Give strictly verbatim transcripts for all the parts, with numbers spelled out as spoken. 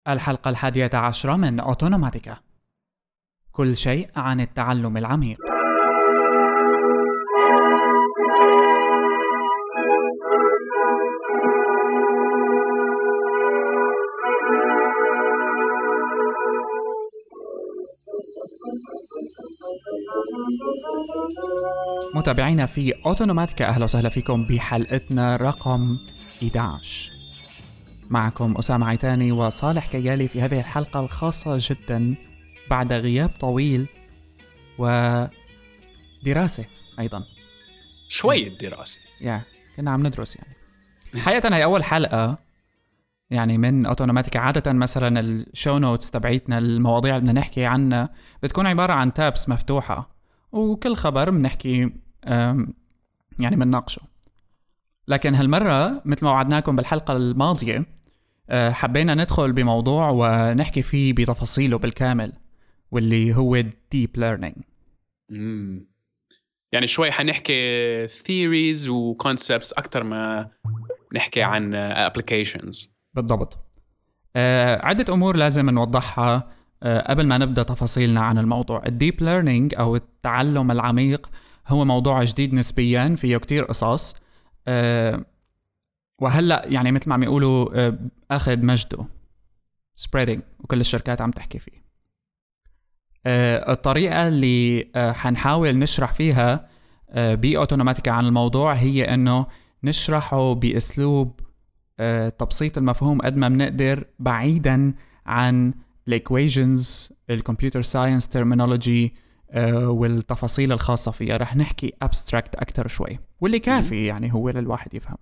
الحلقة الحادية عشرة من أوتونوماتيكا. كل شيء عن التعلم العميق. متابعينا في أوتونوماتيكا، أهلا وسهلا فيكم بحلقتنا رقم إحدى عشر. معكم أسامة عيتاني وصالح كيالي في هذه الحلقة الخاصة جدا بعد غياب طويل ودراسة أيضا شوية دراسة يا كنا عم ندرس. يعني حقيقة هي أول حلقة يعني من أوتونوماتيكا. عادة مثلا الشو نوتس تبعيتنا، المواضيع اللي بدنا نحكي عنها بتكون عبارة عن تابس مفتوحة، وكل خبر بنحكي يعني بنناقشه. لكن هالمرة مثل ما وعدناكم بالحلقة الماضية حبينا ندخل بموضوع ونحكي فيه بتفاصيله بالكامل، واللي هو Deep Learning. مم. يعني شوي حنحكي theories و concepts أكتر ما نحكي عن applications. بالضبط. آه عدة أمور لازم نوضحها آه قبل ما نبدأ تفاصيلنا عن الموضوع. الديب ليرنينج أو التعلم العميق هو موضوع جديد نسبياً، فيه كتير قصص، آه وهلأ يعني مثل ما عم يقولوا آه أخذ مجده spreading، وكل الشركات عم تحكي فيه. آه الطريقة اللي آه حنحاول نشرح فيها آه بأوتونوماتيكا عن الموضوع هي أنه نشرحه بأسلوب آه تبسيط المفهوم قد ما بنقدر، بعيدا عن الإيكويشنز، الكمبيوتر ساينس ترمينولوجي والتفاصيل الخاصة فيها. رح نحكي أبستراكت أكتر شوي، واللي كافي يعني هو للواحد يفهم،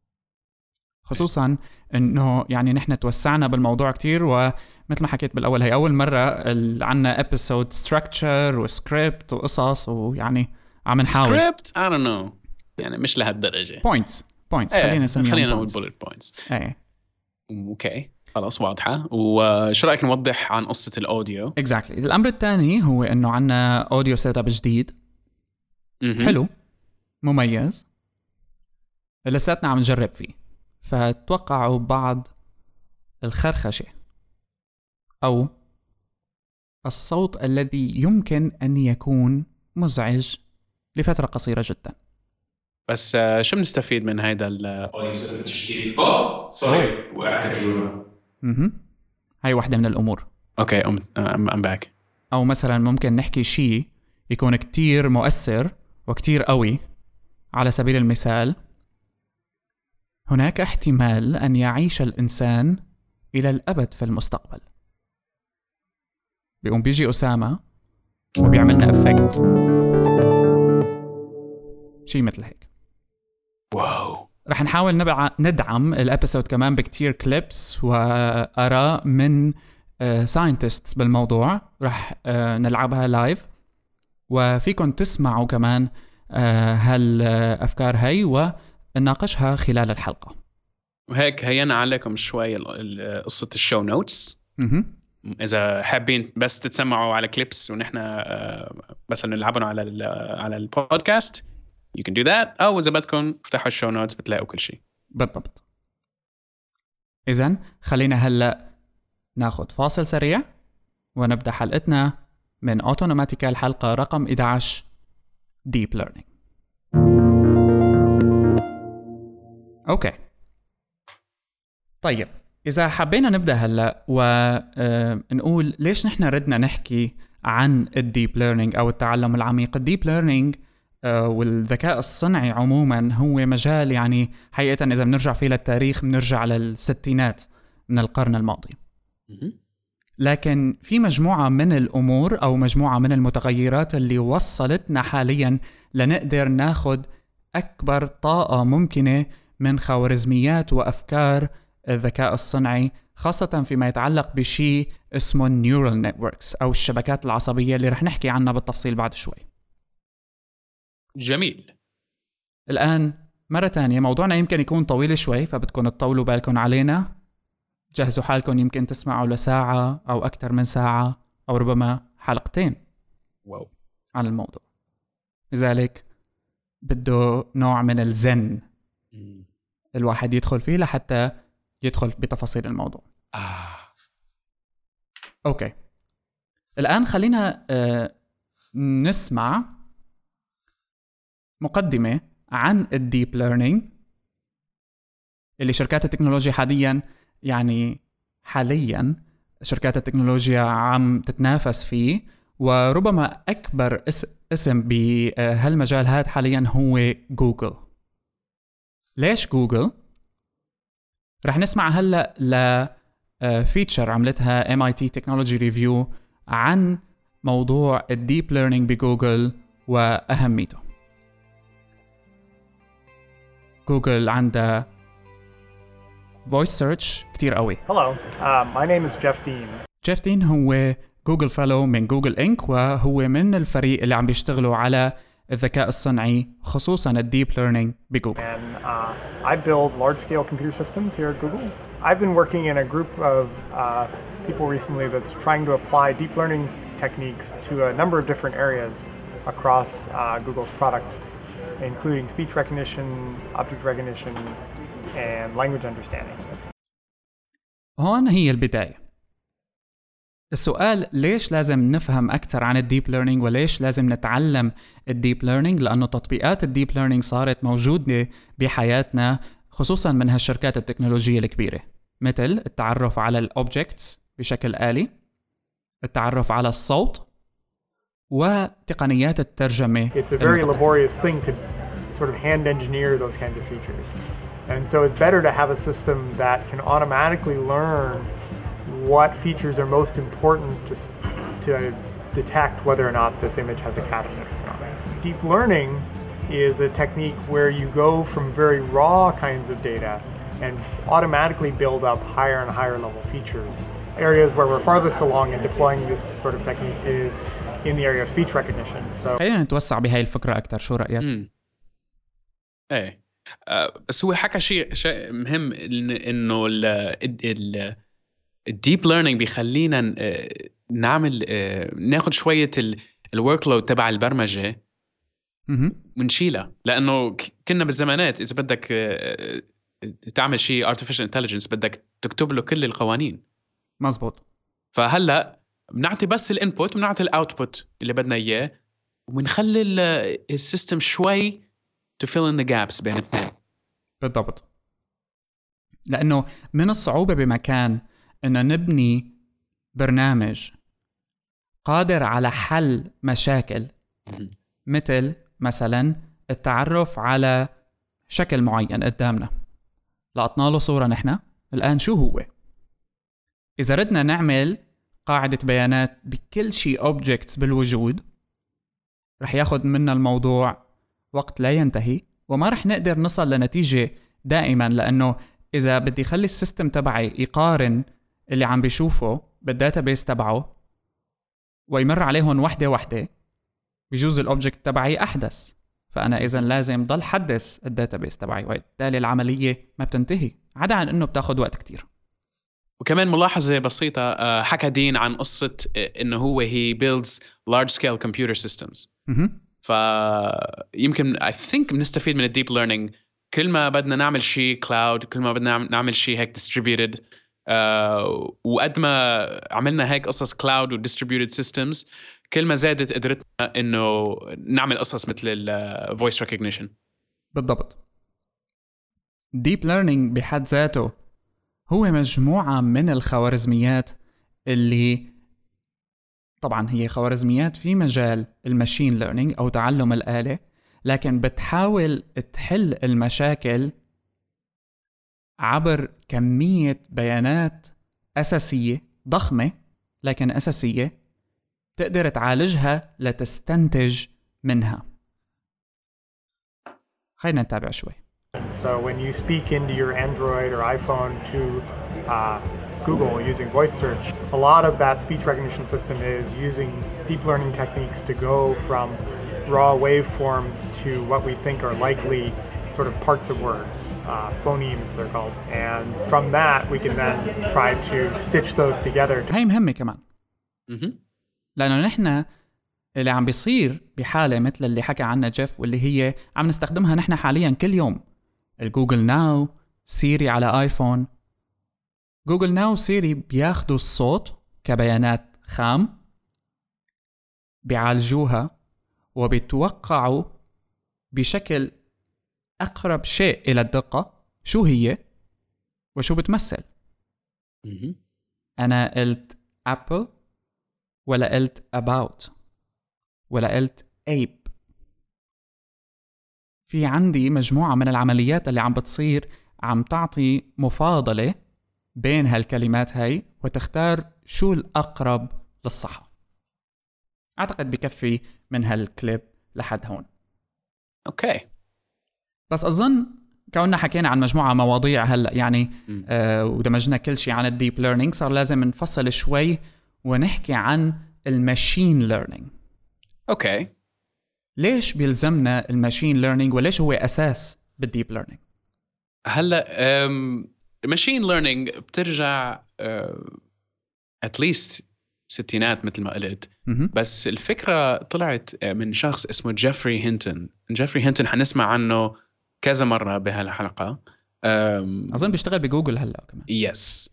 خصوصا انه يعني نحن توسعنا بالموضوع كتير. ومثل ما حكيت بالاول، هي اول مرة عنا ابيسود ستراكتشر وسكريبت وقصص، ويعني عم نحاول سكريبت I don't know، يعني مش لهالدرجة. بوينتس بوينتس ايه، خلينا نسميهم خلينا نقول points. bullet points. ايه اوكي خلاص واضحة. وشو رأيك نوضح عن قصة الاوديو؟ exactly. الامر الثاني هو انه عنا اوديو سيت اب جديد م-م. حلو مميز، لساتنا عم نجرب فيه، فتوقعوا بعض الخرخشة أو الصوت الذي يمكن أن يكون مزعج لفترة قصيرة جدا. بس uh, شو بنستفيد من هيدا الاوديو الجديد؟ اوه سوري، وقعت الجملة. اها هاي واحدة من الأمور. اوكي ام ام باك. أو مثلا ممكن نحكي شيء يكون كتير مؤثر وكتير قوي. على سبيل المثال، هناك احتمال أن يعيش الإنسان إلى الأبد في المستقبل. بيقوم بيجي أسامة وبيعملنا أفكت شيء مثل هيك. واو. رح نحاول نبع... ندعم الابيسود كمان بكتير كليبس وآراء من ساينتستس uh, بالموضوع. رح uh, نلعبها لايف، وفيكم تسمعوا كمان uh, هالأفكار هاي ونناقشها خلال الحلقة. وهيك هينا عليكم شوي قصة الشو نوتس. إذا حابين بس تتسمعوا على كليبس ونحن بس نلعبهم على ال على البودكاست you can do that، أو إذا بدكم افتحوا الشو نوتس بتلاقوا كل شيء. بالضبط. إذن خلينا هلأ ناخد فاصل سريع ونبدأ حلقتنا من أوتونوماتيكا، الحلقة رقم إحدى عشر Deep Learning. أوكي طيب، إذا حبينا نبدأ هلأ ونقول ليش نحن ردنا نحكي عن الديب ليرنينج أو التعلم العميق. الديب ليرنينج والذكاء الصنعي عموما هو مجال يعني حقيقة إذا بنرجع فيه للتاريخ بنرجع للستينات من القرن الماضي. لكن في مجموعة من الأمور أو مجموعة من المتغيرات اللي وصلتنا حاليا لنقدر ناخد أكبر طاقة ممكنة من خوارزميات وأفكار الذكاء الصنعي، خاصة فيما يتعلق بشيء اسمه النيورال نتوركس أو الشبكات العصبية اللي رح نحكي عنها بالتفصيل بعد شوي. جميل. الآن مرة تانية موضوعنا يمكن يكون طويل شوي، فبدكم تطولوا بالكم علينا. جهزوا حالكم، يمكن تسمعوا لساعة أو أكثر من ساعة أو ربما حلقتين واو عن الموضوع. لذلك بده نوع من الزن الواحد يدخل فيه لحتى يدخل بتفاصيل الموضوع. آه. أوكي، الآن خلينا آه نسمع مقدمة عن الديب ليرنينج اللي شركات التكنولوجيا حاليا يعني حاليا شركات التكنولوجيا عم تتنافس فيه، وربما أكبر اسم بهالمجال هذا حاليا هو جوجل. ليش جوجل؟ رح نسمع هلأ لفيتشر عملتها إم آي تي Technology Review عن موضوع الديب ليرنينج بجوجل وأهميته. جوجل عندها voice search كتير قوي. Hello, uh, my name is Jeff Dean. جيف دين هو جوجل فيلو من جوجل إنك، وهو من الفريق اللي عم بيشتغلوا على الذكاء الصنعي خصوصاً الديب ليرنينج بجوجل. And uh, I build large-scale computer systems here at Google. I've been working in a group of uh, people recently that's trying to apply deep learning techniques to a number of different areas across uh, Google's product, including speech recognition, object recognition, and language understanding. هون هي البداية. السؤال ليش لازم نفهم أكثر عن الديب ليرنينج وليش لازم نتعلم الديب ليرنينج؟ لأنه تطبيقات الديب ليرنينج صارت موجودة بحياتنا خصوصاً من هالشركات التكنولوجية الكبيرة، مثل التعرف على الأوبجكتس بشكل آلي، التعرف على الصوت، وتقنيات الترجمة. It's a very laborious thing to sort of hand engineer those kinds of features. And so it's better to have a system that can automatically learn what features are most important to, to detect whether or not this image has a cat in it or not. Deep learning is a technique where you go from very raw kinds of data and automatically build up higher and higher level features. Areas where we're farthest along in deploying this sort of technique is in the area of speech recognition. So خلينا نتوسع بهاي الفكرة أكثر، شو رأيك؟ امم ايه أه بس هو حكى شيء شيء مهم، انه ال ال الديب ليرنينج بيخلينا نعمل ناخد شوية الورك لود تبع البرمجة ونشيلها، لأنه كنا بالزمانات إذا بدك تعمل شيء artificial intelligence بدك تكتب له كل القوانين. مزبوط. فهلأ بنعطي بس الانبوت وبنعطي الاوتبوت اللي بدنا إياه، ونخلي السيستم شوي to fill in the gaps بين اثنين. بالضبط. لأنه من الصعوبة بمكان إن نبني برنامج قادر على حل مشاكل مثل مثلا التعرف على شكل معين قدامنا، لقطنا له صورة نحن الآن شو هو. إذا ردنا نعمل قاعدة بيانات بكل شيء objects بالوجود رح ياخد منا الموضوع وقت لا ينتهي، وما رح نقدر نصل لنتيجة دائما، لأنه إذا بدي خلي السيستم تبعي يقارن اللي عم بيشوفه بالداتابيس تبعه ويمر عليهم وحدة وحدة بيجوز الأوبجكت تبعي أحدث، فأنا إذن لازم ضل حدث الداتابيس تبعي، وبالتالي العملية ما بتنتهي عدا عن أنه بتاخد وقت كتير. وكمان ملاحظة بسيطة، حكى دين عن قصة إنه هو he builds large scale computer systems. فيمكن I think بنستفيد من الديب ليرنينج كل ما بدنا نعمل شيء كلاود، كل ما بدنا نعمل شيء هيك distributed. Uh, وقد ما عملنا هيك قصص كلاود وديستريبيوتد سيستمز كل ما زادت قدرتنا انه نعمل قصص مثل الفويس ريكوجنيشن. بالضبط. ديب ليرنينج بحد ذاته هو مجموعة من الخوارزميات اللي طبعا هي خوارزميات في مجال الماشين ليرنينج او تعلم الآلة، لكن بتحاول تحل المشاكل عبر كمية بيانات أساسية ضخمة لكن أساسية تقدر تعالجها لتستنتج منها. خلينا نتابع شوي. So when you speak into your Android or iPhone to uh, Google using voice search, a lot of that speech recognition system is using deep learning techniques to go from raw waveforms to what we think are likely sort of parts of words, uh, phonemes they're called, and from that we can then try to stitch those together. هاي مهمة كمان، لأنه نحن اللي عم بيصير بحالة مثل اللي حكى عنها جيف واللي هي عم نستخدمها نحن حاليا كل يوم، الجوجل ناو، سيري على آيفون. جوجل ناو وسيري بياخدوا الصوت كبيانات خام، بيعالجوها وبيتوقعوا بشكل أقرب شيء إلى الدقة شو هي وشو بتمثل. أنا قلت Apple ولا قلت about ولا قلت ape. في عندي مجموعة من العمليات اللي عم بتصير عم تعطي مفاضلة بين هالكلمات هاي وتختار شو الأقرب للصحة. أعتقد بكفي من هالكليب لحد هون. أوكي. بس أظن كوننا حكينا عن مجموعة مواضيع هلأ يعني آه ودمجنا كل شيء عن الديب ليرنينج، صار لازم نفصل شوي ونحكي عن الماشين ليرنينج. أوكي. ليش بيلزمنا الماشين ليرنينج وليش هو أساس بالديب ليرنينج؟ هلأ الماشين ليرنينج بترجع اتليست ستينات مثل ما قلت. بس الفكرة طلعت من شخص اسمه جيفري هينتون. جيفري هينتون حنسمع عنه كذا مرة بهالحلقة. أظن بيشتغل بجوجل هلأ كمان. يس.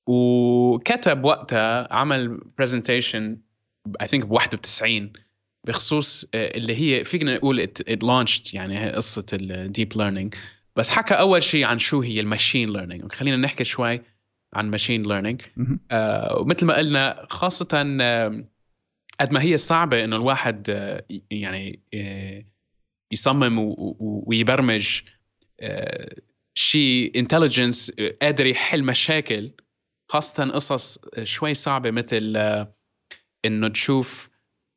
وكتب وقتها عمل presentation I think بواحد وتسعين بخصوص اللي هي فينا نقول it, it launched يعني قصة الديب ليرنينج. بس حكى أول شيء عن شو هي الماشين ليرنينج. خلينا نحكي شوي عن ماشين ليرنينج. آه ومثل ما قلنا خاصة آه قد ما هي صعبة إنه الواحد آه يعني آه يصمم ويبرمج آه شيء intelligence آه قادر يحل مشاكل، خاصة قصص شوي صعبة مثل آه إنه تشوف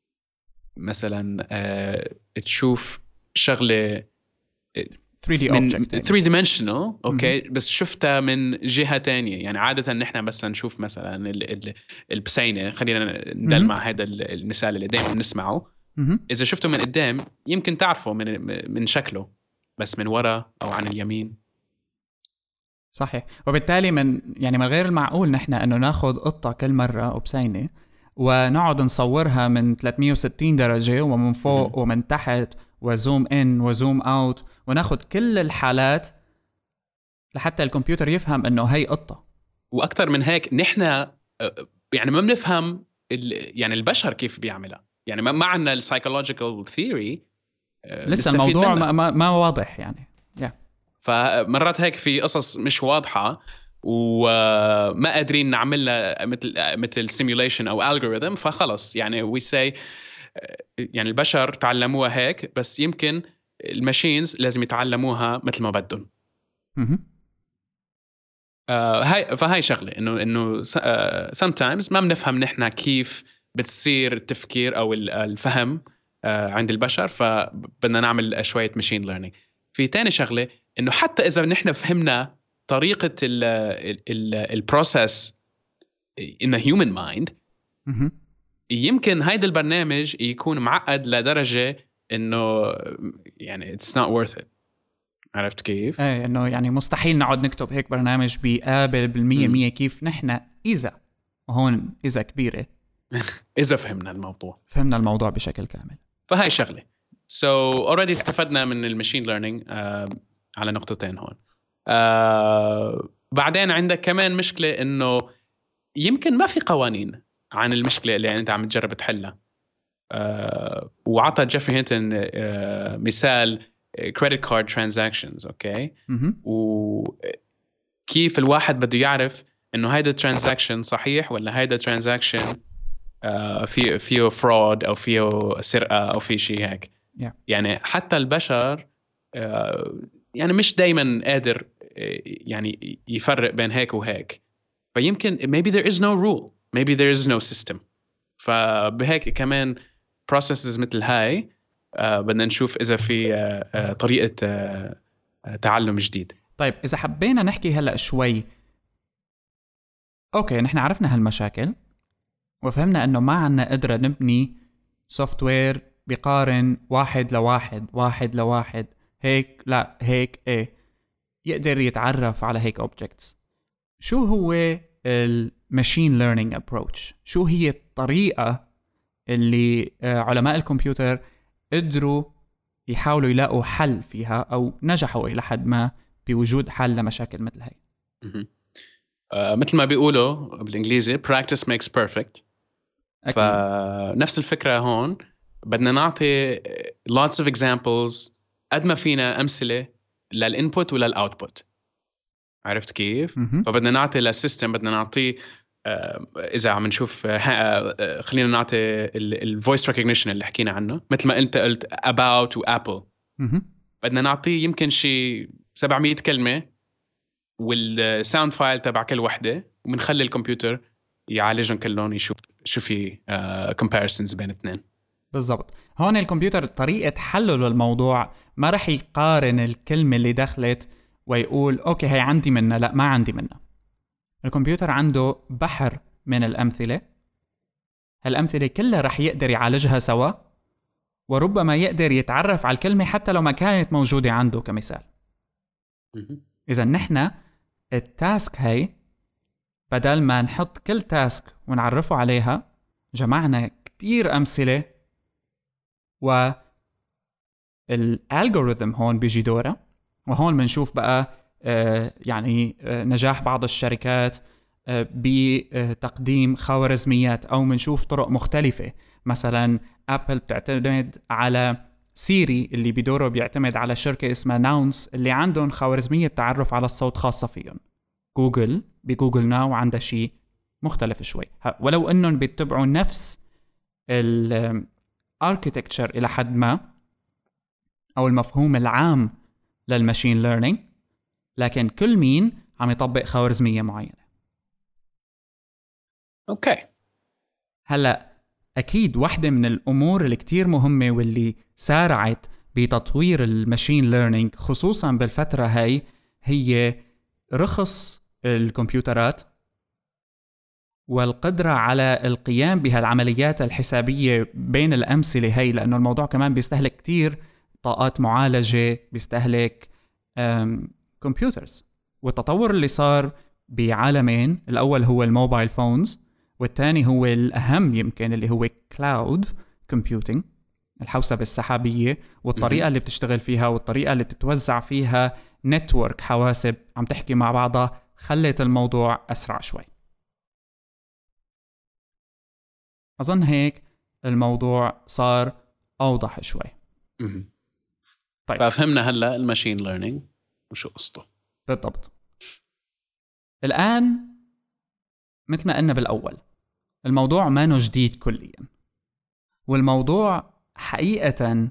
مثلا آه تشوف شغلة ثري دي من object ثري dimensional اوكي okay. بس شفتها من جهة تانية. يعني عادة نحن بس نشوف مثلا البسينة، خلينا ندل مع هذا المثال اللي دائما نسمعه. إذا شفته من قدام يمكن تعرفه من من شكله، بس من وراء أو عن اليمين. صحيح. وبالتالي من يعني من غير المعقول نحن إنه ناخد قطة كل مرة أو بسينة ونقعد نصورها من ثلاثمية وستين درجة ومن فوق م- ومن تحت وزوم إن وزوم أوت وناخد كل الحالات لحتى الكمبيوتر يفهم إنه هي قطة. وأكثر من هيك نحن يعني ما بنفهم يعني البشر كيف بيعملها. يعني ما عنا السايكولوجيكال ثيوري لسه الموضوع ما, ما, ما واضح يعني yeah. فمرات هيك في قصص مش واضحة وما قادرين نعملها مثل مثل سيميوليشن أو algorithm. فخلص يعني we say يعني البشر تعلموها هيك، بس يمكن الماشينز لازم يتعلموها مثل ما بدهم. آه هاي فهاي شغلة إنه إنه آه sometimes ما بنفهم نحنا كيف بتصير التفكير أو الفهم آه عند البشر، فبدنا نعمل شوية ماشين ليرنينج. في تاني شغلة إنه حتى إذا نحنا فهمنا طريقة ال ال البروسيس in a human mind يمكن هيدا البرنامج يكون معقد لدرجة إنه يعني it's not worth it. عرفت كيف؟ ايه إنه يعني مستحيل نقعد نكتب هيك برنامج بيقابل بالمية مية كيف نحن إذا وهون إذا كبيرة إذا فهمنا الموضوع فهمنا الموضوع بشكل كامل. فهاي شغلة. so already استفدنا من الماشين ليرنينج آه على نقطتين هون. آه بعدين عندك كمان مشكلة إنه يمكن ما في قوانين عن المشكلة اللي أنت عم تجرب تحلها. آه وعطى جيفري هينتون آه مثال credit card transactions أوكي. وكيف الواحد بده يعرف إنه هيدا transaction صحيح ولا هيدا transaction آه فيه فيه fraud أو فيه سرقة أو فيه شيء هيك. yeah. يعني حتى البشر آه يعني مش دايما قادر يعني يفرق بين هيك وهيك. فيمكن maybe there is no rule, maybe there is no system. فبهيك كمان processes مثل هاي آه بدنا نشوف إذا في آه آه طريقة آه آه تعلم جديد. طيب إذا حبينا نحكي هلأ شوي، أوكي نحن عرفنا هالمشاكل وفهمنا أنه ما عنا قدرة نبني سوفتوير بيقارن واحد لواحد واحد لواحد هيك لا هيك ايه يقدر يتعرف على هيك objects. شو هو الماشين ليرنينج ابروتش؟ شو هي الطريقة اللي علماء الكمبيوتر قدروا يحاولوا يلاقوا حل فيها أو نجحوا إلى حد ما بوجود حل لمشاكل مثل هاي؟ آه مثل ما بيقولوا بالانجليزي practice makes perfect. أكيد. فنفس الفكرة هون، بدنا نعطي lots of examples قد ما فينا أمثلة للإنبوت وللأوتبوت. عرفت كيف؟ مهم. فبدنا نعطي للسيستم، بدنا نعطيه آه إذا عم نشوف آه خلينا نعطي الفويس ريكوجنيشن اللي حكينا عنه مثل ما أنت قلت about وapple. مهم. بدنا نعطيه يمكن شي سبعمية كلمة والساوند فايل تبع كل وحدة، وبنخلي الكمبيوتر يعالجهم كلهم، يشوف شو في comparisons بين اثنين. بالضبط. هون الكمبيوتر طريقة حله للموضوع ما رح يقارن الكلمة اللي دخلت ويقول أوكي هي عندي منها، لا ما عندي منها. الكمبيوتر عنده بحر من الأمثلة، هالأمثلة كلها رح يقدر يعالجها سوا، وربما يقدر يتعرف على الكلمة حتى لو ما كانت موجودة عنده كمثال. إذا نحن التاسك هاي بدل ما نحط كل تاسك ونعرفه عليها، جمعنا كتير أمثلة، والالغوريثم هون بيجي دوره. وهون بنشوف بقى آه يعني آه نجاح بعض الشركات آه بتقديم خوارزميات، أو بنشوف طرق مختلفة. مثلا أبل بتعتمد على سيري اللي بدوره بيعتمد على شركة اسمها ناونس اللي عندهم خوارزمية تعرف على الصوت خاصة فيهم. جوجل بجوجل ناو عندها شيء مختلف شوي، ولو أنهم بيتبعوا نفس الاركيتكتشر إلى حد ما، أو المفهوم العام للماشين ليرنينج، لكن كل مين عم يطبق خوارزمية معينة. أوكي. هلأ أكيد واحدة من الأمور اللي كتير مهمة واللي سارعت بتطوير الماشين ليرنينج خصوصا بالفترة هاي هي رخص الكمبيوترات والقدرة على القيام بهالعمليات الحسابية بين الأمثلة هاي، لأنه الموضوع كمان بيستهلك كتير طاقات معالجة، بيستهلك كمبيوترز. والتطور اللي صار بعالمين، الأول هو الموبايل فونز، والثاني هو الأهم يمكن اللي هو كلاود كومبيوتينج، الحوسبة السحابية، والطريقة اللي بتشتغل فيها والطريقة اللي بتتوزع فيها نتورك حواسب عم تحكي مع بعضها خلت الموضوع أسرع شوي. أظن هيك الموضوع صار أوضح شوي. طيب. ففهمنا هلأ الماشين ليرنينج وشو قصته بالضبط. الآن مثل ما قلنا بالأول، الموضوع ما نو جديد كليا، والموضوع حقيقة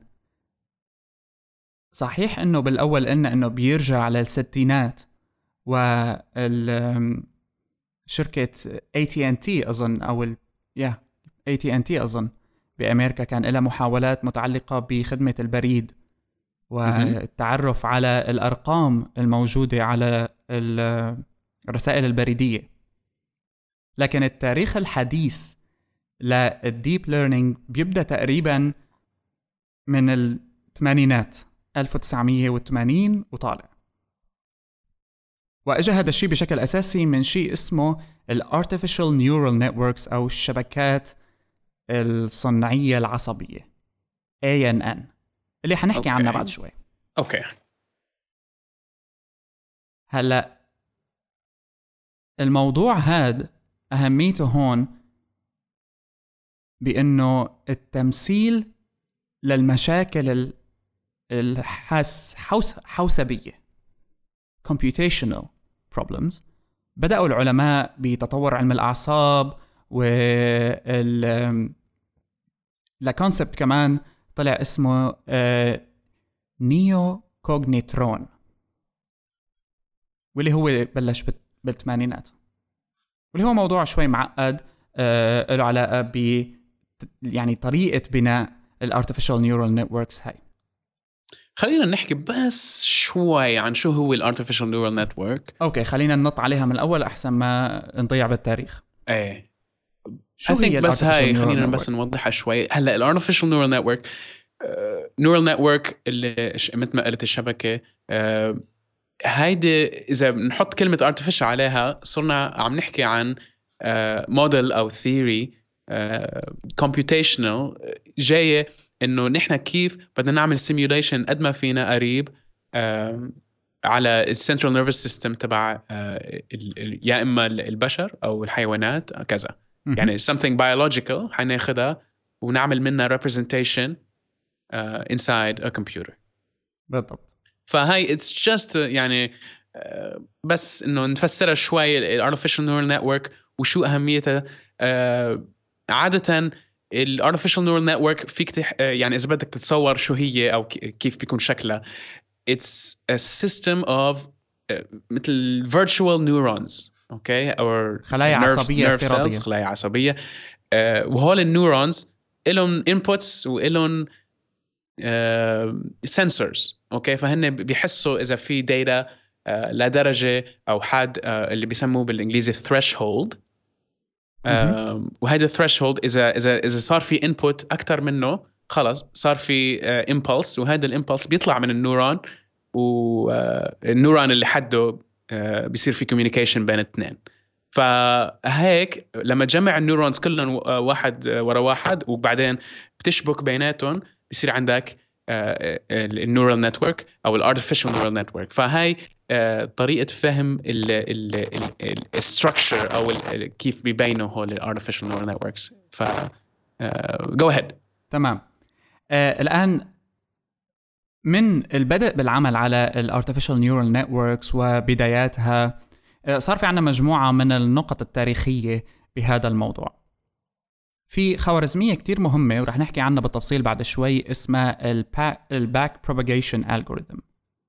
صحيح إنه بالأول قلنا إنه بيرجع للستينات، والشركة إيه تي أند تي أظن أو ال يا إيه تي أند تي أظن بأمريكا كان لها محاولات متعلقة بخدمة البريد والتعرف على الأرقام الموجودة على الرسائل البريدية. لكن التاريخ الحديث للديب ليرنينج بيبدأ تقريبا من الثمانينات ألف وتسعمية وثمانين وطالع، وأجا هذا الشيء بشكل أساسي من شيء اسمه ال Artificial Neural Networks أو الشبكات الصناعية العصبية إيه إن إن اللي حنحكي عنها بعد شوي. أوكي. هلأ الموضوع هاد أهميته هون بأنه التمثيل للمشاكل الحاس حوس حوسبية computational problems. بدأوا العلماء بتطور علم الأعصاب، وال لكونسبت كمان طلع اسمه نيو كوغنيترون، واللي هو بلش بالثمانينات، واللي هو موضوع شوي معقد له علاقة ب يعني طريقة بناء الارتفيشال نيورال نتوركس هاي. خلينا نحكي بس شوي عن شو هو الارتفيشال نيورال نتورك. اوكي خلينا ننط عليها من الاول احسن ما نضيع بالتاريخ. ايه شو هي بس هاي خلينا network؟ بس نوضحها شوي. هلا الارتفيشال نيورال نتورك نيورال نتورك اللي مثل ما قلت الشبكة uh, هيدي إذا بنحط كلمة artificial عليها صرنا عم نحكي عن موديل uh, أو theory uh, computational جاية إنه نحن كيف بدنا نعمل simulation قد ما فينا قريب uh, على السنترال نيرفس سيستم تبع يا اما البشر او الحيوانات كذا. يعني something biological حناخدها ونعمل منها representation uh, inside a computer. بالضبط. فهاي it's just يعني uh, بس انه نفسرها شوي ال artificial neural network وشو اهميتها. uh, عادة ال artificial neural network فيك تح... uh, يعني اذا بدك تتصور شو هي او كيف بيكون شكلها. It's a system of uh, مثل virtual neurons, okay, or خلايا nerves, عصبية nerve افتراضية. cells, خلايا عصبية. uh, وهول النيورونز إلهم inputs وإلهم uh, sensors, okay. فهن بيحسوا إذا في data uh, لدرجة أو حد uh, اللي بيسموه بالإنجليزي threshold. uh, وهذا threshold إذا إذا إذا صار في input أكتر منه خلاص صار في uh, impulse، وهذا الامبلس بيطلع من النورون، والنورون اللي حده uh, بيصير في communication بين الاثنين. فهيك لما تجمع النورونز كلهم واحد ورا واحد وبعدين بتشبك بيناتهم بيصير عندك uh, النورال نتورك او الارتفيشال نورال نتورك. فهاي uh, طريقه فهم الستراكشر او ال كيف بيبينوا هول الارتفيشال نورال نتوركس. ف جو اهيد. تمام. آه الآن من البدء بالعمل على الارتفيشال نيورال نتوركس وبداياتها آه صار في عنا مجموعة من النقط التاريخية بهذا الموضوع. في خوارزمية كتير مهمة ورح نحكي عنها بالتفصيل بعد شوي اسمها الباك بروباغيشن algorithm.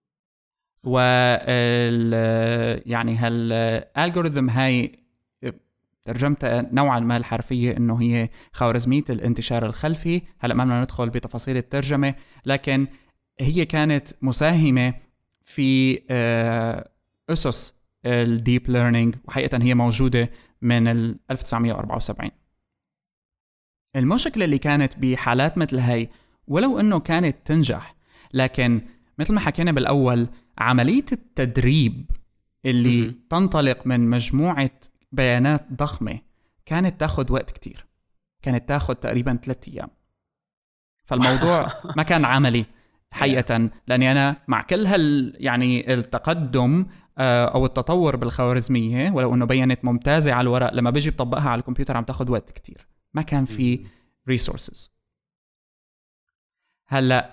وال يعني هالالجوريثم هاي ترجمتها نوعا ما الحرفية إنه هي خوارزمية الانتشار الخلفي. هلأ ما بدنا ندخل بتفاصيل الترجمة، لكن هي كانت مساهمة في أسس الديب ليرنينج، وحقيقة هي موجودة من ألف وتسعمية وأربعة وسبعين. المشكلة اللي كانت بحالات مثل هاي ولو إنه كانت تنجح، لكن مثل ما حكينا بالأول عملية التدريب اللي م- تنطلق من مجموعة بيانات ضخمة كانت تاخد وقت كتير، كانت تاخد تقريبا ثلاثة أيام. فالموضوع ما كان عملي حقيقة، لأني أنا مع كل هال يعني التقدم أو التطور بالخوارزمية ولو أنه بيانات ممتازة على الورق، لما بيجي بطبقها على الكمبيوتر عم تاخد وقت كتير، ما كان في resources. هلأ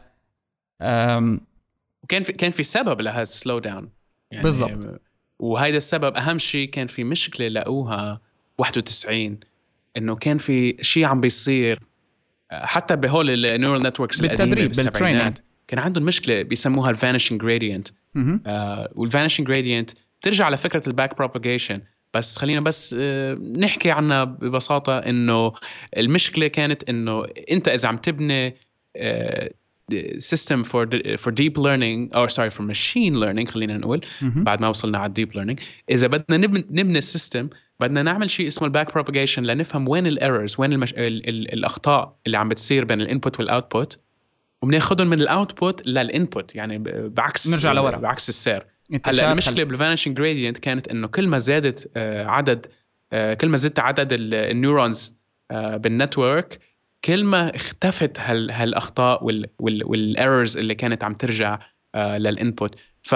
وكان في كان في سبب لهذا السلو داون يعني. بالضبط. وهذا السبب أهم شيء كان في مشكلة لقوها واحد وتسعين، إنه كان في شيء عم بيصير حتى بهول النيورال نتوركس بالتدريب بالتريننج، كان عندهم مشكلة بيسموها الفانيشنج جريدينت. آه والفانيشنج جريدينت ترجع لفكرة الباك بروباغيشن، بس خلينا بس آه نحكي عنها ببساطة. إنه المشكلة كانت إنه أنت إذا عم تبني آه system for for deep learning or sorry for machine learning خلينا نقول بعد ما وصلنا على deep learning، إذا بدنا نبني نبني السيستم بدنا نعمل شيء اسمه الباك propagation لنفهم وين الايرورز، وين المش... ال... ال... الأخطاء اللي عم بتصير بين الانبوت والاوتبوت، وبناخذهم من الاوتبوت للانبوت، يعني بعكس نرجع لورا بعكس السير. هلا المشكلة بالفانيشنج جريدينت كانت إنه كل ما زادت آه عدد آه كل ما زدت عدد النيورونز آه بالنتورك كل ما اختفت هال هالأخطاء وال وال والإيرورز اللي كانت عم ترجع آه للإنبوت. ف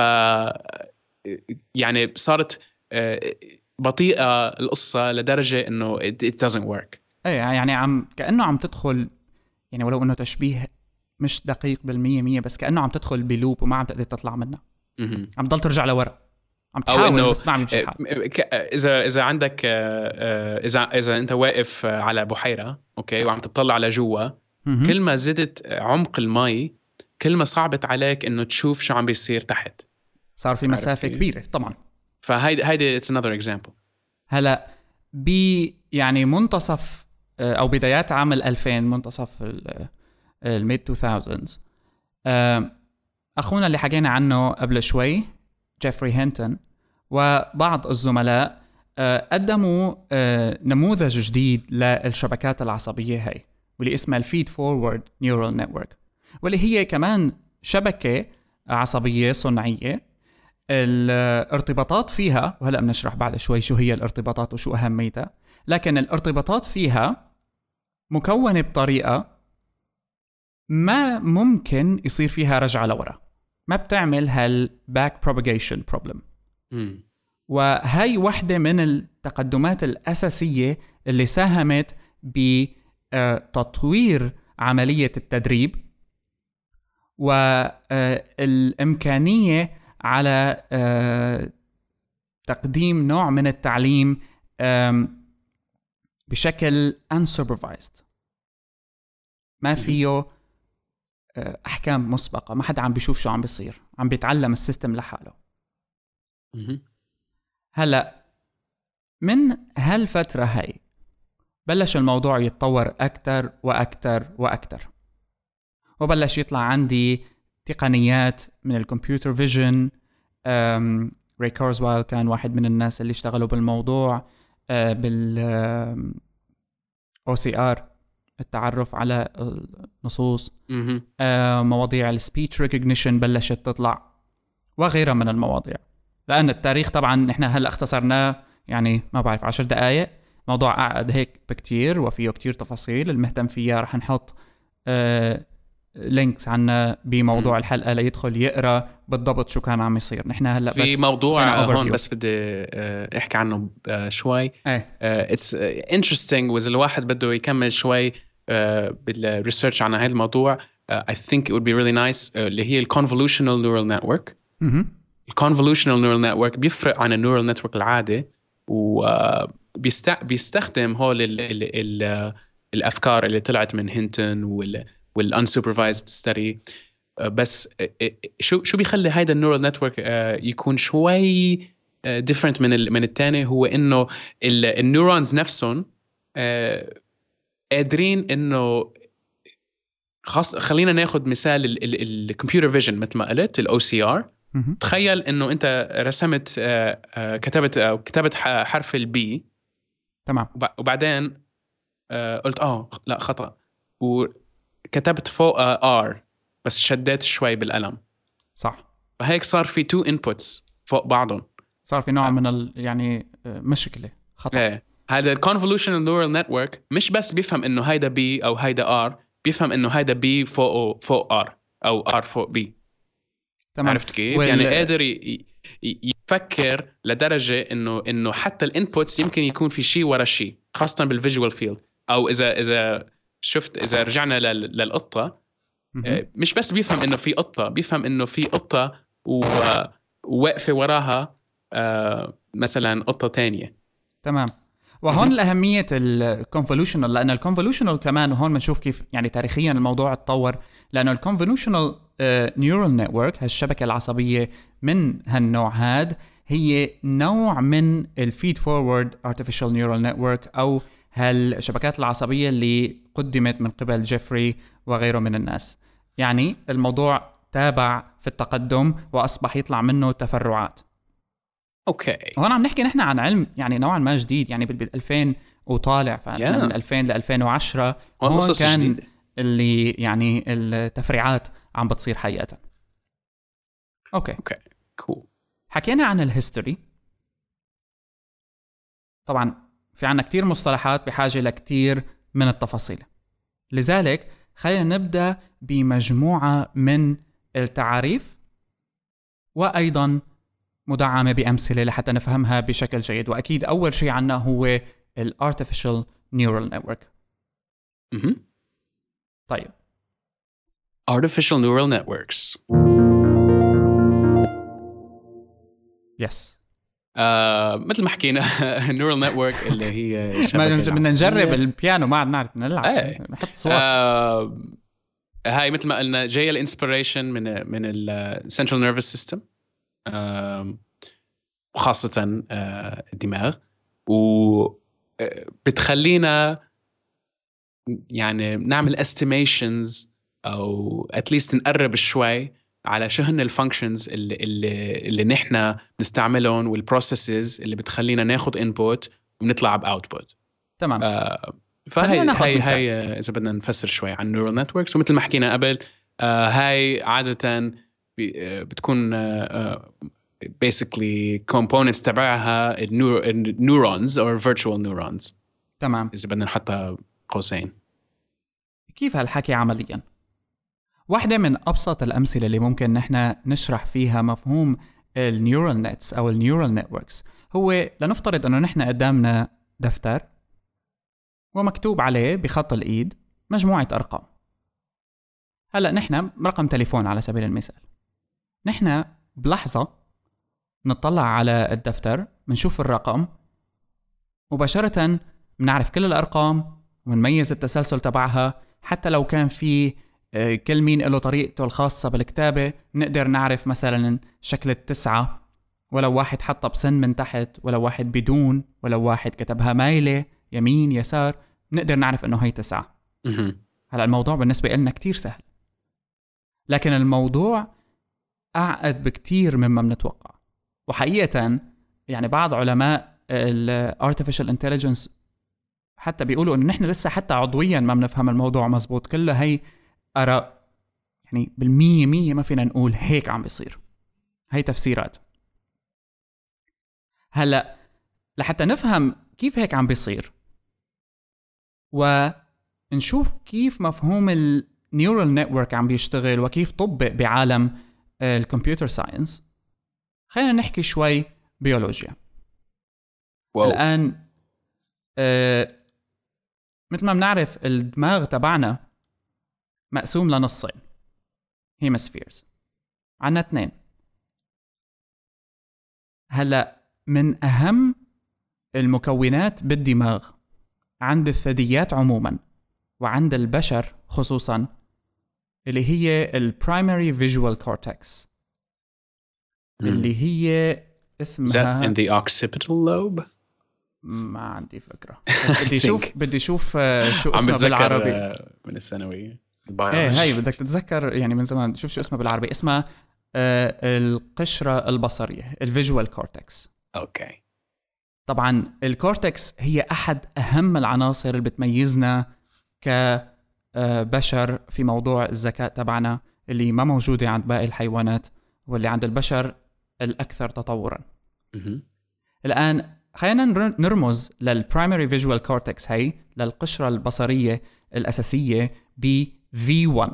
يعني صارت آه بطيئة القصة لدرجة إنه it, it doesn't work. أي يعني عم كأنه عم تدخل، يعني ولو إنه تشبيه مش دقيق بالمية مية، بس كأنه عم تدخل بلوب وما عم تقدر تطلع منها. عم تضل ترجع لورا، عم تحاول بس ما عم يمشي الحال. إذا إذا عندك إذا إذا أنت واقف على بحيرة أوكي وعم تطلع على جوا، كل ما زدت عمق الماء كل ما صعبت عليك إنه تشوف شو عم بيصير تحت. صار في مسافة كبيرة طبعا. فهيدا هيدا it's another example. هلا ب يعني منتصف أو بدايات عام الألفين، منتصف الميد تو ثاوزندز، أخونا اللي حكينا عنه قبل شوي جيفري هينتون وبعض الزملاء قدموا نموذج جديد للشبكات العصبية هاي، واللي اسمها الفيد فورورد نيورال نتورك، واللي هي كمان شبكة عصبية صناعية. الارتباطات فيها، وهلأ بنشرح بعد شوي شو هي الارتباطات وشو أهميتها، لكن الارتباطات فيها مكونة بطريقة ما ممكن يصير فيها رجعة لورا، ما بتعمل هالباك بروباجيشن بروبلم. وهي واحدة من التقدمات الأساسية اللي ساهمت بتطوير عملية التدريب والإمكانية على تقديم نوع من التعليم بشكل unsupervised، ما فيه أحكام مسبقة، ما حدا عم بيشوف شو عم بيصير، عم بيتعلم السيستم لحاله. هلأ من هالفترة هاي بلش الموضوع يتطور أكتر وأكتر وأكتر، وبلش يطلع عندي تقنيات من الكمبيوتر فيجن. ري كورزويل كان واحد من الناس اللي اشتغلوا بالموضوع، بال أو سي آر، التعرف على النصوص، مواضيع السبيتش ريكوجنيشن بلشت تطلع، وغيرها من المواضيع. لأن التاريخ طبعا نحن هلأ اختصرناه، يعني ما بعرف عشر دقايق. موضوع أعقد هيك بكتير وفيه كتير تفاصيل، المهتم فيها رح نحط آه لينكس عنا بموضوع م. الحلقة ليدخل يقرأ بالضبط شو كان عم يصير. نحن هلأ في بس موضوع هون بس بدي آه احكي عنه آه شوي. آه it's interesting، وإذا الواحد بده يكمل شوي آه بالريسيرش عن هذا الموضوع آه I think it would be really nice آه اللي هي الconvolutional neural network. الconvolutional neural network بيفرق عن النيورال نتورك العادي، وبيستخدم هول ال ال ال الأفكار اللي طلعت من هينتون وال والunsupervised study. بس شو شو بيخلي هيدا النيورال نتورك يكون شوي different من من الثاني، هو إنه النيورونز نفسهم قادرين إنه خاص. خلينا ناخد مثال الكمبيوتر فيجن مثل ما قلت، ال أو سي آر. تخيل إنه أنت رسمت كتبت أو كتبت حرف البي، تمام، وبعدين قلت آه لا خطأ، وكتبت فوق آر بس شديت شوي بالقلم، صح. فهيك صار في تو inputs فوق بعضهم، صار في نوع من ال يعني مشكلة، خطأ. ايه. هذا الconvolutional neural network مش بس بيفهم إنه هيدا بي أو هيدا آر، بيفهم إنه هيدا بي فوق فوق آر أو آر فوق بي. تمام. عرفت كيف؟ وال... يعني قادر ي... يفكر لدرجة إنه إنه حتى الانبوتس يمكن يكون في شيء ورا شيء، خاصة بالفيجوال فيلد. أو إذا إذا شفت إذا رجعنا لل... للقطة، مش بس بيفهم إنه في قطة، بيفهم إنه في قطة ووقفة وراها مثلا قطة تانية. تمام. وهون الأهمية الكونفولوشنال، لأن الكونفولوشنال كمان وهون بنشوف كيف يعني تاريخيا الموضوع اتطور، لأنه الكونفولوشنال نيورال نتورك، هالشبكة العصبية من هالنوع هاد، هي نوع من الفيد فورورد ارتفيشال نيورال نتورك، أو هالشبكات العصبية اللي قدمت من قبل جيفري وغيره من الناس. يعني الموضوع تابع في التقدم وأصبح يطلع منه تفرعات. اوكي. هون عم نحكي نحن عن علم يعني نوعا ما جديد، يعني بال ألفين وطالع، فمن من ألفين ل ألفين وعشرة هون كان جديد. اللي يعني التفريعات عم بتصير حقيقة. اوكي اوكي كول. حكينا عن الهيستوري. طبعا في عنا كتير مصطلحات بحاجة لكتير من التفاصيل، لذلك خلينا نبدأ بمجموعة من التعاريف، وأيضا مدعمة بأمثلة لحتى نفهمها بشكل جيد. وأكيد أول شيء عنا هو ال Artificial Neural Network. م-م. طيب Artificial Neural Networks. يس. آه، مثل ما حكينا Neural Network اللي هي بدنا نجرب البيانو، ما عاد نعرف نلعب، ايه. نحط صوت. آه، هاي مثل ما قلنا جاية الانسبيريشن من من ال Central Nervous System، وخاصة الدماغ، وبتخلينا يعني نعمل estimations أو at least نقرب شوي على شو هن الفانكشنز اللي اللي اللي نحن نستعملهم والبروسيسز اللي بتخلينا ناخد input ونطلع بoutput. تمام. آه فهي هاي هاي إذا بدنا نفسر شوي عن neural networks. ومثل ما حكينا قبل آه هاي عادة بتكون آه basically components تبعها neurons or virtual neurons. تمام. إذا بدنا نحطها قوسين. كيف هالحكي عمليا؟ واحدة من أبسط الأمثلة اللي ممكن نحن نشرح فيها مفهوم النيورال نتس أو النيورال نتوركس هو لنفترض أنه نحن قدامنا دفتر ومكتوب عليه بخط الإيد مجموعة أرقام. هلأ نحن رقم تليفون على سبيل المثال، نحن بلحظة نطلع على الدفتر منشوف الرقم مباشرة، منعرف كل الأرقام ونميز التسلسل تبعها. حتى لو كان في كل مين له طريقته الخاصة بالكتابة، نقدر نعرف مثلا شكل التسعة، ولو واحد حطها بسن من تحت، ولو واحد بدون، ولو واحد كتبها مايلة يمين يسار، نقدر نعرف انه هي تسعة. هلا الموضوع بالنسبة لنا كتير سهل، لكن الموضوع أعقد بكتير مما بنتوقع. وحقيقة يعني بعض علماء ال Artificial Intelligence حتى بيقولوا إنه نحن لسه حتى عضويا ما بنفهم الموضوع مزبوط. كلها هي آراء، يعني بالمية مية ما فينا نقول هيك عم بيصير، هي تفسيرات. هلأ لحتى نفهم كيف هيك عم بيصير ونشوف كيف مفهوم النيورال نتورك عم بيشتغل وكيف طبق بعالم الكمبيوتر ساينس، خلينا نحكي شوي بيولوجيا. واو. الآن آه مثل ما بنعرف الدماغ تبعنا مقسوم لنصين، هيمسفيرز، عنا اثنين. هلأ من أهم المكونات بالدماغ عند الثدييات عموما وعند البشر خصوصا اللي هي البرايمري فيجوال كورتكس، اللي هي اسمها in the occipital lobe. ما عندي فكرة، بس بدي اشوف بدي اشوف شو اسمه بالعربي من الثانوية. ايه هاي بدك تتذكر يعني من زمان. شوف شو اسمه بالعربي، اسمها آه القشرة البصرية، الفيجوال كورتكس. اوكي. طبعا الكورتكس هي احد اهم العناصر اللي بتميزنا كبشر في موضوع الذكاء تبعنا، اللي ما موجودة عند باقي الحيوانات واللي عند البشر الأكثر تطوراً. الآن خلينا نرمز للبرايمري فيجوال كورتكس، هي للقشرة البصرية الأساسية ب في واحد.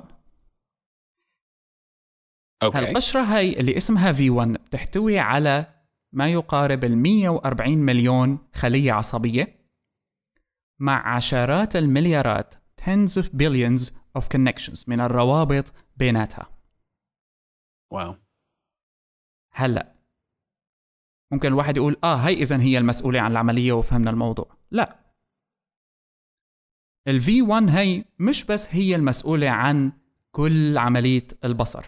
أوكي. القشرة هي اللي اسمها في واحد بتحتوي على ما يقارب المية وأربعين مليون خلية عصبية مع عشرات المليارات tens of billions of connections من الروابط بيناتها. واو. هلأ ممكن الواحد يقول آه هاي إذن هي المسؤولة عن العملية وفهمنا الموضوع. لا، ال في واحد هي مش بس هي المسؤولة عن كل عملية البصر.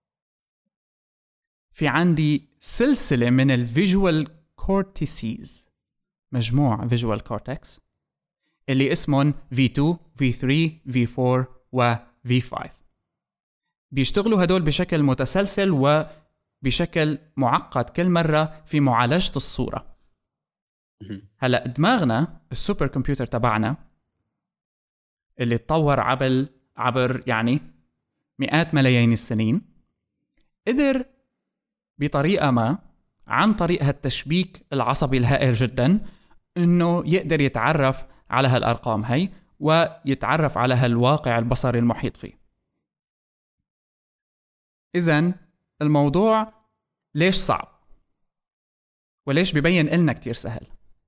في عندي سلسلة من الفيجوال كورتيسيز، مجموع فيجوال كورتكس اللي اسمهم في اثنين في ثلاثة في أربعة و في خمسة. بيشتغلوا هدول بشكل متسلسل وبشكل معقد كل مرة في معالجة الصورة. هلأ دماغنا السوبر كمبيوتر تبعنا اللي تطور عبر عبر يعني مئات ملايين السنين، قدر بطريقة ما عن طريق هالتشبيك العصبي الهائل جدا انه يقدر يتعرف على هالارقام هي ويتعرف على هالواقع البصري المحيط فيه. إذن الموضوع ليش صعب وليش بيبين لنا كتير سهل؟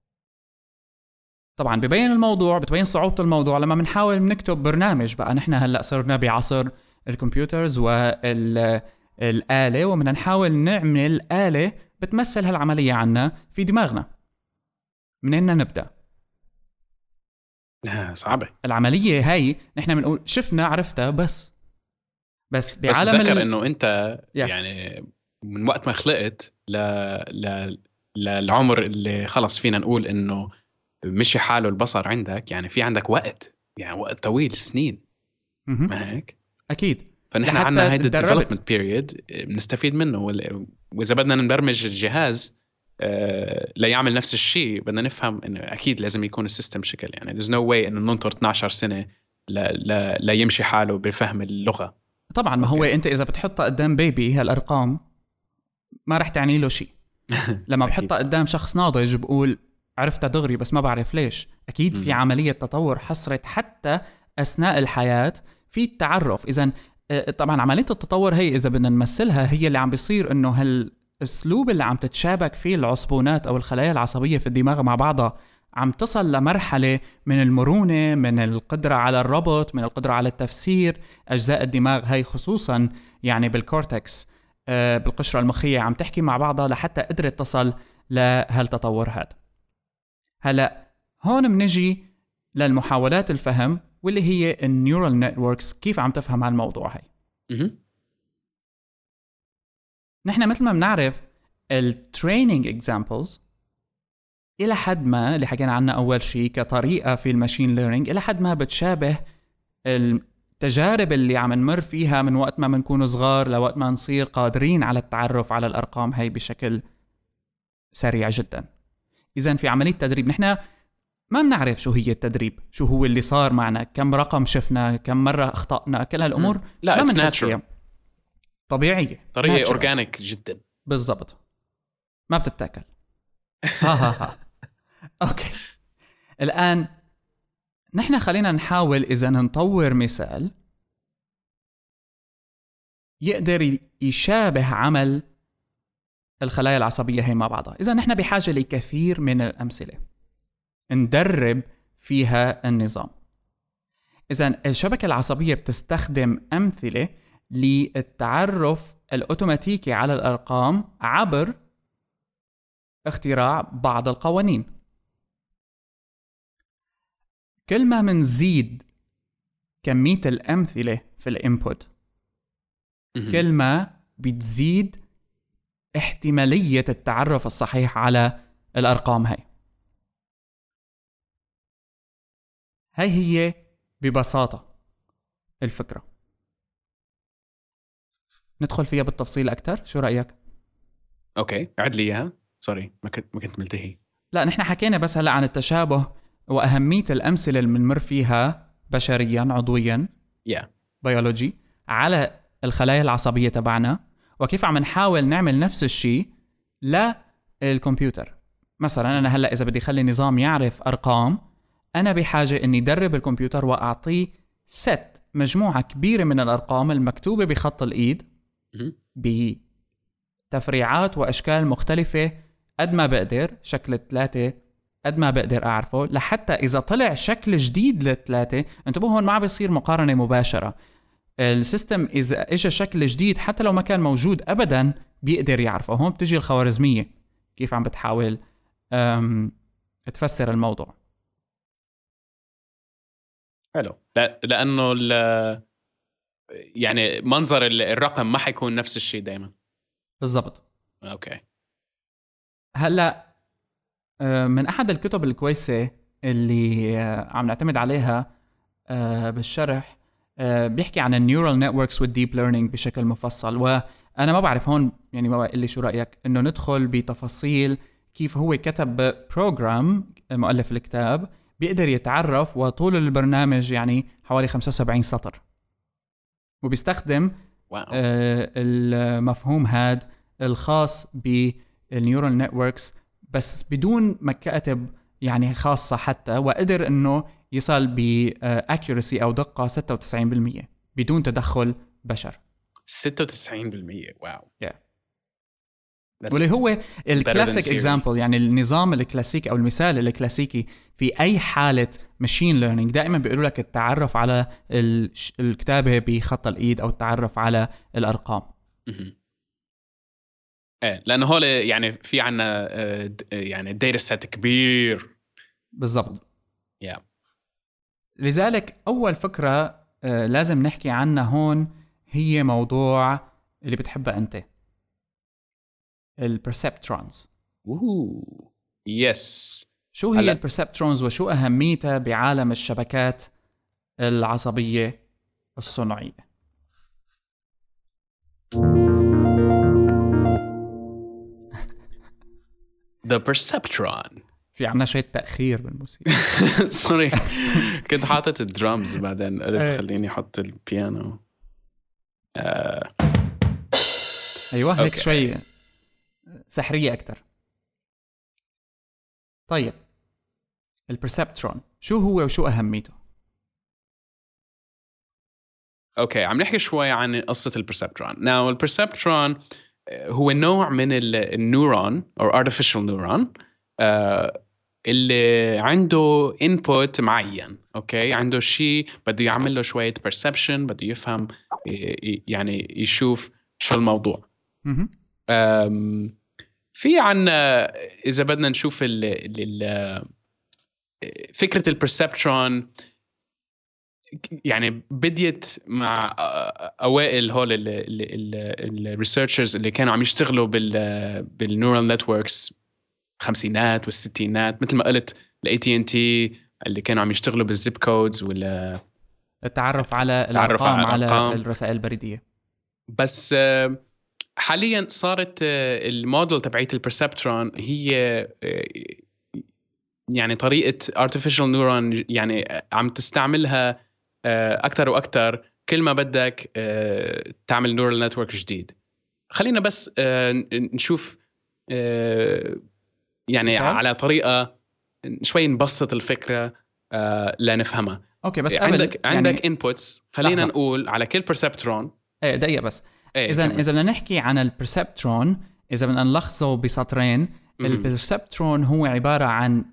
طبعا بيبين الموضوع، بتبين صعوبة الموضوع لما بنحاول نكتب برنامج. بقى نحن هلأ صرنا بعصر الكمبيوترز والآلة، ومن نحاول نعمل آلة بتمثل هالعملية عنا في دماغنا. منين نبدأ؟ صعبة العملية هاي. نحن بنقول شفنا عرفتها بس بس بعالم بس تذكر ال... انه انت yeah. يعني من وقت ما خلقت ل... ل... للعمر اللي خلص فينا نقول انه مشي حاله البصر عندك، يعني في عندك وقت، يعني وقت طويل، سنين. م-م. ما هيك؟ اكيد. فنحن عنا هيدا الديفلوبمنت بيريود بنستفيد منه، واذا بدنا نبرمج الجهاز آه ليعمل نفس الشيء بدنا نفهم انه اكيد لازم يكون السيستم شكل، يعني there's no way انه ننطر اثنعش سنة لا لا لا يمشي حاله بفهم اللغة. طبعا ما هو انت اذا بتحطها قدام بيبي هالارقام ما رح تعني له شيء. لما بحطها قدام شخص ناضج بقول عرفتها دغري بس ما بعرف ليش. اكيد في عملية تطور حصلت حتى اثناء الحياة في التعرف. اذا طبعا عملية التطور هي إذا بدنا نمثلها هي اللي عم بيصير إنه هالأسلوب اللي عم تتشابك فيه العصبونات أو الخلايا العصبية في الدماغ مع بعضها عم تصل لمرحلة من المرونة، من القدرة على الربط، من القدرة على التفسير. أجزاء الدماغ هي خصوصا يعني بالكورتكس آه بالقشرة المخية عم تحكي مع بعضها لحتى قدرت تصل لهالتطور هذا. هلأ هون منجي للمحاولات الفهم واللي هي النيورال نتوركس كيف عم تفهم هالموضوع هاي. نحن مثل ما بنعرف التريننج اكزامبلز إلى حد ما اللي حكينا عنها أول شيء كطريقة في الماشين ليرنينج إلى حد ما بتشابه التجارب اللي عم نمر فيها من وقت ما منكون صغار لوقت ما نصير قادرين على التعرف على الأرقام هاي بشكل سريع جدا. إذن في عملية تدريب نحن ما بنعرف شو هي التدريب، شو هو اللي صار معنا، كم رقم شفنا، كم مرة أخطأنا، كل هالأمور لا it's natural. طبيعية، طريقة أورجانيك جدا بالضبط، ما بتتاكل. ها ها ها أوكي. الآن نحن خلينا نحاول إذا نطور مثال يقدر يشابه عمل الخلايا العصبية هي مع بعضها. إذا نحن بحاجة لكثير من الأمثلة ندرب فيها النظام. إذن الشبكة العصبية بتستخدم أمثلة للتعرف الأوتوماتيكي على الأرقام عبر اختراع بعض القوانين. كل ما منزيد كمية الأمثلة في الانبوت كل ما بتزيد احتمالية التعرف الصحيح على الأرقام هاي. هاي هي ببساطة الفكرة. ندخل فيها بالتفصيل أكتر، شو رأيك؟ أوكي عد لي إياها، سوري ما كنت ما كنت ملتهي. لا نحن حكينا بس هلأ عن التشابه وأهمية الأمثلة اللي بنمر فيها بشريا عضويا yeah. بيولوجي على الخلايا العصبية تبعنا، وكيف عم نحاول نعمل نفس الشيء للكمبيوتر. مثلا أنا هلأ إذا بدي خلي نظام يعرف أرقام، أنا بحاجة أني درب الكمبيوتر وأعطيه ست مجموعة كبيرة من الأرقام المكتوبة بخط الإيد بتفريعات وأشكال مختلفة قد ما بقدر، شكل ثلاثة قد ما بقدر أعرفه، لحتى إذا طلع شكل جديد للثلاثة، انتبهوا هون ما بيصير مقارنة مباشرة. السيستم إذا إجا شكل جديد حتى لو ما كان موجود أبدا بيقدر يعرفه. هون بتجي الخوارزمية كيف عم بتحاول تفسر الموضوع. حلو. لا لأنه يعني منظر الرقم ما حيكون نفس الشيء دايما. بالضبط. أوكي. هلأ من أحد الكتب الكويسة اللي عم نعتمد عليها بالشرح بيحكي عن النيورال نتوركس والديب ليرنينج بشكل مفصل، وأنا ما بعرف هون يعني ما بقول لي شو رأيك إنه ندخل بتفاصيل كيف هو كتب بروجرام مؤلف الكتاب بيقدر يتعرف، وطول البرنامج يعني حوالي خمسة وسبعين سطر، وبيستخدم واو. آه المفهوم هاد الخاص بالنيورال نتوركس بس بدون ما كاتب يعني خاصة حتى، وقدر إنه يصل بأكيورسي أو دقة ستة وتسعين بالمية بدون تدخل بشر. ستة وتسعين بالمية واو. yeah. واللي هو الكلاسيك اكزامبل، يعني النظام الكلاسيكي او المثال الكلاسيكي في اي حاله ماشين ليرنينج دائما بيقولوا لك التعرف على الكتابه بخط الايد او التعرف على الارقام. ايه لانه هو يعني في عنا يعني داتا سيت كبير. بالضبط. yeah. لذلك اول فكره لازم نحكي عنها هون هي موضوع اللي بتحبها انت، البرسبترونز. اوه يس. شو هي البرسبترونز وشو أهميتها بعالم الشبكات العصبية الصناعية؟ The perceptron. في عنا شوية تأخير بالموسيقى. سوري كنت حاطط الدرامز بعدين قلت خليني أحط البيانو. آه. أيوة هيك شوي سحرية أكتر. طيب البرسبترون شو هو وشو أهميته؟ اوكي عم نحكي شوي عن قصة البرسبترون. ناو البرسبترون هو نوع من النيورون او artificial نيورون آه اللي عنده input معين. اوكي عنده شيء بده يعمل له شوية perception، بده يفهم يعني يشوف شو الموضوع. في عنا إذا بدنا نشوف ال ال فكرة البرسبترون يعني بديت مع أوائل هول الريسيرشرز اللي كانوا عم يشتغلوا بال بالنيورال نتوركس خمسينات والستينات، مثل ما قلت ال إيه تي إن تي اللي كانوا عم يشتغلوا بالزيب كودز ولا التعرف على الأرقام على الرسائل البريدية. بس حاليا صارت الموديل تبعية البرسبترون هي يعني طريقة artificial neuron يعني عم تستعملها أكتر وأكتر كل ما بدك تعمل neural network جديد. خلينا بس نشوف يعني مثال؟ على طريقة شوي نبسط الفكرة لنفهمها. أوكي بس عندك يعني عندك inputs. خلينا لحظة. نقول على كل perceptron. ايه دقيقة بس. إيه إذا كمل. إذا بدنا نحكي عن البرسبترون، إذا بدنا نلخصه بسطرين، البرسبترون هو عبارة عن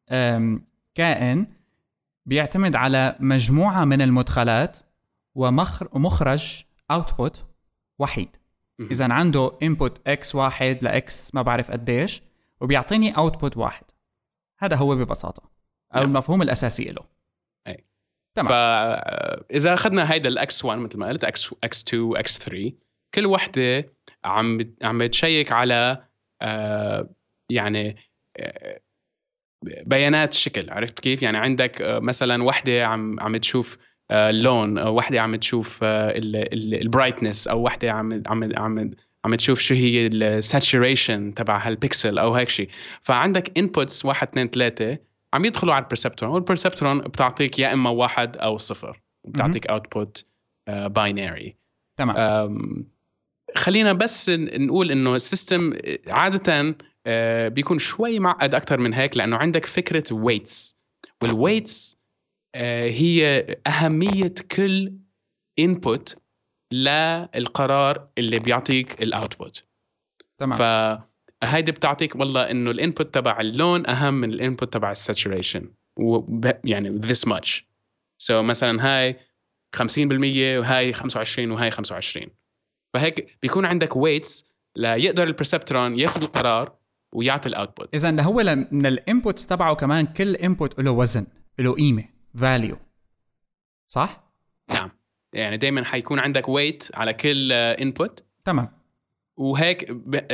كائن بيعتمد على مجموعة من المدخلات ومخرج output وحيد. إذا عنده input x واحد لx ما بعرف قديش وبيعطيني output واحد. هذا هو ببساطة أو نعم. المفهوم الأساسي له. أي. تمام. فإذا أخذنا هيدا ال إكس واحد مثل ما قلت إكس تو إكس ثري، كل وحدة عم عم بتشيك على آه يعني آه بيانات شكل. عرفت كيف؟ يعني عندك آه مثلا وحدة عم عم تشوف آه اللون، أو وحدة عم تشوف آه البرايتنس، أو وحدة عم عم عم عم تشوف شو هي الساتوريشن تبع هالبيكسل أو هيك شيء. فعندك inputs واحد اثنين ثلاثة عم يدخلوا على البرسبترون، والبرسبترون بتعطيك يا إما واحد أو صفر، بتعطيك output باينري. uh, تمام. خلينا بس نقول إنه السيستم عادة uh, بيكون شوي معقد أكتر من هيك، لأنه عندك فكرة weights، والweights uh, هي أهمية كل input للقرار اللي بيعطيك الأوتبوت. تمام. فهيدي بتعطيك والله إنه الانبوت تبع اللون أهم من الانبوت تبع الساتوريشن، يعني this much. so مثلا هاي خمسين بالمية وهاي خمسة وعشرين وهاي خمسة وعشرين. فهيك بيكون عندك weights لا يقدر البرسبترون ياخذ القرار ويعطي الاوتبوت. إذا هو من الانبوتس تبعه كمان كل انبوت له وزن، له قيمة، value، صح؟ نعم. يعني دايما حيكون عندك weight على كل input. تمام. وهيك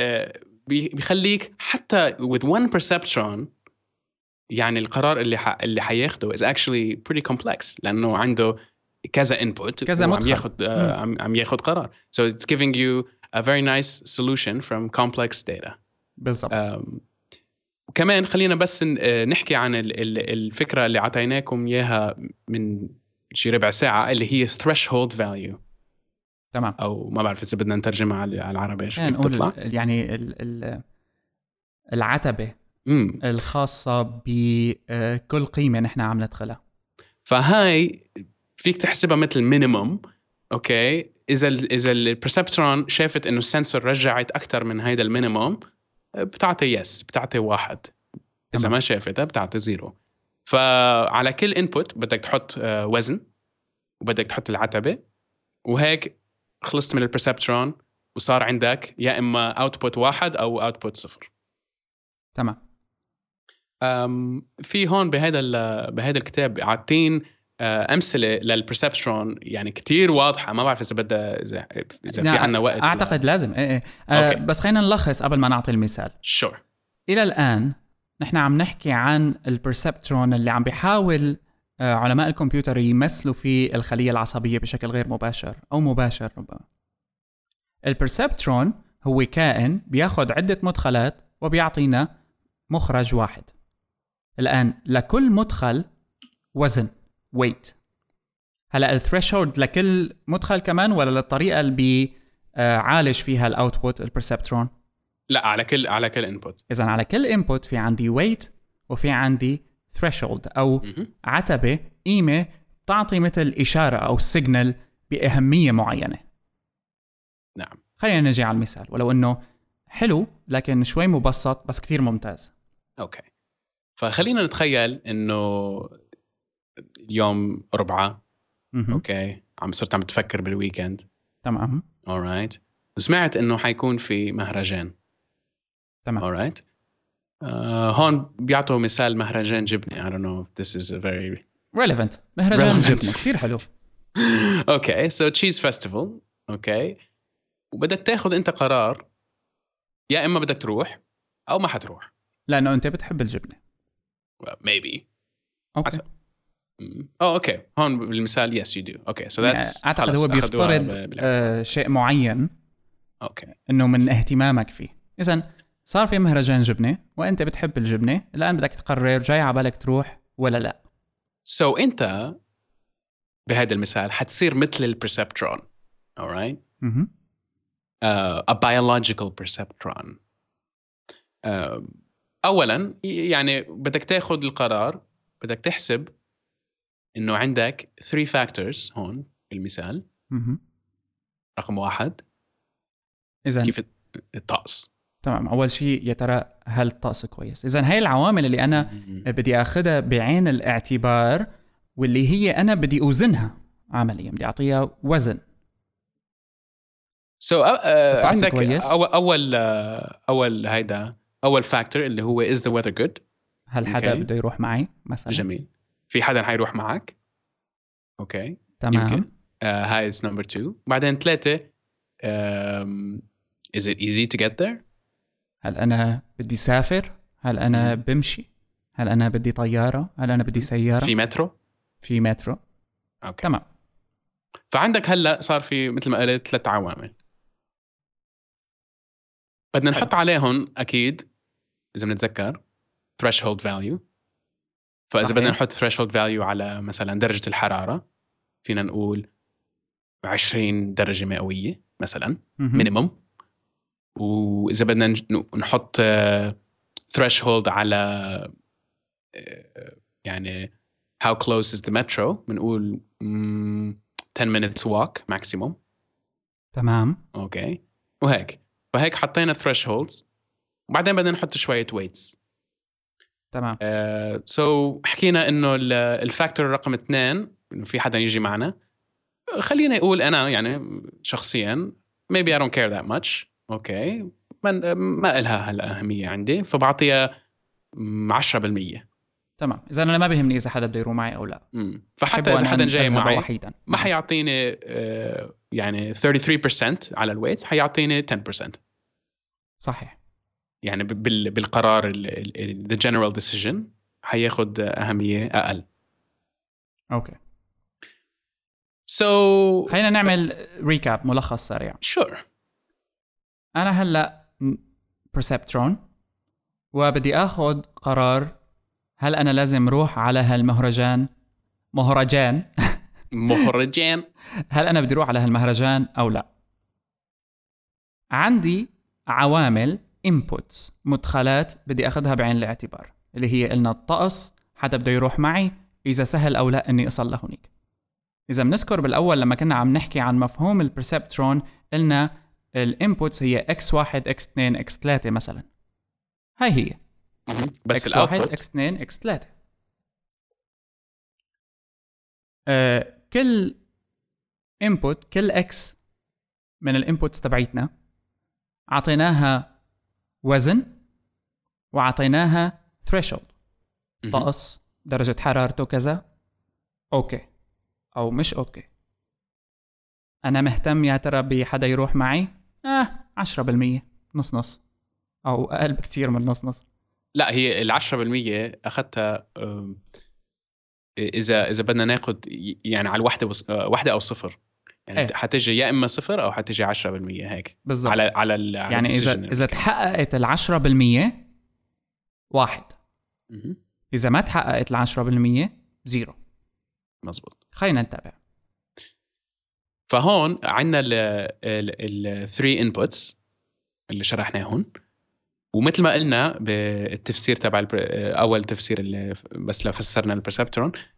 بيخليك حتى with one perceptron يعني القرار اللي ح... اللي حياخده is actually pretty complex، لأنه عنده كذا input كذا وعم ياخد عم... عم ياخد قرار. so it's giving you a very nice solution from complex data. بالضبط. um, وكمان خلينا بس نحكي عن الفكرة اللي عطيناكم إياها من شي ربع ساعة، اللي هي threshold value. تمام. أو ما بعرف إذا بدنا نترجمها على العربي إيش يعني كيف تطلع. يعني ال ال العتبة مم. الخاصة بكل قيمة نحن عم ندخلها. فهاي فيك تحسبها مثل مينيموم. أوكي، إذا ال إذا البرسبترون شافت إنه السنسور رجعت أكتر من هيدا المينيموم بتعطي يس، بتعطي واحد. إذا ما شافتها بتعطي زيرو. فعلى كل input بدك تحط وزن وبدك تحط العتبة، وهيك خلصت من البرسبترون وصار عندك يا إما output واحد أو output صفر. تمام. في هون بهذا بهذا الكتاب عاطين أمثلة للبرسبترون يعني كتير واضحة. ما بعرف إذا بدها إذا, إذا في عنا وقت. أعتقد لا. لازم إيه إيه. أه بس خلينا نلخص قبل ما نعطي المثال. sure. إلى الآن نحن عم نحكي عن البرسبترون اللي عم بيحاول علماء الكمبيوتر يمثلوا في الخلية العصبية بشكل غير مباشر أو مباشر. البرسبترون هو كائن بياخد عدة مدخلات وبيعطينا مخرج واحد. الآن لكل مدخل وزن weight. هلأ الثريشولد لكل مدخل كمان ولا للطريقة اللي بيعالج فيها الأوتبوت البرسبترون؟ لا، على كل على كل انبوت. إذن على كل انبوت في عندي weight وفي عندي threshold أو م-م. عتبة قيمة تعطي مثل إشارة أو سيجنال بأهمية معينة. نعم. خلينا نجي على المثال، ولو أنه حلو لكن شوي مبسط بس كتير ممتاز. أوكي، فخلينا نتخيل إنه اليوم أربعة. أوكي، عم صرت عم تفكر بالويكند. تمام. alright. وسمعت إنه حيكون في مهرجان. تمام. alright. uh, هون بيعطوا مثال مهرجان جبنة. I don't know if this is a very relevant. مهرجان relevant. جبنة كتير حلو. okay, so cheese festival. okay. وبدك تاخد أنت قرار، يا إما بدك تروح أو ما حتروح. لأنه أنت بتحب الجبنة. well, maybe. أوكي. أوه أوكي، هون بالمثال yes you do. okay, so that's أعتقد هو بيفترض آه شيء معين. أوكي. إنه من اهتمامك فيه. إذن صار في مهرجان جبنة وأنت بتحب الجبنة، الآن بدك تقرر جاي عبالك تروح ولا لا. so أنت بهذا المثال حتصير مثل البرسبترون. alright. mm-hmm. uh, a biological perceptron. uh, أولاً يعني بدك تاخد القرار، بدك تحسب إنه عندك three factors هون بالمثال. mm-hmm. رقم واحد إذن كيف الطقس. تمام. أول شيء يا ترى هل الطقس كويس. إذن هاي العوامل اللي أنا mm-hmm. بدي أخذها بعين الاعتبار، واللي هي أنا بدي أوزنها عمليا، بدي أعطيها وزن. so uh, عندك أول أول uh, أول هيدا أول فاكتور اللي هو is the weather good. هل حدا okay. بده يروح معي مثلا؟ جميل. في حدا حيروح معك. أوكي. تمام. يمكن. uh, هاي is number two. بعدين ثلاثة um, is it easy to get there. هل أنا بدي سافر؟ هل أنا mm. بمشي؟ هل أنا بدي طيارة؟ هل أنا بدي سيارة؟ في مترو؟ في مترو. أوكي. تمام. فعندك هلأ صار في مثل ما قلت ثلاث عوامل بدنا نحط عليهم أكيد إذا بنتذكر threshold value. فإذا صحيح. بدنا نحط threshold value على مثلا درجة الحرارة، فينا نقول عشرين درجة مئوية مثلا minimum. وإذا بدنا نحط threshold على يعني how close is the metro، بنقول ten minutes walk maximum. تمام. أوكي. وهيك فهيك حطينا thresholds، وبعدين بدنا نحط شوية weights. تمام. uh, so حكينا إنه الفاكتور رقم اثنين إنه في حدا يجي معنا. خلينا يقول أنا يعني شخصياً maybe I don't care that much. أوكي. ما ما إلها هالأهمية عندي، فبعطيها عشرة بالمية. تمام. إذا أنا ما بيهمني إذا حدا بده يروح معي أو لا. مم. فحتى إذا حدا جاي معي وحيدا. ما حيعطيني uh, يعني thirty-three percent على الويت، حيعطيني ten percent. صحيح. يعني بال بالقرار ال ال the general decision حياخد أهمية أقل. أوكي. so خلينا نعمل ريكاب ملخص سريع. sure. أنا هلأ perceptron وبدي أخذ قرار هل أنا لازم روح على هالمهرجان مهرجان مهرجان هل أنا بدي روح على هالمهرجان أو لا. عندي عوامل inputs مدخلات بدي أخذها بعين الاعتبار، اللي هي قلنا الطقس، حدا بده يروح معي، إذا سهل أو لا إني أصل لهونيك. إذا بنذكر بالأول لما كنا عم نحكي عن مفهوم البرسبترون قلنا الانبوتس هي إكس واحد إكس اثنين إكس ثلاثة مثلا. هاي هي بس إكس واحد إكس اثنين إكس ثلاثة. أه كل input كل إكس من الانبوتس تبعيتنا عطيناها وزن وعطيناها threshold، طقس، درجة حرارته كذا، أوكي أو مش أوكي. أنا مهتم يا ترى بحدا يروح معي؟ آه عشرة بالمية، نص نص، أو أقل بكتير من نص نص. لا هي العشرة بالمية أخذتها إذا إذا بدنا ناخد يعني على الوحدة وص... واحدة أو صفر، يعني ايه. حتيجي يا إما صفر أو حتيجي عشرة بالمية هيك بالضبط. على على ال... على يعني إذا إذا تحققت العشرة بالمية واحد، م- إذا ما تحققت العشرة بالمية زيرو. مزبوط. خلينا نتابع. فهون عنا ال ال three inputs اللي شرحناهن، ومثل ما قلنا بالتفسير تبع أول تفسير اللي بس لو فسرنا البرسبترون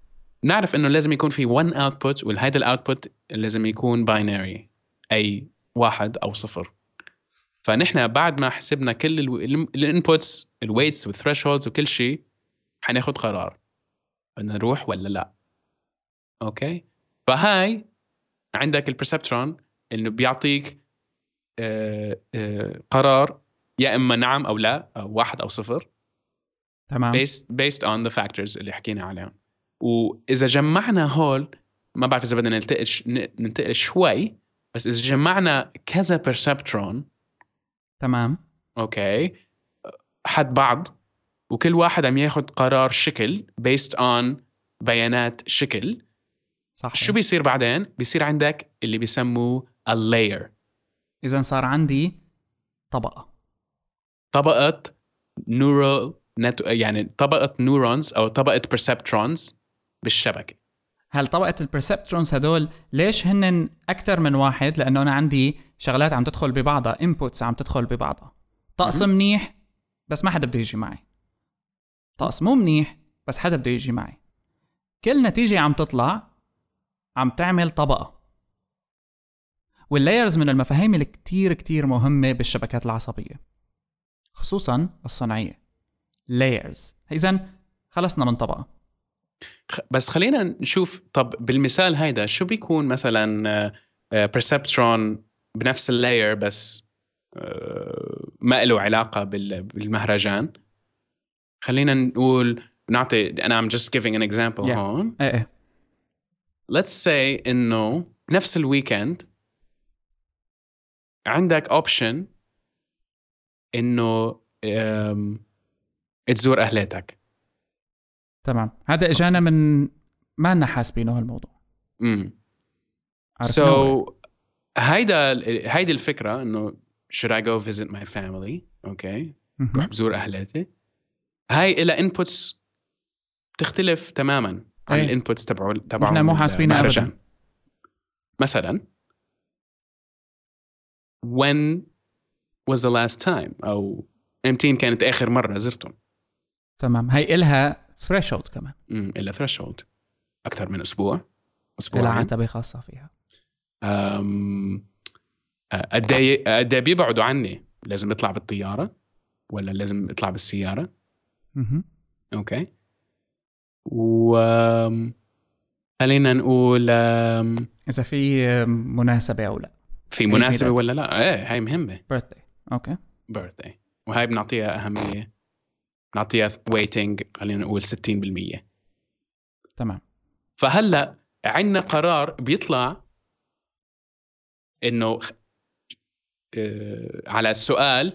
نعرف إنه لازم يكون في one output، والهيدا الأوتبوت لازم يكون binary، أي واحد أو صفر. فنحن بعد ما حسبنا كل الانبوتس الويتس والثريشولدز وكل شيء، حناخد قرار بدنا نروح ولا لا. اوكي، فهاي عندك البرسبترون انه بيعطيك آه آه قرار يا اما نعم او لا، أو واحد او صفر، تمام، based based on the factors اللي حكينا عليهم. واذا جمعنا هول، ما بعرف اذا بدنا ننتقل ننتقل شوي، بس اذا جمعنا كذا برسبترون، تمام، اوكي، حد بعض، وكل واحد عم ياخد قرار شكل based on بيانات شكل، صح. شو بيصير بعدين؟ بيصير عندك اللي بيسموه a layer. إذن صار عندي طبقة طبقة neural net، يعني طبقة نيورونز أو طبقة perceptrons بالشبكة. هل طبقة البرسبترونز هدول ليش هن أكتر من واحد؟ لأنه أنا عندي شغلات عم تدخل ببعضها، inputs عم تدخل ببعضها. طقس منيح بس ما حدا بده يجي معي، طقس مو منيح بس حدا بده يجي معي. كل نتيجة عم تطلع عم تعمل طبقة. واللايرز من المفاهيم اللي كتير كتير مهمة بالشبكات العصبية، خصوصا الصناعية. layers. إذن خلصنا من طبقة. بس خلينا نشوف، طب بالمثال هيدا شو بيكون مثلا perceptron بنفس اللاير بس ما له علاقة بالمهرجان. خلينا نقول نعطي، أنا I'm just giving an example yeah. هون. ايه ايه. Let's say إنه نفس الويكند عندك option إنه تزور أهلاتك. تمام، هذا إجانا من ما لنا حاسبينه هالموضوع. امم so هيدا هيدي الفكرة إنه should I go visit my family؟ أوكي، okay. روح بزور أهلاتي. هاي إلى inputs تختلف تماماً عن أي. الانبوتس تبعوا تبعوا احنا مو حاسبينها ابدا. مثلا when was the last time، او امتين كانت اخر مره زرتم. تمام، هي إلها threshold كمان. امم إلها threshold اكثر من اسبوع، اسبوعين، إلها عتبه خاصه فيها. امم قد ايه قد ايه بيبعدوا عني؟ لازم اطلع بالطياره ولا لازم اطلع بالسياره؟ اها اوكي. و خلينا نقول إذا في مناسبة أو لا. في مناسبة ولا لا. ايه هاي مهمة. birthday. اوكي. birthday. وهاي بنعطيها أهمية، بنعطيها weighting خلينا نقول ستين بالمية. تمام. فهلأ عندنا قرار بيطلع إنه على السؤال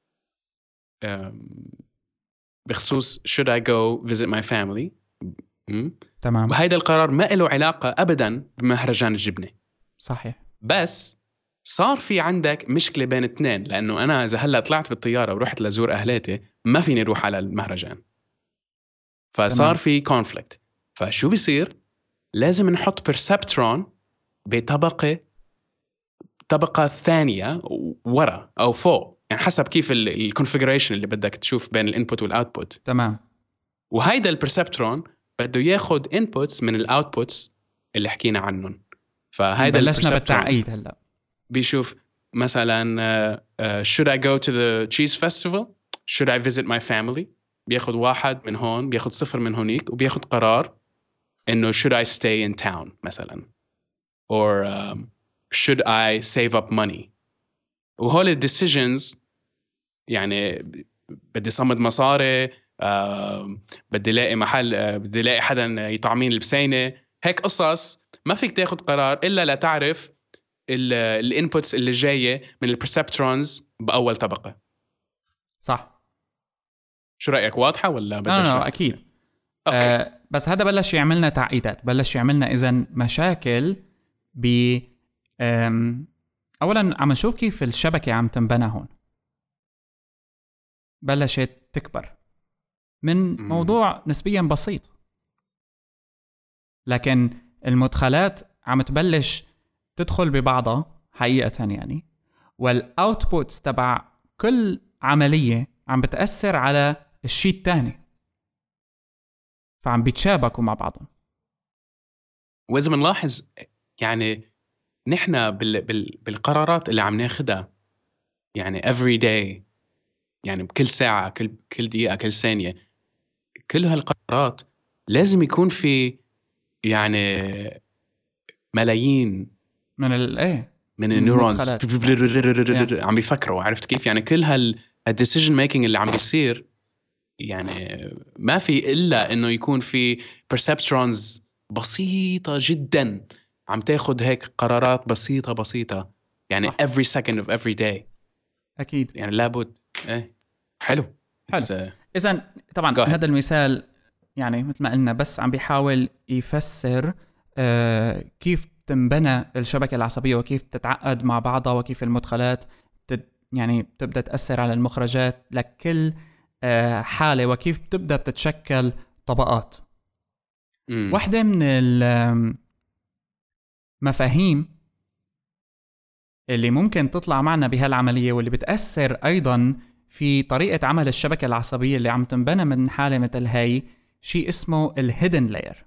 بخصوص should I go visit my family. تمام. وهيدا القرار ما له علاقة أبداً بمهرجان الجبنة. صحيح. بس صار في عندك مشكلة بين اثنين، لأنه أنا إذا هلأ طلعت بالطيارة ورحت لزور أهلاتي ما فيني أروح على المهرجان، فصار تمام. في conflict. فشو بيصير؟ لازم نحط perceptron بطبقة طبقة ثانية ورا أو فوق، يعني حسب كيف الكونفيجريشن اللي بدك تشوف بين الانبوت والأوتبوت. تمام. وهيدا البرسبترون بده ياخد inputs من الأوتبوتس اللي حكينا عنهم. فهيدا بلشنا بالتعقيد هلا. بيشوف مثلا uh, uh, should I go to the cheese festival؟ should I visit my family؟ بياخد واحد من هون، بياخد صفر من هونيك، وبياخد قرار إنه should I stay in town مثلا، or um, should I save up money. وهول الديسيجنز يعني بدي صمد مصاري، uh, بدي لاقي محل، uh, بدي لاقي حدا يطعمين البسينة، هيك قصص ما فيك تاخد قرار إلا لا تعرف الانبوتس اللي جايه من البرسبترونز باول طبقه. صح. شو رايك؟ واضحه ولا بدي اشرح؟ لا اكيد. آه بس هذا بلش يعملنا تعقيدات، بلش يعملنا اذا مشاكل ب اولا عم نشوف كيف الشبكه عم تنبنى هون. بلشت تكبر من موضوع نسبيا بسيط، لكن المدخلات عم تبلش تدخل ببعضها حقيقة يعني، والأوتبوتس تبع كل عملية عم بتأثر على الشيء الثاني، فعم بيتشابكوا مع بعضهم. وإذا بنلاحظ يعني نحن بال بال بالقرارات اللي عم ناخدها يعني every day، يعني بكل ساعة، كل كل دقيقة، كل ثانية، كل هالقرارات لازم يكون في يعني ملايين من الايه من النيورونز yeah. عم بيفكروا. عرفت كيف؟ يعني كل هال الديسيجن ميكينج اللي عم بيصير يعني ما في إلا إنه يكون في perceptrons بسيطة جدا عم تاخد هيك قرارات بسيطة بسيطة يعني صح. every second of every day. أكيد يعني لابد. إيه حلو حلو. uh... إذن طبعا هذا المثال يعني مثل ما قلنا بس عم بيحاول يفسر آه كيف تنبنى الشبكة العصبية وكيف تتعقد مع بعضها وكيف المدخلات تد يعني تبدأ تأثر على المخرجات لكل آه حالة وكيف تبدأ بتتشكل طبقات. مم. واحدة من المفاهيم اللي ممكن تطلع معنا بهالعملية واللي بتأثر أيضاً في طريقة عمل الشبكة العصبية اللي عم تنبنى من حالة مثل هاي شيء اسمه الهيدن لاير.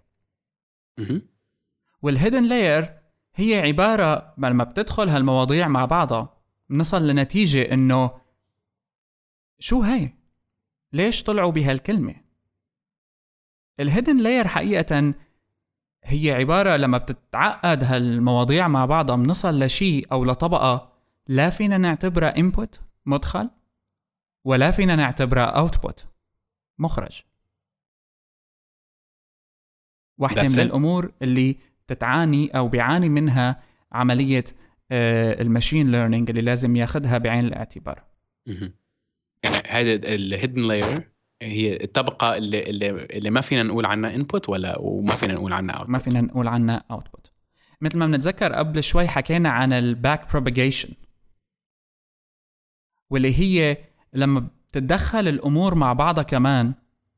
والهيدن لاير هي عبارة لما بتدخل هالمواضيع مع بعضها بنصل لنتيجة إنه شو هاي؟ ليش طلعوا بهالكلمة؟ الهيدن لاير حقيقة هي عبارة لما بتتعقد هالمواضيع مع بعضها بنصل لشيء أو لطبقة لا فينا نعتبرها input مدخل ولا فينا نعتبرها output مخرج. واحدة من الأمور اللي تتعاني أو بيعاني منها عملية الماشين ليرنينج اللي لازم ياخدها بعين الاعتبار. يعني هذا الهيدن لاير هي الطبقة اللي, اللي, اللي ما فينا نقول عنها input ولا وما فينا نقول عنها output. ما فينا نقول عنها output. مثل ما بنتذكر قبل شوي حكينا عن الباك propagation واللي هي لما بتتدخل الأمور مع بعضها كمان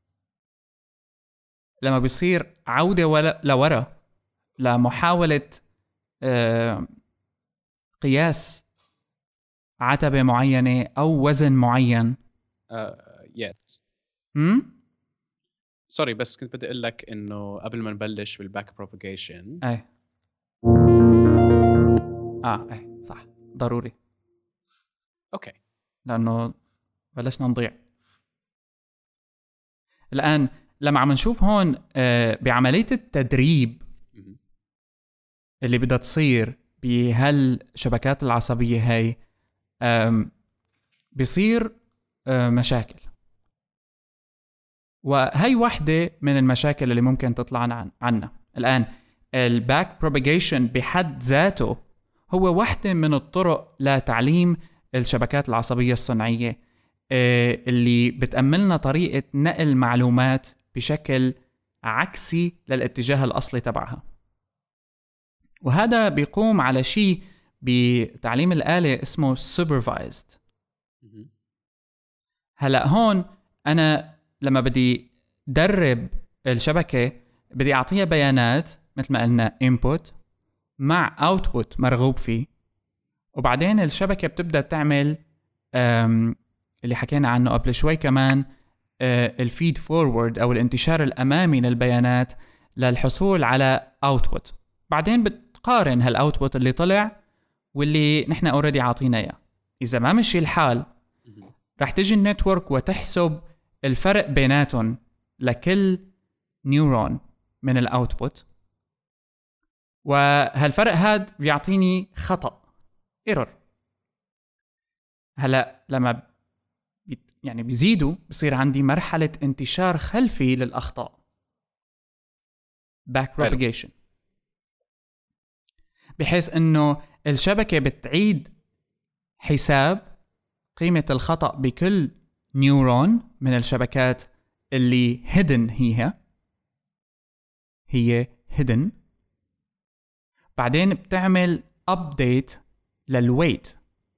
لما بيصير عودة لورا لمحاولة آه قياس عتبة معينة أو وزن معين. uh, yes. هم؟ سوري بس كنت بدي أقول لك إنه قبل ما نبلش بالباك بروباغيشن. أي آه أي صح ضروري. أوكي. لأنه بلشنا نضيع. الآن لما عم نشوف هون آه بعملية التدريب اللي بدها تصير بهالشبكات العصبية هاي بيصير مشاكل، وهي واحدة من المشاكل اللي ممكن تطلع عنا. الآن الباك بروباغيشن بحد ذاته هو واحدة من الطرق لتعليم الشبكات العصبية الصناعية اللي بتأملنا طريقة نقل معلومات بشكل عكسي للاتجاه الأصلي تبعها. وهذا بيقوم على شيء بتعليم الآلة اسمه supervised. هلأ هون أنا لما بدي درب الشبكة بدي أعطيها بيانات مثل ما قلنا input مع output مرغوب فيه، وبعدين الشبكة بتبدأ تعمل اللي حكينا عنه قبل شوي كمان الفيد فورورد أو الانتشار الأمامي للبيانات للحصول على output. بعدين بتقارن هالاوتبوت اللي طلع واللي نحن اوريدي عاطينا اياه. اذا ما مشي الحال رح تجي النتورك وتحسب الفرق بيناتهم لكل نيورون من الاوتبوت، وهالفرق هاد بيعطيني خطأ ايرور. هلا لما يعني بيزيدوا بصير عندي مرحلة انتشار خلفي للأخطاء back propagation، بحيث انه الشبكة بتعيد حساب قيمة الخطأ بكل نيورون من الشبكات اللي hidden هي هي hidden. بعدين بتعمل update للويت.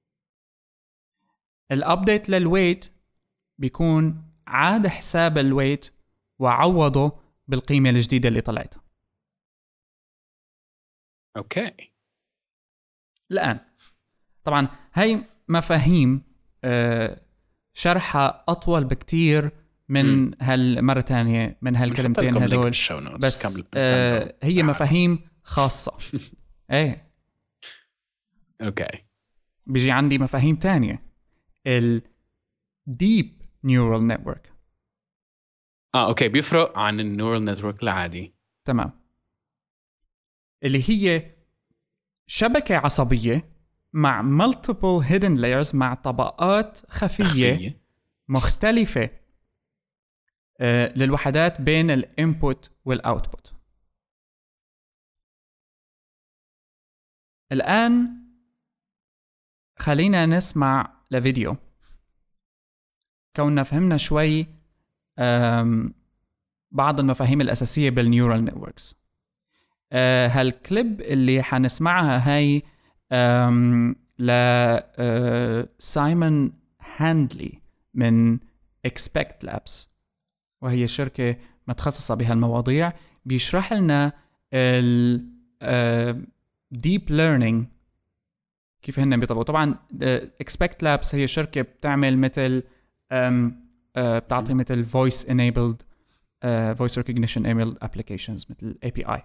الابديت للويت بيكون عاد حساب الويت وعوضه بالقيمة الجديدة اللي طلعت. اوكي. الآن طبعا هاي مفاهيم آه شرحها أطول بكتير من هالمرة تانية من هالكلمتين هدول، بس آه هي مفاهيم خاصة. ايه اوكي. بيجي عندي مفاهيم تانية، ال deep neural network. اه اوكي، بيفرق عن النيورال نتورك العادي. تمام. اللي هي شبكة عصبية مع multiple hidden layers، مع طبقات خفية, خفية. مختلفة آه للوحدات بين الانبوت والاوتبوت. الآن خلينا نسمع لفيديو كوننا فهمنا شوي بعض المفاهيم الأساسية بالنيورال نتوركس. أه هالكليب اللي حنسمعها هاي ل أه سايمون هاندلي من Expect Labs، وهي شركة متخصصة بهالمواضيع. بيشرح لنا ال أه Deep Learning كيف هن بيطبقوا. طبعا Expect Labs هي شركة بتعمل مثل أه بتعطي مثل Voice Enabled uh, Voice Recognition Enabled Applications مثل إيه بي آي.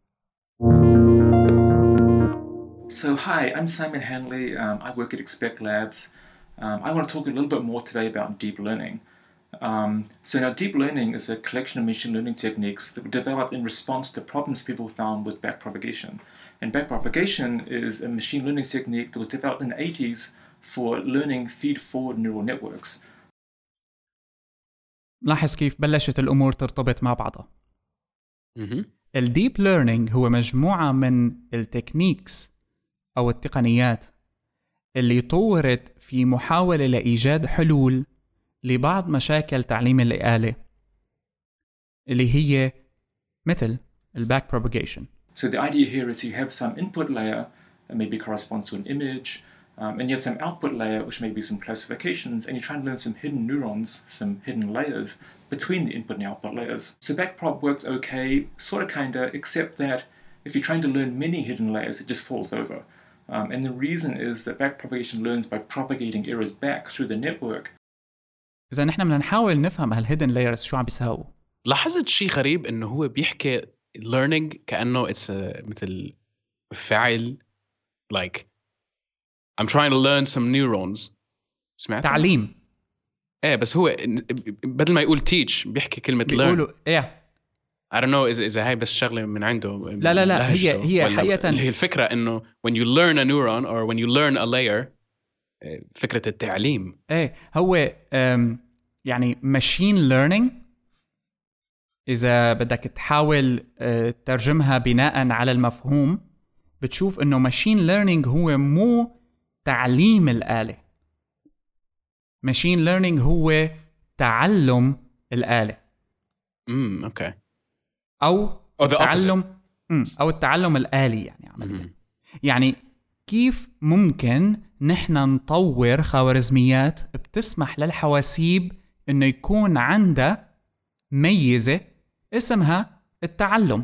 So hi, I'm Simon Hanley. Um, I work at Expect Labs. Um, I want to talk a little bit more today about deep learning. Um, so now deep learning is a collection of machine learning techniques that were developed in response to problems people found with backpropagation. And backpropagation is a machine learning technique that was developed in the eighties for learning feed-forward neural networks. لاحظ كيف بلشت الأمور ترتبط مع بعضها. الديب ليرنينج هو مجموعة من التكنيكس أو التقنيات اللي طورت في محاولة لإيجاد حلول لبعض مشاكل تعليم الآلة اللي هي مثل الباك propagation. So the idea here is you have some input layer that maybe corresponds to an image, um, and you have some output layer which may be some classifications, and you try and learn some hidden neurons, some hidden layers between the input and output layers. So backprop works okay, sort of kinda, except that if you're trying to learn many hidden layers, it just falls over. Um, and the reason is that backpropagation learns by propagating errors back through the network. إذا نحن بدنا نحاول نفهم هالهيدن لايرز شو عم بيساووا. لاحظت شيء غريب إنه هو بيحكي learning كأنه it's a, مثل فعل like I'm trying to learn some neurons. سمعت؟ تعليم. إيه بس هو بدل ما يقول teach بيحكي كلمة learn. بيقولوا إيه. I don't know إذا إذا هاي بس شغلة من عنده. لا لا لا هي هي حقيقة هي الفكرة إنه when you learn a neuron or when you learn a layer فكرة التعليم. إيه هو يعني machine learning إذا بدك تحاول ترجمها بناء على المفهوم بتشوف إنه machine learning هو مو تعليم الآلة. machine learning هو تعلم الآلة. امم اوكي. أو التعلم امم أو التعلم الآلي يعني عمليا. يعني كيف ممكن نحن نطور خوارزميات بتسمح للحواسيب إنه يكون عندها ميزة اسمها التعلم.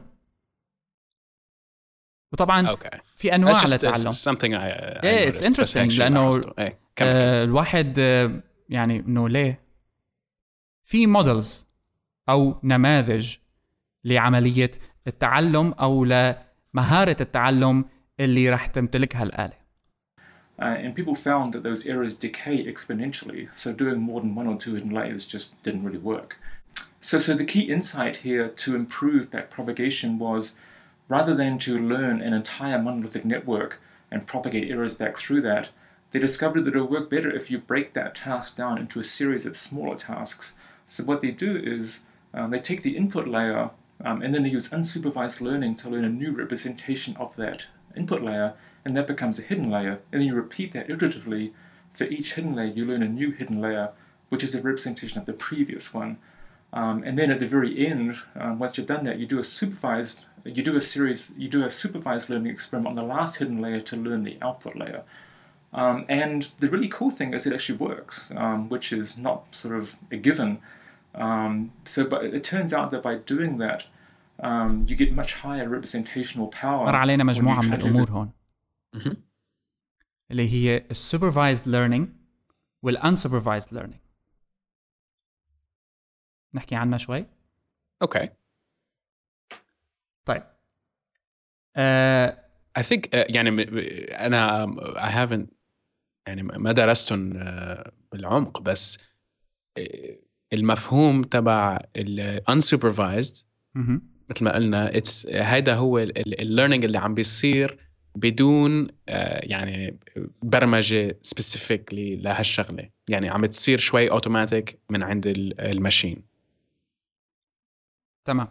وطبعا okay. في أنواع للتعلم. something I, I yeah, it's interesting لأنه hey, آه الواحد آه يعني إنه ليه في models أو نماذج لعملية التعلم أو لمهارة التعلم اللي راح تمتلكها الآلة. Uh, and people found that those errors decay exponentially, so doing more than one or two hidden layers just didn't really work. So, so the key insight here to improve backpropagation was, rather than to learn an entire monolithic network and propagate errors back through that, they discovered that it would work better if you break that task down into a series of smaller tasks. So what they do is um, they take the input layer um, and then they use unsupervised learning to learn a new representation of that input layer, and that becomes a hidden layer. And then you repeat that iteratively. For each hidden layer, you learn a new hidden layer, which is a representation of the previous one. Um, and then at the very end, um, once you've done that, you do a supervised, you do a series, you do a supervised learning experiment on the last hidden layer to learn the output layer. Um, and the really cool thing is it actually works, um, which is not sort of a given. Um, so, but it turns out that by doing that, um, you get much higher representational power. مر علينا مجموعة من الأمور هون اللي هي supervised learning والunsupervised learning. نحكي عنها شوي. اوكي. طيب آه I think uh, يعني أنا I haven't يعني ما درستهم uh, بالعمق، بس uh, المفهوم تبع ال unsupervised مثل ما قلنا it's هيدا هو ال learning اللي عم بيصير بدون uh, يعني برمجة specifically لهالشغلة، يعني عم تصير شوي automatic من عند الماشين. تمام.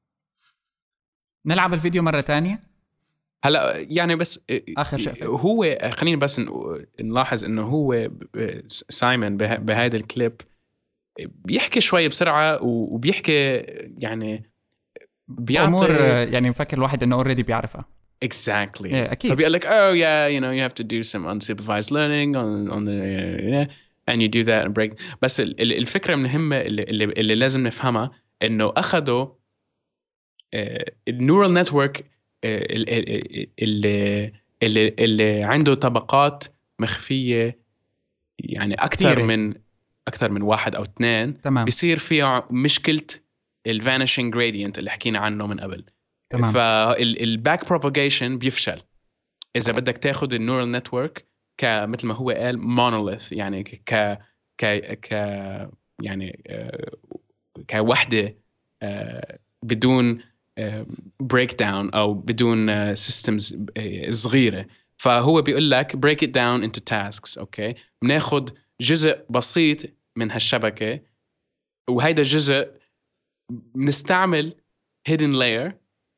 نلعب الفيديو مرة تانية هلا يعني بس آخر شيء هو خلينا بس نلاحظ انه هو سايمون بهذا الكليب بيحكي شوي بسرعة وبيحكي يعني بيعطي أمور يعني مفكر الواحد انه already بيعرفها. exactly. yeah, أكيد. فبيقول لك oh yeah you know you have to do some unsupervised learning on on the yeah, and you do that and break. بس الفكرة المهمة اللي, اللي, اللي لازم نفهمها انه اخذوا النورال نتورك اللي اللي اللي عنده طبقات مخفية يعني أكثر كتيري. من أكثر من واحد أو اثنين. تمام. بيصير فيها مشكلة الفانيشنج جريدينت اللي حكينا عنه من قبل. تمام. فالباك بروباغيشن بيفشل إذا بدك تاخد النورال نتورك كمثل ما هو قال مونوليث، يعني ك ك ك يعني كوحدة بدون break down أو بدون systems صغيرة. فهو بيقول لك break it down into tasks. أوكي، بناخد جزء بسيط من هالشبكة، وهيدا الجزء بنستعمل hidden layer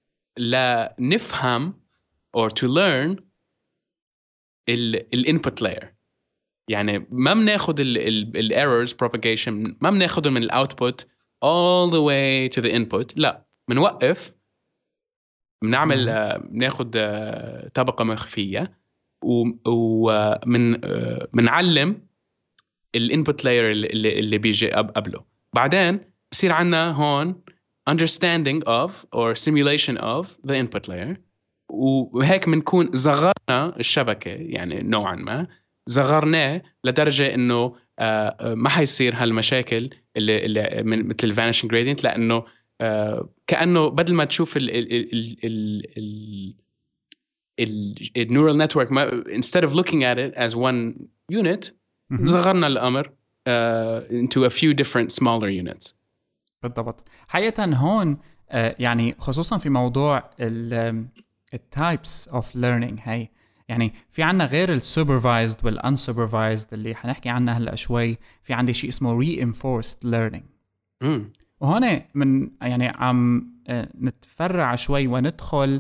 لنفهم or to learn ال input layer. يعني ما بناخد ال errors propagation، ما بناخده من ال output all the way to the input. لا، بنوقف، بنعمل بناخد طبقة مخفية ومن بنعلم الانبوت لاير اللي اللي بيجي قبله. بعدين بصير عنا هون understanding of or simulation of the input layer، وهيك بنكون صغرنا الشبكة، يعني نوعا ما صغرناه لدرجة إنه ما حيصير هالمشاكل اللي, اللي من مثل vanishing gradient، لأنه آه كأنه بدل ما تشوف ال ال ال ال ال ال neural network ما instead of looking at it as one unit صغرنا الأمر uh, into a few different smaller units. بالضبط. حقيقة هون آه يعني خصوصا في موضوع ال types of learning هاي، يعني في عنا غير ال supervised وال unsupervised اللي حنحكي عنها هلأ شوي، في عندي شيء اسمه reinforced learning. مم. وهون من يعني عم نتفرع شوي وندخل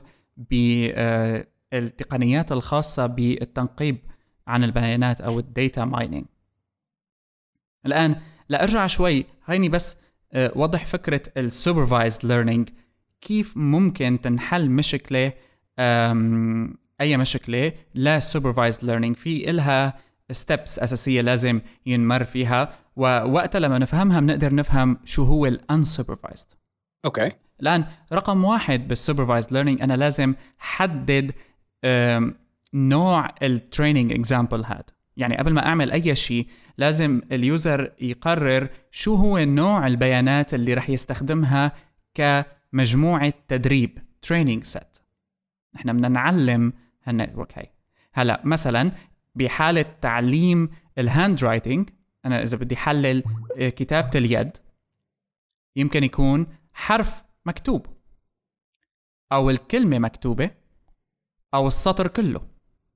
بالتقنيات الخاصة بالتنقيب عن البيانات أو الداتا ماينينج. الآن لا أرجع شوي، هيني بس وضح فكرة السوبرفايزد ليرنينج، كيف ممكن تنحل مشكلة أي مشكلة لا سوبرفايزد ليرنينج. في إلها ستيبس أساسية لازم ينمر فيها، ووقتها لما نفهمها بنقدر نفهم شو هو ال unsupervised. أوكي. الآن رقم واحد بالsupervised learning أنا لازم حدد نوع ال training example هاد. يعني قبل ما أعمل أي شيء لازم اليوزر يقرر شو هو نوع البيانات اللي رح يستخدمها كمجموعة تدريب training set. نحن بدنا نعلم هالنتورك هاي. هلا مثلا بحالة تعليم الهاند رايتنج، أنا إذا بدي حلل كتابة اليد يمكن يكون حرف مكتوب أو الكلمة مكتوبة أو السطر كله.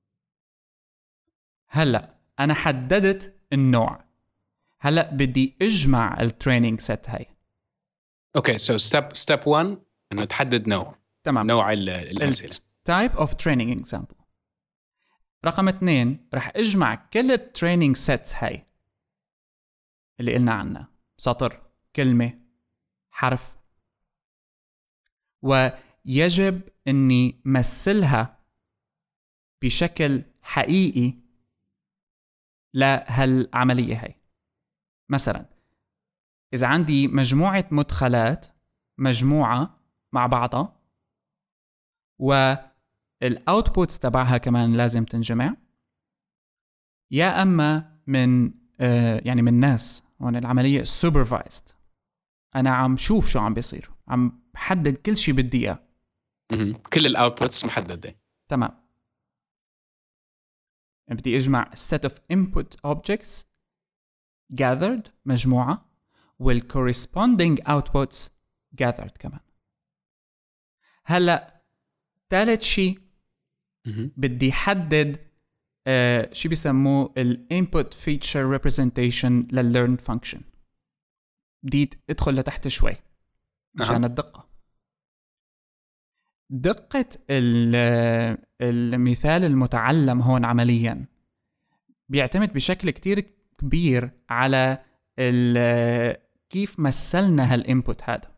هلأ أنا حددت النوع، هلأ بدي أجمع التريننج سيت هاي. أوكي so step step one إنه تحدد نوع. تمام. نوع الأسئلة. type of training example. رقم اثنين رح أجمع كل التريننج سيتس هاي اللي قلنا عنها، سطر، كلمة، حرف، ويجب أني مثلها بشكل حقيقي لهالعملية هاي. مثلا إذا عندي مجموعة مدخلات مجموعة مع بعضها والأوتبوتس تبعها كمان لازم تنجمع، يا أما من آه يعني من ناس، وأن العملية supervised، أنا عم شوف شو عم بيصير، عم بحدد كل شيء بدي إياه. كل الاوتبوتس محدده. تمام. بدي اجمع set of input objects gathered مجموعه وال corresponding outputs gathered كمان. هلا ثالث شيء بدي حدد uh, شيء بيسموه ال input feature representation لل learned function. بدي ادخل لتحت شوي عشان الدقة. دقة المثال المتعلم هون عمليا بيعتمد بشكل كتير كبير على كيف مثلنا هالinput هذا.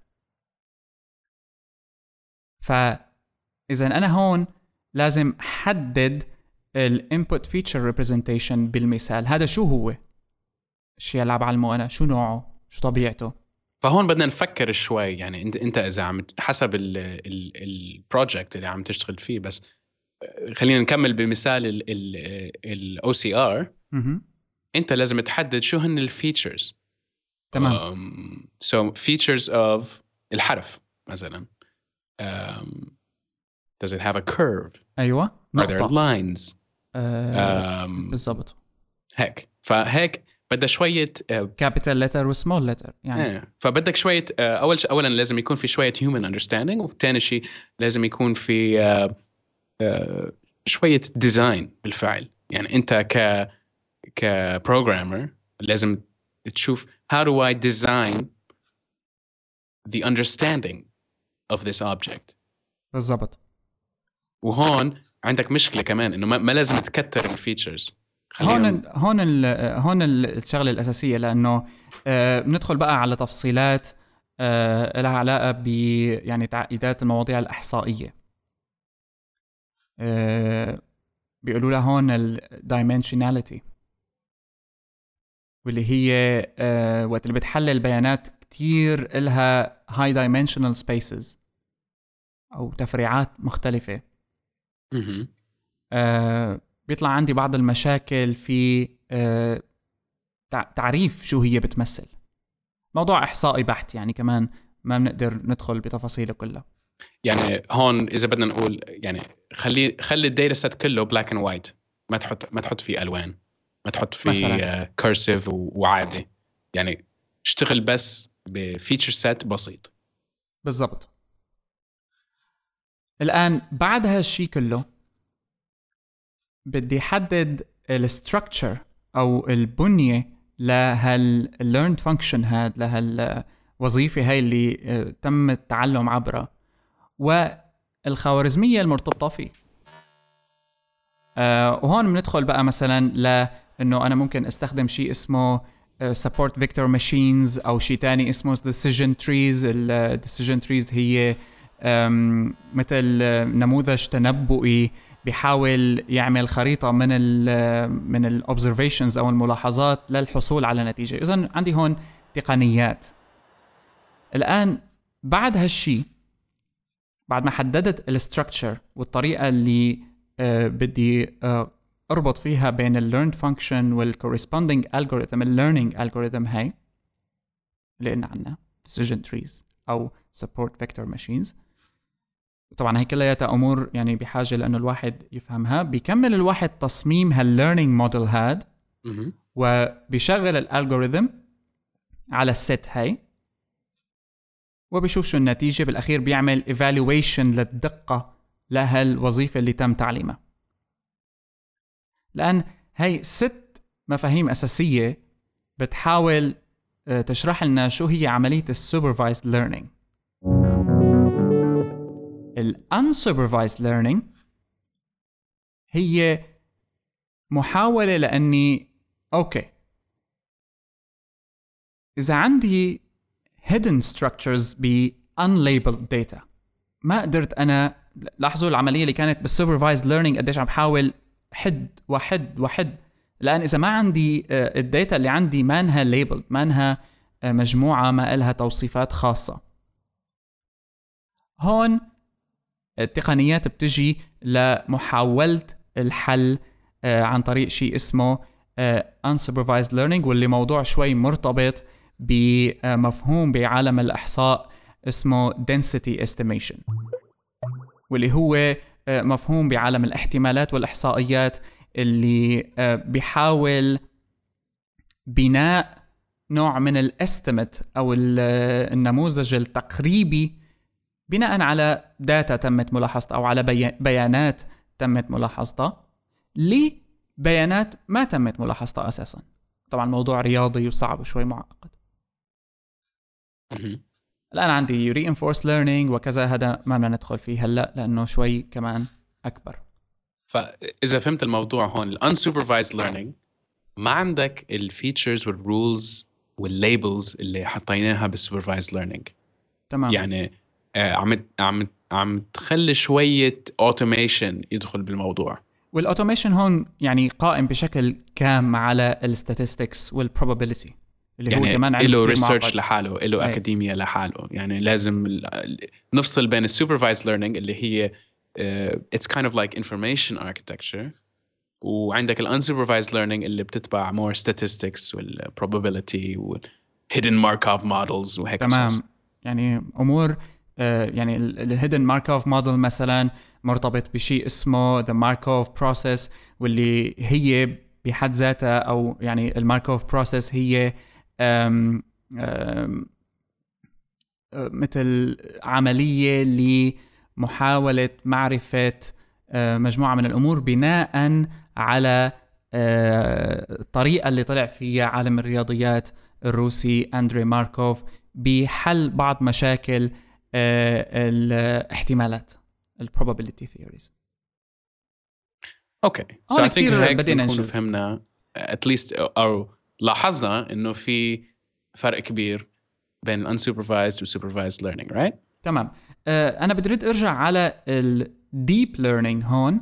فإذا أنا هون لازم حدد الinput feature representation بالمثال هذا شو هو الشيء اللي بعلمه أنا، شو نوعه، شو طبيعته. فهون بدنا نفكر شوي، يعني انت انت اذا عم حسب البروجكت اللي عم تشتغل فيه، بس خلينا نكمل بمثال الاو سي ار. انت لازم تحدد شو هن الفيتشرز. تمام. um, so features of الحرف مثلا. um, does it have a curve؟ ايوه are there lines؟ آه um, بالضبط هيك. فهيك بدها شوية capital letter و small letter يعني. اه فبدك شوية أول ش... أولا لازم يكون في شوية human understanding، وثاني شيء لازم يكون في آه آه شوية design بالفعل. يعني أنت ك ك programmer لازم تشوف how do I design the understanding of this object. بالضبط. وهون عندك مشكلة كمان إنه ما, ما لازم تكتر الفيتشرز. هون هون هون الشغله الاساسيه، لانه آه بندخل بقى على تفصيلات آه لها علاقه ب يعني تعقيدات المواضيع الاحصائيه. آه بيقولوا لها هون الدايمنشناليتي، واللي هي آه وقت اللي بتحلل بيانات كتير لها هاي دايمنشنال سبيسز او تفريعات مختلفه. آه بيطلع عندي بعض المشاكل في آه تعريف شو هي بتمثل. موضوع إحصائي بحت يعني، كمان ما بنقدر ندخل بتفاصيله كلها. يعني هون إذا بدنا نقول يعني خلي خلي الداتا سيت كله بلاك اند وايت، ما تحط ما تحط فيه ألوان، ما تحط فيه كيرسيف وعادي. يعني اشتغل بس بفيتشر سيت بسيط. بالضبط. الآن بعد هالشي كله بدي حدد الستركتشر أو البنية لهال learned function هاد، لهالوظيفة هاي اللي تم التعلم عبرها والخوارزمية المرتبطة فيه. أه وهون بندخل بقى مثلا لأنه أنا ممكن استخدم شيء اسمه support vector machines أو شيء تاني اسمه decision trees. ال decision trees هي مثل نموذج تنبؤي بيحاول يعمل خريطة من ال من ال observations أو الملاحظات للحصول على نتيجة. إذن عندي هون تقنيات. الآن بعد هالشي، بعد ما حددت ال structure والطريقة اللي آه بدي آه أربط فيها بين ال learned function وال corresponding algorithm، ال learning algorithm هاي اللي قلنا عنها decision trees أو support vector machines. طبعا هي كلها امور يعني بحاجه لانه الواحد يفهمها. بيكمل الواحد تصميم هالليرنينج موديل هاد وبيشغل الالجوريثم على الست هاي وبيشوف شو النتيجه. بالاخير بيعمل ايفالويشن للدقه لهالوظيفه اللي تم تعليمها. لان هاي ست مفاهيم اساسيه بتحاول تشرح لنا شو هي عمليه السوبرفايزد ليرنينج. ال unsupervised learning هي محاولة لأني أوكي إذا عندي hidden structures ب unlabeled data، ما قدرت أنا لاحظوا العملية اللي كانت بالsupervised learning قديش عم بحاول حد وحد وحد. لأن إذا ما عندي الداتا اللي عندي ما انها labeled، ما انها مجموعة ما إلها توصيفات خاصة، هون التقنيات بتجي لمحاولة الحل عن طريق شيء اسمه unsupervised learning، واللي موضوع شوي مرتبط بمفهوم بعالم الإحصاء اسمه density estimation، واللي هو مفهوم بعالم الاحتمالات والإحصائيات اللي بيحاول بناء نوع من الاستيميت أو النموذج التقريبي بناء على داتا تمت ملاحظتها أو على بيانات تمت ملاحظتها لبيانات ما تمت ملاحظتها أساساً. طبعاً موضوع رياضي وصعب وشوي معقد. الآن عندي reinforced learning وكذا، هذا ما بدنا ندخل فيه هلأ لأنه شوي كمان أكبر. فإذا فهمت الموضوع هون ال unsupervised learning ما عندك ال features وال rules وال labels اللي حطيناها بال supervised learning. تمام. يعني آه عم عم عم تخلي شوية automation يدخل بالموضوع. والautomation هون يعني قائم بشكل كام على ال statistics وال probability اللي يعني هو كمان له علم research لحاله، له أكاديمية لحاله. يعني لازم نفصل بين ال supervised learning اللي هي uh, it's kind of like information architecture، وعندك ال unsupervised learning اللي بتتبع more statistics وال probability وال hidden Markov models وهيك. تمام. أساس. يعني أمور آه يعني ال hidden Markov model مثلا مرتبط بشيء اسمه the Markov process، واللي هي بحد ذاتها أو يعني ال Markov process هي أم أم مثل عملية لمحاولة معرفة مجموعة من الأمور بناء على الطريقة اللي طلع فيها عالم الرياضيات الروسي أندري ماركوف بحل بعض مشاكل الاحتمالات ال probability theories. أوكي. So I think هيك بدينا نكون فهمنا at least أو لاحظنا إنه في فرق كبير بين unsupervised و supervised learning, right? تمام. أه أنا بدريد أرجع على ال deep learning هون.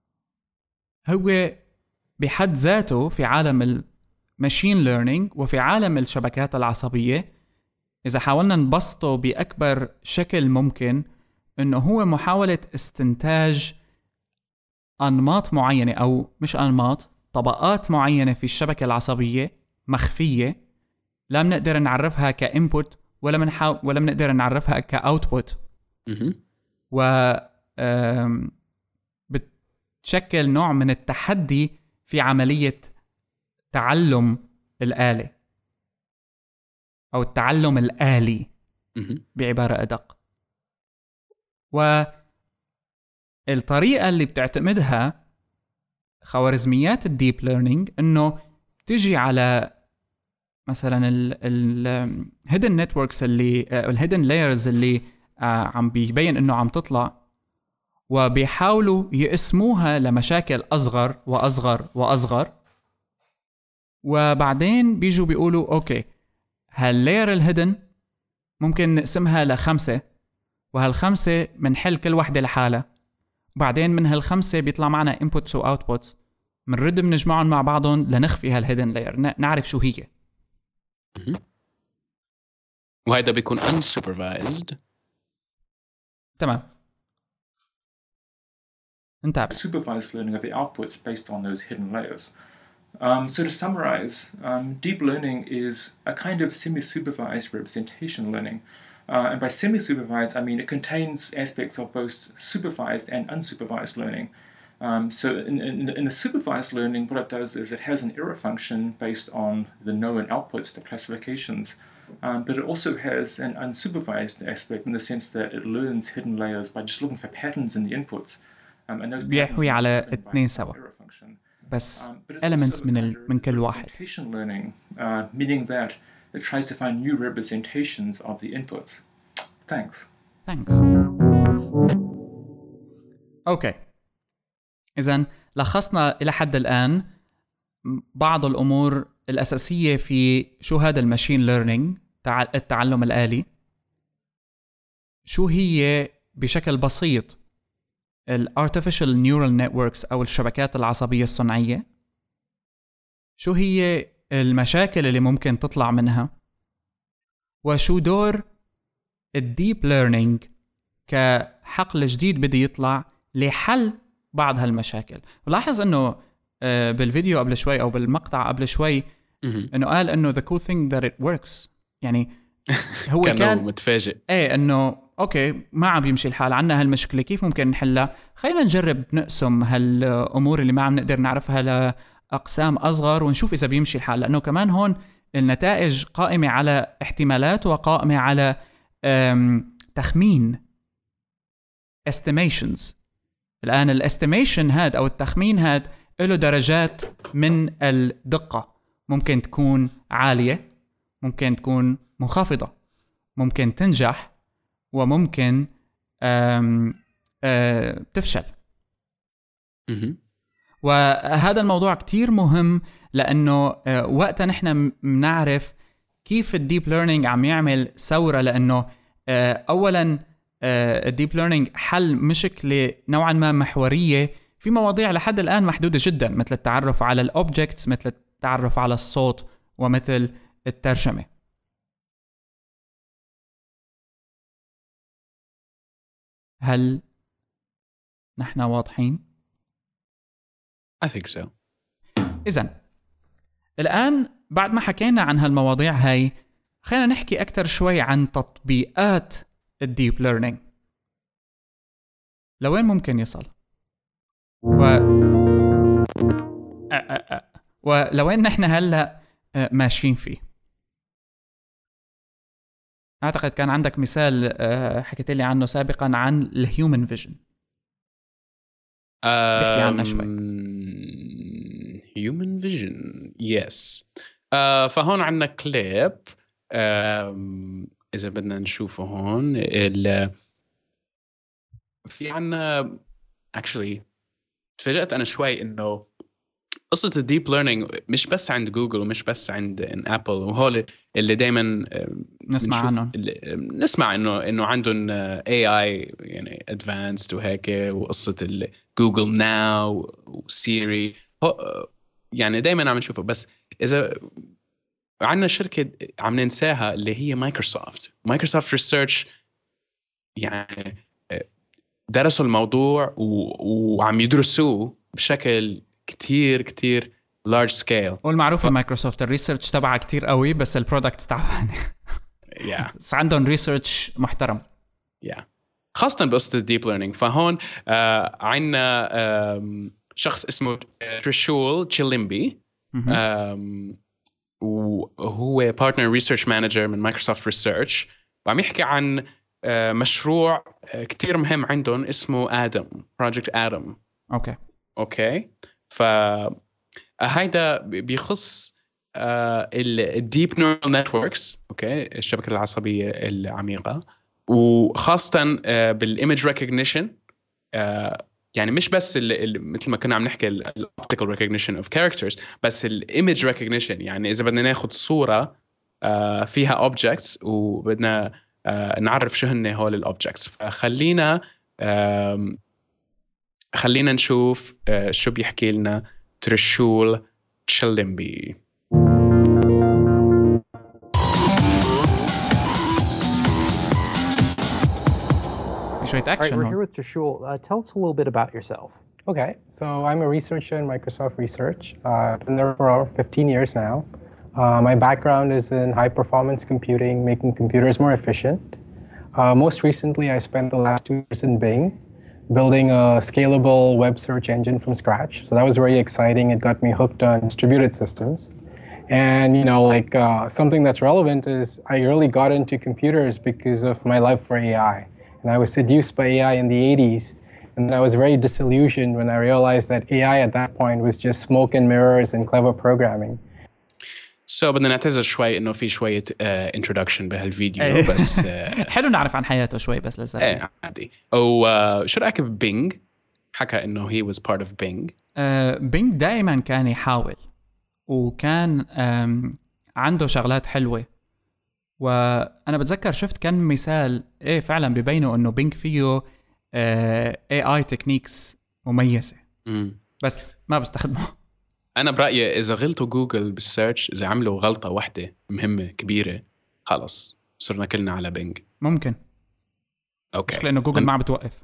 هو بحد ذاته في عالم ال machine learning وفي عالم الشبكات العصبية، إذا حاولنا نبسطه بأكبر شكل ممكن، إنه هو محاولة استنتاج أنماط معينة أو مش أنماط، طبقات معينة في الشبكة العصبية مخفية لا بنقدر نعرفها كإنبوت ولا منحاول ولا بنقدر نعرفها كأوتبوت، و بتشكل نوع من التحدي في عملية تعلم الآلة أو التعلم الآلي بعبارة أدق. والطريقة اللي بتعتمدها خوارزميات الديب ليرنينج إنه تجي على مثلا الهيدن نتوركس اللي الهيدن لايرز اللي عم بيبين إنه عم تطلع، وبيحاولوا يقسموها لمشاكل أصغر وأصغر وأصغر، وبعدين بيجوا بيقولوا أوكي هاللاير الهيدن ممكن نقسمها لخمسة، وهالخمسة منحل كل واحدة لحالها، وبعدين من هالخمسة بيطلع معنا inputs و outputs منرد بنجمعهم مع بعضهم لنخفي هالهيدن لاير، نعرف شو هي. وهذا بيكون unsupervised. تمام. انتبه. Supervised learning of the outputs based on those hidden layers. Um, so to summarize, um, deep learning is a kind of semi-supervised representation learning. Uh, and by semi-supervised, I mean it contains aspects of both supervised and unsupervised learning. Um, so in, in, in the supervised learning, what it does is it has an error function based on the known outputs, the classifications. Um, but it also has an unsupervised aspect in the sense that it learns hidden layers by just looking for patterns in the inputs. Um, and those بيحوي على اثنين سوا بس elements من ال من كل واحد. Learning, uh, meaning that it tries to find new representations of the inputs. Thanks. Thanks. Okay. إذن لخصنا إلى حد الآن بعض الأمور الأساسية في شو هذا الماشين ليرنينج، التعلم الآلي، شو هي بشكل بسيط ال artificial neural networks أو الشبكات العصبية الصنعية، شو هي المشاكل اللي ممكن تطلع منها، وشو دور الديب ليرنينج كحقل جديد بدي يطلع لحل بعض هالمشاكل. ولاحظ انه بالفيديو قبل شوي او بالمقطع قبل شوي انه قال انه the cool thing that it works، يعني هو كان متفاجئ ايه انه أوكي ما عم بيمشي الحال، عنا هالمشكلة كيف ممكن نحلها؟ خلينا نجرب نقسم هالأمور اللي ما عم نقدر نعرفها لأقسام أصغر ونشوف إذا بيمشي الحال، لأنه كمان هون النتائج قائمة على احتمالات وقائمة على تخمين estimations. الآن الاستيميشن هاد أو التخمين هاد له درجات من الدقة، ممكن تكون عالية، ممكن تكون منخفضة، ممكن تنجح، وممكن آم آم تفشل. وهذا الموضوع كتير مهم، لأنه وقتا نحن بنعرف كيف الديب ليرنينج عم يعمل ثورة، لأنه أولا الديب ليرنينج حل مشكلة نوعا ما محورية في مواضيع لحد الآن محدودة جدا، مثل التعرف على الأوبجكتس، مثل التعرف على الصوت، ومثل الترجمة. هل نحن واضحين؟ I think so. إذن الآن بعد ما حكينا عن هالمواضيع هاي، خلينا نحكي أكتر شوي عن تطبيقات الديب ليرنينج، لوين ممكن يصل و... أ... أ... أ... ولوين نحن هلأ ماشيين فيه. أعتقد كان عندك مثال حكيت لي عنه سابقا عن الهيومن فيجن، بحكي عنه شوي. هيومن فيجن يس. فهون عندنا كليب إذا بدنا نشوفه هون. ال في عنا actually تفاجأت أنا شوي إنه قصة الديب ليرنينج مش بس عند جوجل ومش بس عند أبل وهول اللي دايما نسمع عنهم، نسمع إنه إنه عندهم إيه آي يعني advanced وهيك، وقصة جوجل ناو وسيري يعني دايما عم نشوفه. بس إذا عندنا شركة عم ننساها اللي هي مايكروسوفت. مايكروسوفت ريسيرش يعني درسوا الموضوع وعم يدرسوه بشكل كتير كتير large scale. والمعروف ف... مايكروسوفت الريسيرش تبعها كتير قوي، بس البرودكت تعبان. yeah. بس عندهم ريسيرش محترم. yeah. خاصة بقصة الديب ليرنينج. فهون آه عنا آه شخص اسمه تريشول تشيليمبي، وهو بارتنر ريسيرش مانجر من مايكروسوفت ريسيرش، وعم يحكي عن آه مشروع آه كتير مهم عندهم اسمه آدم، بروجكت آدم. اوكي اوكي فهيدا بيخص آه الديب نيورال نتوركس، اوكي الشبكة العصبية العميقة، وخاصة آه بالايمج ريكوجنيشن. آه يعني مش بس ال ال مثل ما كنا عم نحكي الاوبتيكال ريكوجنيشن اوف كاركترز، بس الايمج ريكوجنيشن. يعني اذا بدنا ناخذ صورة آه فيها اوبجكتس وبدنا آه نعرف شو هن هول الاوبجكتس. فخلينا آه خلينا نشوف آه شو بيحكي لنا تريشول تشيليمبي. All right, we're here with Trishul. Uh, tell us a little bit about yourself. Okay, so I'm a researcher in Microsoft Research. Uh, I've been there for fifteen years now. Uh, my background is in high-performance computing, making computers more efficient. Uh, most recently, I spent the last two years in Bing, building a scalable web search engine from scratch. So that was very exciting. It got me hooked on distributed systems. And, you know, like uh, something that's relevant is I really got into computers because of my love for A I. And I was seduced by A I in the eighties. And then I was very disillusioned when I realized that A I at that point was just smoke and mirrors and clever programming. So بدنا نعتذر شوي إنه في شوية uh, introduction بهالفيديو بس uh, حلو نعرف عن حياته شوي بس لازم. إيه عادي. أو uh, شو رأيك ببينج؟ حكى إنه he was part of Bing. بينج uh, دائما كان يحاول وكان um, عنده شغلات حلوة. وأنا بتذكر شفت كان مثال إيه فعلا ببينه إنه بينج فيه آه إيه آي تكنيكس مميزة. مم. بس ما بستخدمه. أنا برأيي إذا غلطوا جوجل بالسيرش، إذا عملوا غلطة واحدة مهمة كبيرة، خلاص صرنا كلنا على بينج. ممكن. أوكي. مش لأنه جوجل ما عم بتوقف.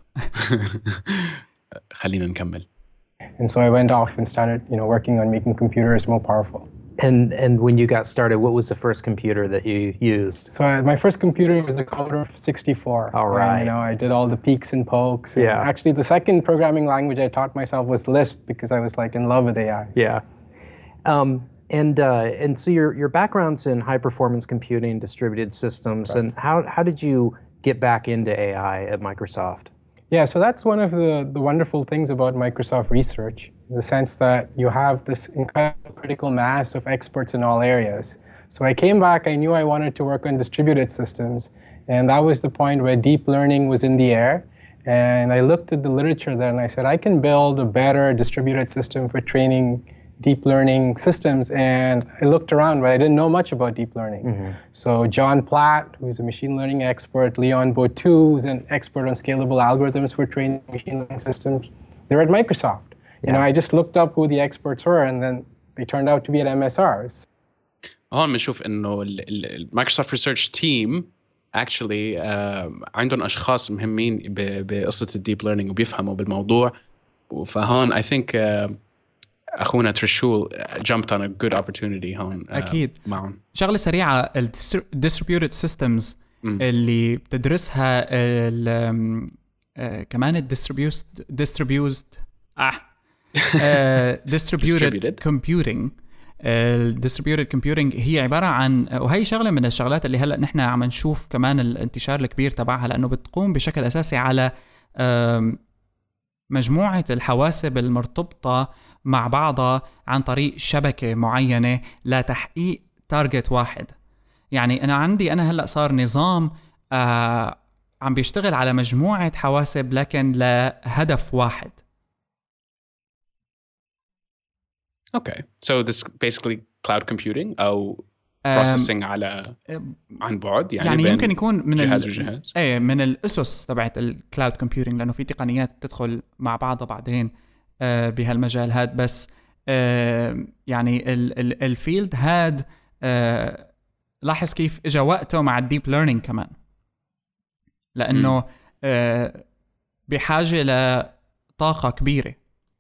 خلينا نكمل. And so I went off and started, you know, working on making computers more powerful. And and when you got started, what was the first computer that you used? So I, my first computer was a Commodore sixty-four. All right. And, you know, I did all the peeks and pokes. And yeah. Actually, the second programming language I taught myself was Lisp because I was like in love with A I. Yeah. Um, and uh, and so your your background's in high performance computing, distributed systems, right. And how how did you get back into A I at Microsoft? Yeah, so that's one of the, the wonderful things about Microsoft Research, in the sense that you have this incredible critical mass of experts in all areas. So I came back, I knew I wanted to work on distributed systems, and that was the point where deep learning was in the air. And I looked at the literature there and I said, I can build a better distributed system for training deep learning systems. And I looked around, but I didn't know much about deep learning. Mm-hmm. So John Platt, who's a machine learning expert, Leon Botou, who's an expert on scalable algorithms for training machine learning systems, they're at Microsoft. Yeah. You know, I just looked up who the experts were, and then they turned out to be at M S Rs. هون بنشوف إنه المايكروسوفت ريسيرش تيم actually uh, عندهم أشخاص مهمين بقصة الديب ليرنينج وبيفهموا بالموضوع. فهون I think uh, أخونا ترشول jumped on a good opportunity هون. أكيد. معهم. شغلة سريعة ال distributed systems م. اللي بتدرسها ال uh, كمان ال distributed distributed آه uh, distributed computing. ال distributed computing هي عبارة عن، وهي شغلة من الشغلات اللي هلأ نحن عم نشوف كمان الانتشار الكبير تبعها، لأنه بتقوم بشكل أساسي على مجموعة الحواسب المرتبطة مع بعضها عن طريق شبكة معينة لتحقيق تارجت واحد. يعني أنا عندي أنا هلأ صار نظام آه عم بيشتغل على مجموعة حواسب لكن لهدف واحد. Okay, so this basically cloud computing أو processing على عن بعد، يعني, يعني يمكن يكون من جهاز وجهاز. ايه من الأسس تبعت الكلاود كومبيوتينج، لأنه في تقنيات تدخل مع بعضها بعدين آه بهالمجال هاد. بس آه يعني الفيلد هاد آه لاحظ كيف إجا وقته مع الديب ليرنينج كمان، لأنه آه بحاجة لطاقة كبيرة.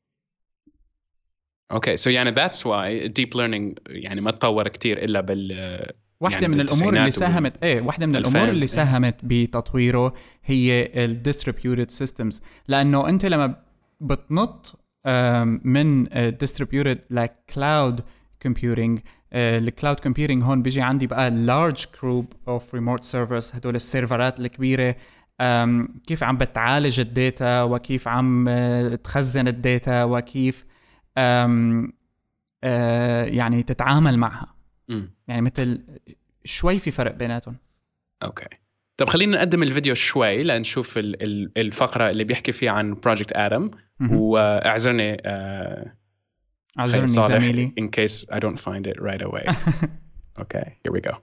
اوكي سو يعني that's why deep learning يعني ما تطور كتير الا بال واحدة يعني من الامور اللي ساهمت وال... ايه واحدة من الامور اللي ساهمت بتطويره هي ال distributed systems، لانه انت لما بتنط من distributed like cloud computing، الكلاود كومبيوتينج هون بيجي عندي بقى large group of remote servers، هدول السيرفرات الكبيرة، كيف عم بتعالج الداتا وكيف عم تخزن الداتا وكيف أم أه يعني تتعامل معها. م. يعني مثل شوي في فرق بيناتهم. اوكي طب خلينا نقدم الفيديو شوي لنشوف الفقرة اللي بيحكي فيها عن Project Adam. واعذرني uh, اعذرني زميلي in case I don't find it right away. Okay, here we go.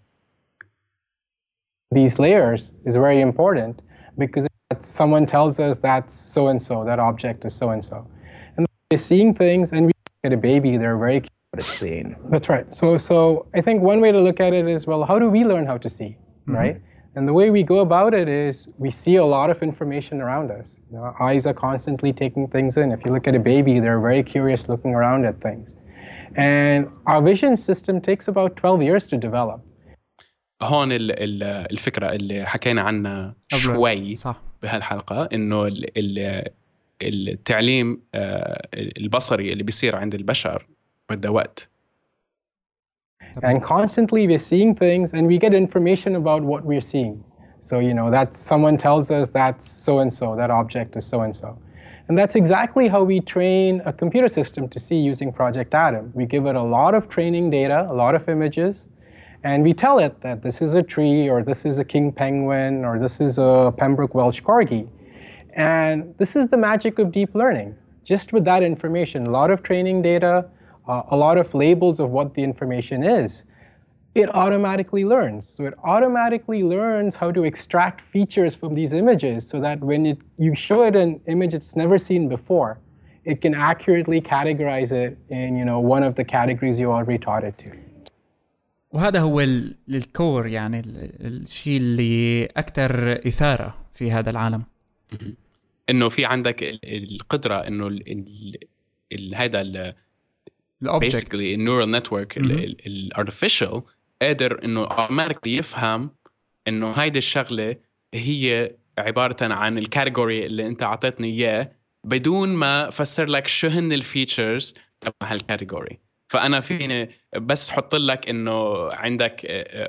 These layers is very important because someone tells us that's so and so, that object is so and so. Seeing things, and we look at a baby, they're very cute at seeing. That's right. So, so I think one way to look at it is, well, how do we learn how to see, mm-hmm. right? And the way we go about it is we see a lot of information around us. You know, our eyes are constantly taking things in. If you look at a baby, they're very curious looking around at things. And our vision system takes about twelve years to develop. هون الفكرة اللي حكينا عنها شوي صح. بهالحلقة إنه ال التعليم البصري اللي بيصير عند البشر بده وقت. And constantly we're seeing things and we get information about what we're seeing. So, you know, that someone tells us that's so-and-so, that object is so-and-so. And that's exactly how we train a computer system to see using Project Adam. We give it a lot of training data, a lot of images, and we tell it that this is a tree, or this is a king penguin, or this is a Pembroke Welsh corgi. And this is the magic of deep learning. Just with that information, a lot of training data, uh, a lot of labels of what the information is, it automatically learns. So it automatically learns how to extract features from these images so that when it, you show it an image it's never seen before, it can accurately categorize it in, you know, one of the categories you already taught it to. وهذا هو الكور، يعني الشيء اللي أكثر إثارة في هذا العالم. انه في عندك القدره انه هذا basically النيورال نتورك الارتفيشال قادر انه automatically يفهم انه هيدي الشغله هي عباره عن الكاتيجوري اللي انت عطيتني اياه بدون ما فسر لك شو هن الفيتشرز تبع هالكاتيجوري. فانا فيني بس حط لك انه عندك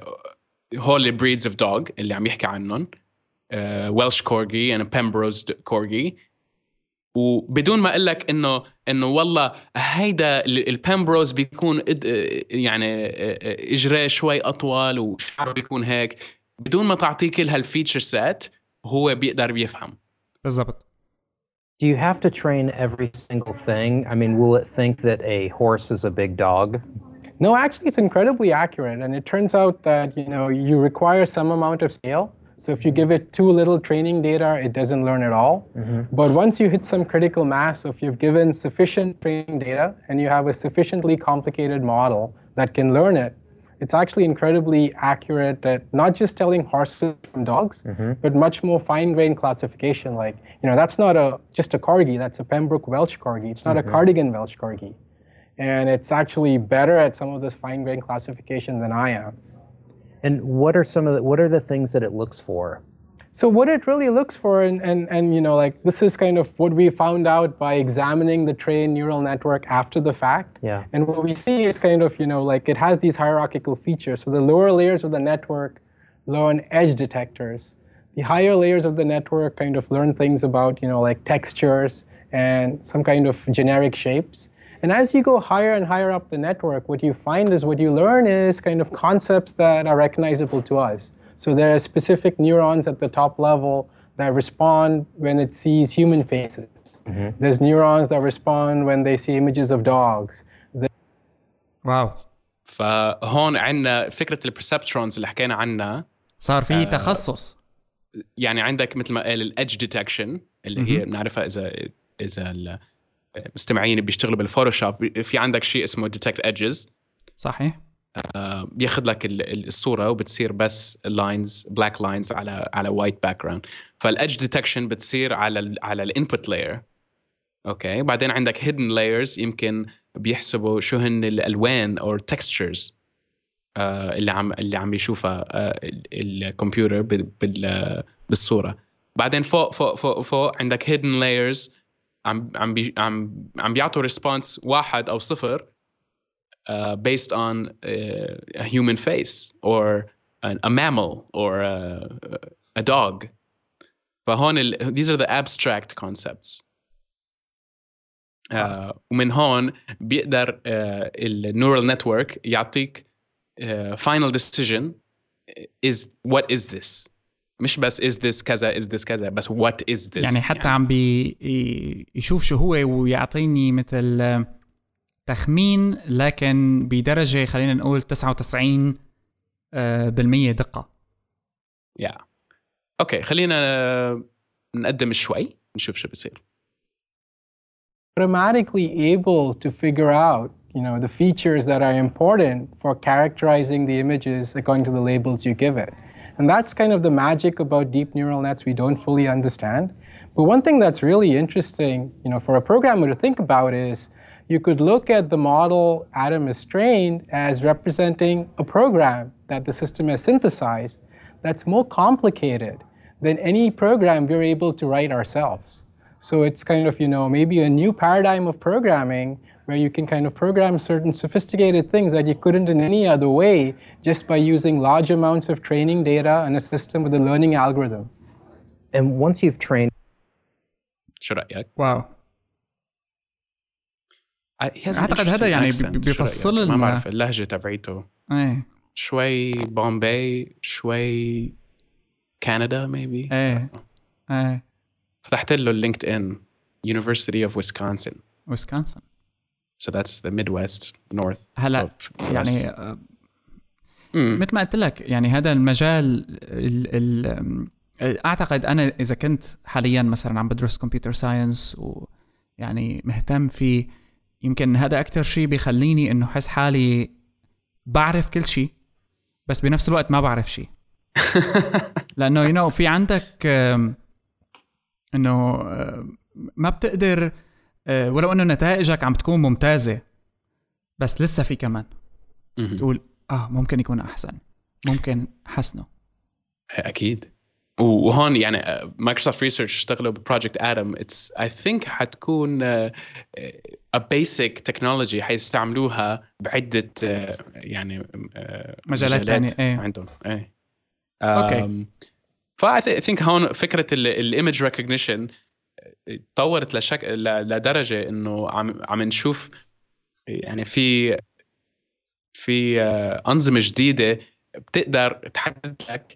هول بريدز اوف دوغ اللي عم يحكي عنهم ويلش كورجي and بيمبروز كورجي، وبدون ما اقول لك انه انه والله هيدا البيمبروز بيكون يعني اجراه شوي اطول وشعره بيكون هيك، بدون ما تعطيه كل هالفيتشر سيت هو بيقدر بيفهم بالضبط. Do you have to train every single thing? I mean, will it think that a horse is a big dog? No, actually it's incredibly accurate, and it turns out that, you know, you require some amount of scale. So if you give it too little training data, it doesn't learn at all. Mm-hmm. But once you hit some critical mass, so if you've given sufficient training data and you have a sufficiently complicated model that can learn it, it's actually incredibly accurate at not just telling horses from dogs, mm-hmm. but much more fine-grained classification. Like, you know, that's not a just a corgi, that's a Pembroke Welsh corgi. It's not mm-hmm. a Cardigan Welsh corgi. And it's actually better at some of this fine-grained classification than I am. And what are some of the, what are the things that it looks for? So what it really looks for, and, and, and you know, like this is kind of what we found out by examining the trained neural network after the fact. Yeah. And what we see is kind of, you know, like it has these hierarchical features. So the lower layers of the network learn edge detectors. The higher layers of the network kind of learn things about, you know, like textures and some kind of generic shapes. And as you go higher and higher up the network, what you find is what you learn is kind of concepts that are recognizable to us. So there are specific neurons at the top level that respond when it sees human faces. Mm-hmm. There's neurons that respond when they see images of dogs. واو. فهون عندنا فكرة البرسبترونز اللي حكينا عنها صار فيه آه تخصص. يعني عندك مثل ما قال الادج ديتكشن اللي هي بنعرفها إذا إذا المستمعين بيشتغلوا بالفوتوشوب في عندك شيء اسمه ديتكت ايدجز. صحيح. آه بياخذ لك الصوره وبتصير بس لاينز بلاك لاينز على على وايت باك جراوند. فالادج ديتكشن بتصير على ال على الانبوت لاير. اوكي بعدين عندك هيدن لايرز يمكن بيحسبوا شو هن الالوان او تكستشرز آه اللي عم اللي عم يشوفها آه الكمبيوتر بال بالصوره. بعدين فوق فوق فوق فوق عندك هيدن لايرز عم عم بي عم عم بيعطوا ريسبونس واحد او صفر uh, based on uh, a human face or an, a mammal or a, a dog. فهون ال, these are the abstract concepts. uh, ومن هون بيقدر uh, النيورال نتورك يعطيك uh, final decision is what is this. مش بس is this كذا is this كذا بس what is this. يعني حتى يعني. عم بي يشوف شو هو ويعطيني مثل تخمين لكن بدرجة خلينا نقول تسعة وتسعين بالمية دقة. يا yeah. اوكي خلينا نقدم شوي نشوف شو بيصير. Automatically able to figure out, you know, the features that are important for characterizing the images according to the labels you give it. And that's kind of the magic about deep neural nets we don't fully understand. But one thing that's really interesting, you know, for a programmer to think about is you could look at the model Adam is trained as representing a program that the system has synthesized that's more complicated than any program we're able to write ourselves. So it's kind of, you know, maybe a new paradigm of programming where you can kind of program certain sophisticated things that you couldn't in any other way just by using large amounts of training data and a system with a learning algorithm. And once you've trained... شو رأيك؟ واو. أعتقد هذا يعني بيفصل لنا ما بعرف اللهجة تبعيته. ايه. شوي بومباي شوي كندا maybe. ايه. ايه. فتحت له اللينكد إن University of Wisconsin. Wisconsin. So that's the Midwest North. هلا يعني آه مثل ما قلت لك يعني هذا المجال ال ال أعتقد أنا إذا كنت حاليا مثلا عم بدرس كمبيوتر ساينس ويعني مهتم فيه يمكن هذا أكتر شيء بيخليني إنه حس حالي بعرف كل شيء بس بنفس الوقت ما بعرف شيء. لأنه you know في عندك إنه ما بتقدر ولو إنه نتائجك عم تكون ممتازة بس لسه في كمان تقول اه ممكن يكون احسن، ممكن حسنه. اكيد. وهون يعني مايكروسوفت ريسيرش اشتغلوا ببروجكت ادم. اتس اي ثينك حتكون ا بيسك تكنولوجي حيستعملوها بعده يعني مجالات ثانيه ايه عندهم. ايه اوكي. فاي ثينك هون فكره الايمج ريكوجنيشن تطورت لشك لدرجه انه عم عم نشوف يعني في في انظمه جديده بتقدر تحدد لك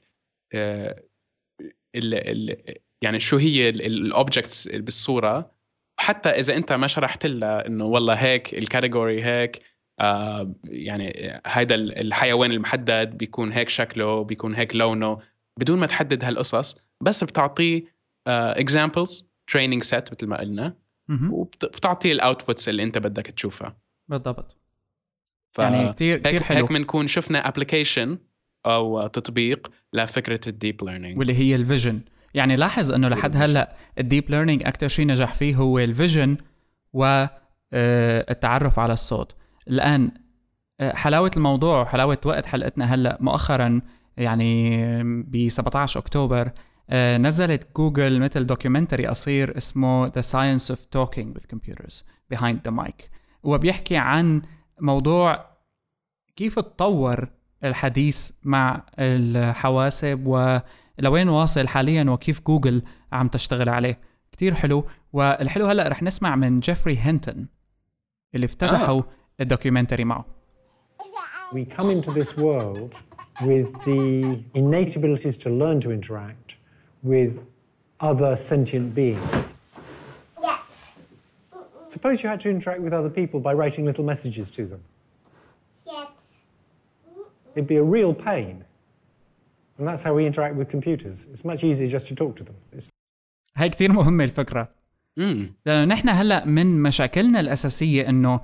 ال ال يعني شو هي الاوبجكتس بالصوره، حتى اذا انت ما شرحت لها انه والله هيك الكاتيجوري هيك آه يعني هيدا الحيوان المحدد بيكون هيك شكله بيكون هيك لونه، بدون ما تحدد هالقصص، بس بتعطيه اكزامبلز تريننج سيت مثل ما قلنا، وبتعطيه الاوتبوتس اللي انت بدك تشوفها بالضبط. ف... يعني كتير كتير حلو. هيك بنكون شفنا ابلكيشن او تطبيق لفكره الديب ليرنينج واللي هي الفيجن. يعني لاحظ انه لحد هلا الديب ليرنينج اكثر شيء نجح فيه هو الفيجن والتعرف على الصوت. الان حلاوه الموضوع وحلاوه وقت حلقتنا هلا مؤخرا يعني ب سبعة عشر أكتوبر نزلت جوجل مثل دوكيومنتري قصير اسمه The Science of Talking with Computers Behind the Mic، وبيحكي عن موضوع كيف تطور الحديث مع الحواسب ولوين واصل حاليا وكيف جوجل عم تشتغل عليه. كتير حلو. والحلو هلأ رح نسمع من جيفري هينتون اللي افتتحوا آه. الدوكيومنتري معه. We come into this world with the innate abilities to learn to interact with other sentient beings. Yes. Suppose you had to interact with other people by writing little messages to them. Yes. It'd be a real pain. And that's how we interact with computers. It's much easier just to talk to them. It's... هاي كتير مهمة الفكرة. مم. لأنه نحن هلأ من مشاكلنا الأساسية إنه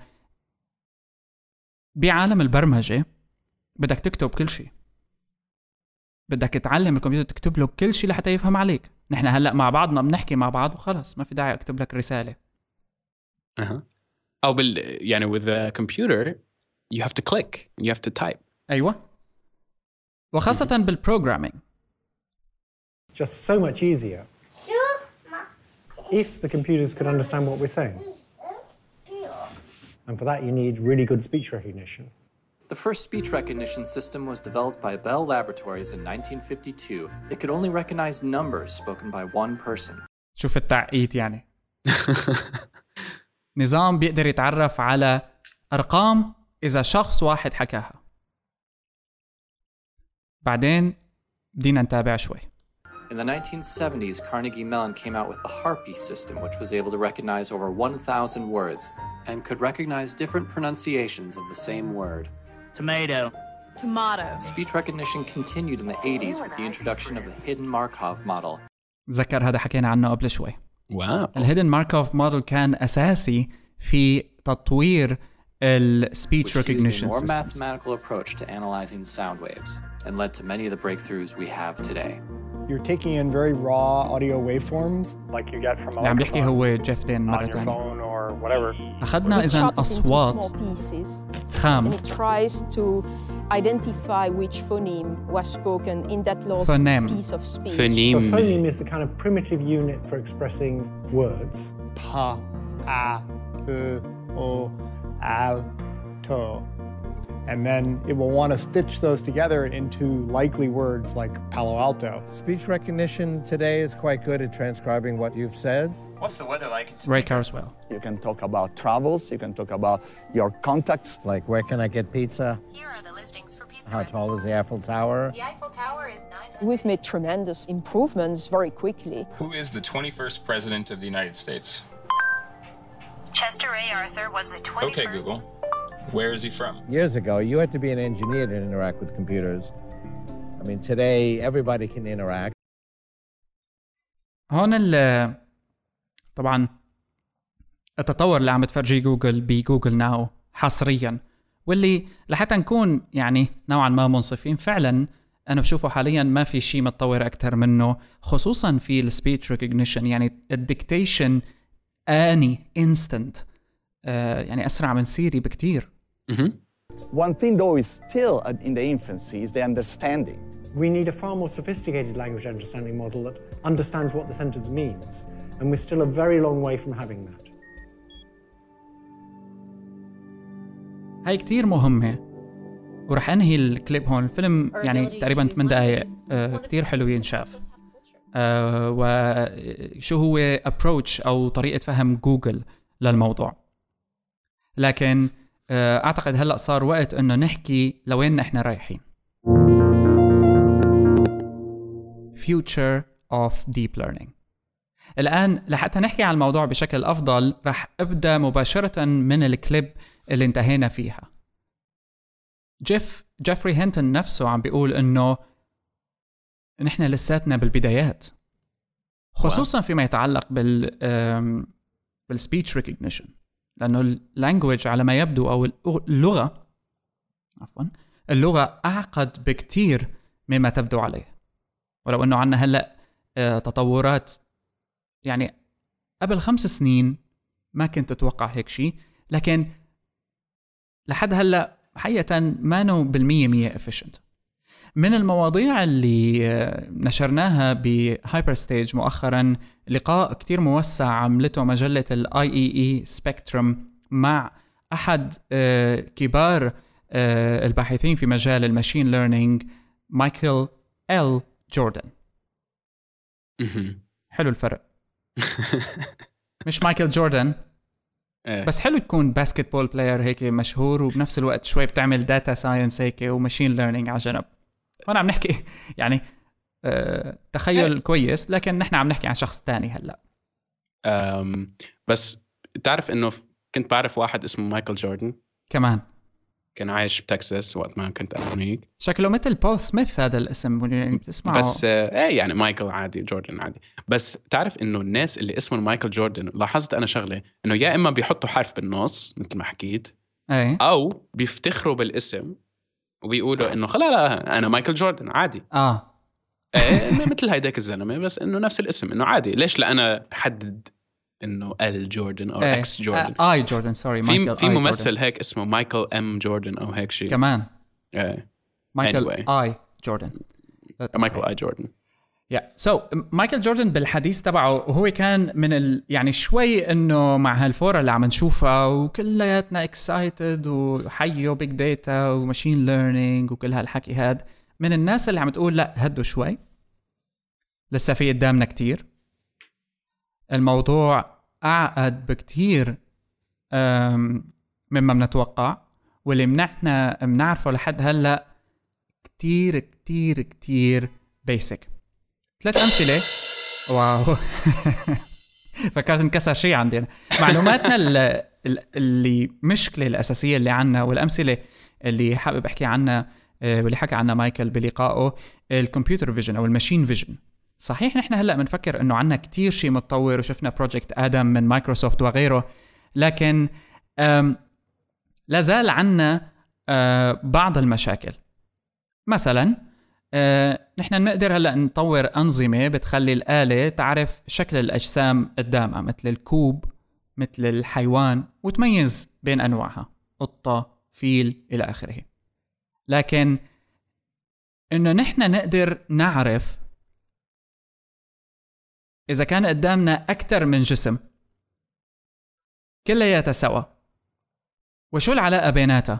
بعالم البرمجة بدك تكتب كل شيء، بدك تعلم الكمبيوتر تكتب له كل شيء لحتى يفهم عليك. نحن هلأ مع بعضنا بنحكي مع بعض وخلص، ما في داعي أكتب لك رسالة. أه. أو بال يعني with a computer you have to click, you have to type. أيوة. وخاصة mm-hmm. بالprogramming. Just so much easier if the computers could understand what we're saying. And for that you need really good speech recognition. The first speech recognition system was developed by Bell Laboratories in nineteen fifty-two. It could only recognize numbers spoken by one person. شوف التعقيد يعني. نظام بيقدر يتعرف على أرقام إذا شخص واحد حكاها. بعدين بدينا نتابع شوي. In the nineteen seventies, Carnegie Mellon came out with the Harpy system, which was able to recognize over one thousand words and could recognize different pronunciations of the same word. Tomato. Tomato. Speech recognition continued in the eighties with the introduction of the Hidden Markov model. ذكر هذا حكينا عنه قبل شوي. واو. الهيدن ماركوف موديل كان أساسي في تطوير ال speech recognition systems. Which used a more systems. mathematical approach to analyzing sound waves and led to many of the breakthroughs we have today. You're taking in very raw audio waveforms like you get from a عم بيحكي هو جيف دين مرة تانية. or whatever. أخذنا إذن أصوات خام. And it tries to identify which phoneme was spoken in that lost phoneme. piece of speech. Phoneme. So phoneme is the kind of primitive unit for expressing words. Pa, a, u, o, al, to. And then it will want to stitch those together into likely words like Palo Alto. Speech recognition today is quite good at transcribing what you've said. What's the weather like? Ray Kurzweil. You can talk about travels, you can talk about your contacts. Like, where can I get pizza? Here are the listings for pizza. How tall is the Eiffel Tower? The Eiffel Tower is nine hundred. We've made tremendous improvements very quickly. Who is the twenty-first president of the United States? Chester A. Arthur was the twenty-first. Okay, Google. Where is he from? Years ago, you had to be an engineer to interact with computers. I mean, today, everybody can interact. هون ال طبعا التطور اللي عم تفرجي جوجل بجوجل ناو حصريا، واللي لحتى نكون يعني نوعا ما منصفين فعلا أنا بشوفه حاليا ما في شيء متطور أكثر منه، خصوصا في السبيتش ريكوجنيشن. يعني الديكتيشن آني instant، آه يعني أسرع من سيري بكتير. Mm-hmm. One thing, though, is still in the infancy is the understanding. We need a far more sophisticated language understanding model that understands what the sentence means, and we're still a very long way from having that. هاي كتير مهمة، ورح أنهي الكليب هون. الفيلم يعني تقريباً ثمان دقايق، آه كتير حلو ينشاف. آه وشو هو approach أو طريقة فهم جوجل للموضوع. لكن آه أعتقد هلأ صار وقت إنه نحكي لوين إحنا رايحين. Future of Deep Learning. الآن لحتى نحكي عن الموضوع بشكل أفضل رح أبدأ مباشرة من الكليب اللي انتهينا فيها. جيف جيفري هينتون نفسه عم بيقول إنه نحن لساتنا بالبدايات، خصوصا فيما يتعلق بال بالسبيتش ريكوجنيشن، لأنه اللانجويج على ما يبدو أو اللغة عفوا اللغة أعقد بكتير مما تبدو عليه. ولو أنه عنا هلأ تطورات يعني قبل خمس سنين ما كنت أتوقع هيك شيء، لكن لحد هلأ حقيقة ما نو بالمية مية efficient. من المواضيع اللي نشرناها بهايبر ستيج مؤخرا لقاء كتير موسع عملته مجلة ال آي إي إي Spectrum مع أحد كبار الباحثين في مجال الماشين ليرنينج، مايكل إل جوردن. حلو الفرق. مش مايكل جوردن بس حلو تكون باسكتبول بلاير هيك مشهور وبنفس الوقت شوي بتعمل داتا ساينس هيك وماشين ليرنينج على جنب. وانا عم نحكي يعني أه تخيل كويس، لكن نحن عم نحكي عن شخص تاني هلا. أم بس تعرف انه كنت بعرف واحد اسمه مايكل جوردن كمان، كان عايش بتكساس وقت ما كنت انا هناك. شكله مثل بول سميث هذا الاسم يعني بتسمعه، بس ايه يعني مايكل عادي، جوردن عادي. بس تعرف انه الناس اللي اسمهم مايكل جوردن لاحظت انا شغله انه يا اما بيحطوا حرف بالنص مثل ما حكيت ايه، او بيفتخروا بالاسم وبيقولوا انه خلا لا انا مايكل جوردن عادي. اه ايه مثل هيداك الزلمه، بس انه نفس الاسم انه عادي. ليش لا انا حدد انه ال جوردن او ايه. اكس جوردن آه اي جوردن سوري في في ممثل جوردن. هيك اسمه مايكل ام جوردن او هيك شيء كمان. ايه مايكل anyway. اي جوردن مايكل اي جوردن يا سو مايكل جوردن بالحديث تبعه وهو كان من ال... يعني شوي انه مع هالفورة اللي عم نشوفها وكلياتنا اكسايتد وحيو بيج داتا وماشين ليرنينج وكل هالحكي هاد، من الناس اللي عم تقول لا هدوا شوي لسه في قدامنا كتير، الموضوع اعقد بكتير مما بنتوقع، واللي منحنا بنعرفه لحد هلا كتير كتير كتير بيسك. ثلاث أمثلة. واو فكرت انكسر شيء عندنا. معلوماتنا اللي, اللي مشكلة الأساسية اللي عنا والأمثلة اللي حابب أحكي عنها واللي حكى عنها مايكل بلقائه، الكمبيوتر فيجن أو الماشين فيجن. صحيح نحن هلأ بنفكر أنه عنا كتير شيء متطور وشفنا بروجكت آدم من مايكروسوفت وغيره، لكن لازال عنا بعض المشاكل. مثلا نحن نقدر هلأ نطور أنظمة بتخلي الآلة تعرف شكل الأجسام قدامها مثل الكوب مثل الحيوان وتميز بين أنواعها، قطة فيل إلى آخره. لكن إنه نحن نقدر نعرف إذا كان قدامنا أكتر من جسم كلياتها سوا وشو العلاقة بيناتها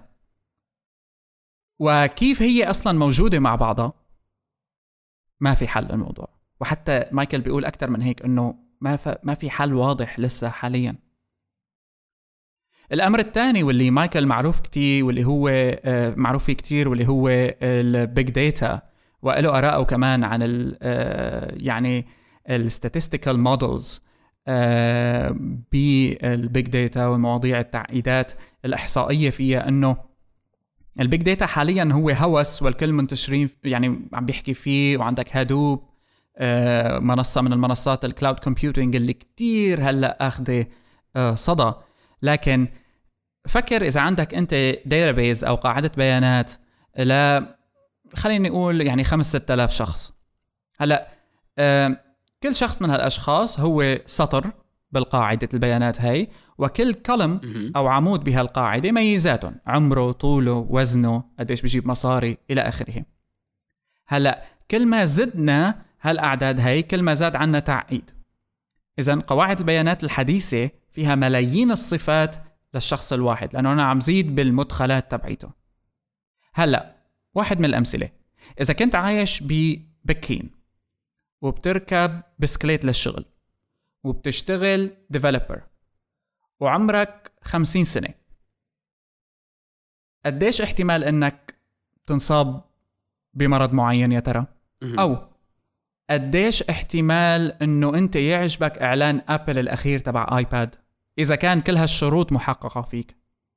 وكيف هي أصلاً موجودة مع بعضها، ما في حل للموضوع. وحتى مايكل بيقول أكتر من هيك إنه ما ما في حل واضح لسه حالياً. الأمر الثاني واللي مايكل معروف كتير واللي هو معروف فيه كتير واللي هو البيج داتا، وله آراءه كمان عن ال يعني الستاتستيكال مودلز بالبيج داتا والمواضيع التعقيدات الإحصائية فيها. إنه البيج داتا حاليا هو هوس والكل منتشرين يعني عم بيحكي فيه، وعندك هادوب منصة من المنصات الكلاود كومبيوتينج اللي كتير هلأ أخذ صدى. لكن فكر إذا عندك أنت داتابيز أو قاعدة بيانات لا خليني نقول يعني خمس ستة آلاف شخص، هلأ كل شخص من هالأشخاص هو سطر بالقاعدة البيانات هاي، وكل كولم أو عمود بهالقاعدة ميزاتهم: عمره، طوله، وزنه، قديش بيجيب مصاري، إلى آخره. هلأ كل ما زدنا هالأعداد هاي كل ما زاد عنا تعقيد. إذن قواعد البيانات الحديثة فيها ملايين الصفات للشخص الواحد، لأنه أنا عم زيد بالمدخلات تبعيته. هلأ واحد من الأمثلة: إذا كنت عايش ببكين وبتركب بسكليت للشغل وبتشتغل ديفلوبر وعمرك خمسين سنة، قديش احتمال انك تنصاب بمرض معين يا ترى؟ او قديش احتمال انه انت يعجبك اعلان ابل الاخير تبع ايباد اذا كان كل هالشروط محققة فيك؟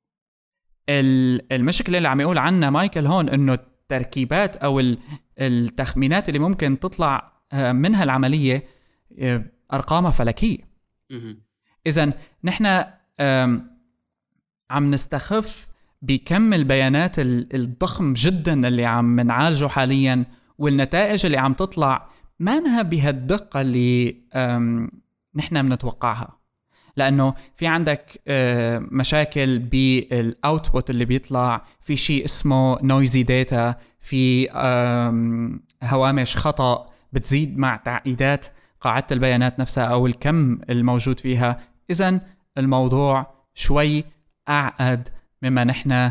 المشكلة اللي عم يقول عنها مايكل هون انه التركيبات او التخمينات اللي ممكن تطلع منها العملية ارقامها فلكية. اذن نحن عم نستخف بكم البيانات الضخم جدا اللي عم نعالجه حاليا، والنتائج اللي عم تطلع ما انها بهالدقة اللي نحن بنتوقعها، لأنه في عندك مشاكل بالاوتبوت اللي بيطلع، في شيء اسمه نويزي داتا، في هوامش خطأ بتزيد مع تعقيدات قاعدة البيانات نفسها أو الكم الموجود فيها. إذن الموضوع شوي أعقد مما نحن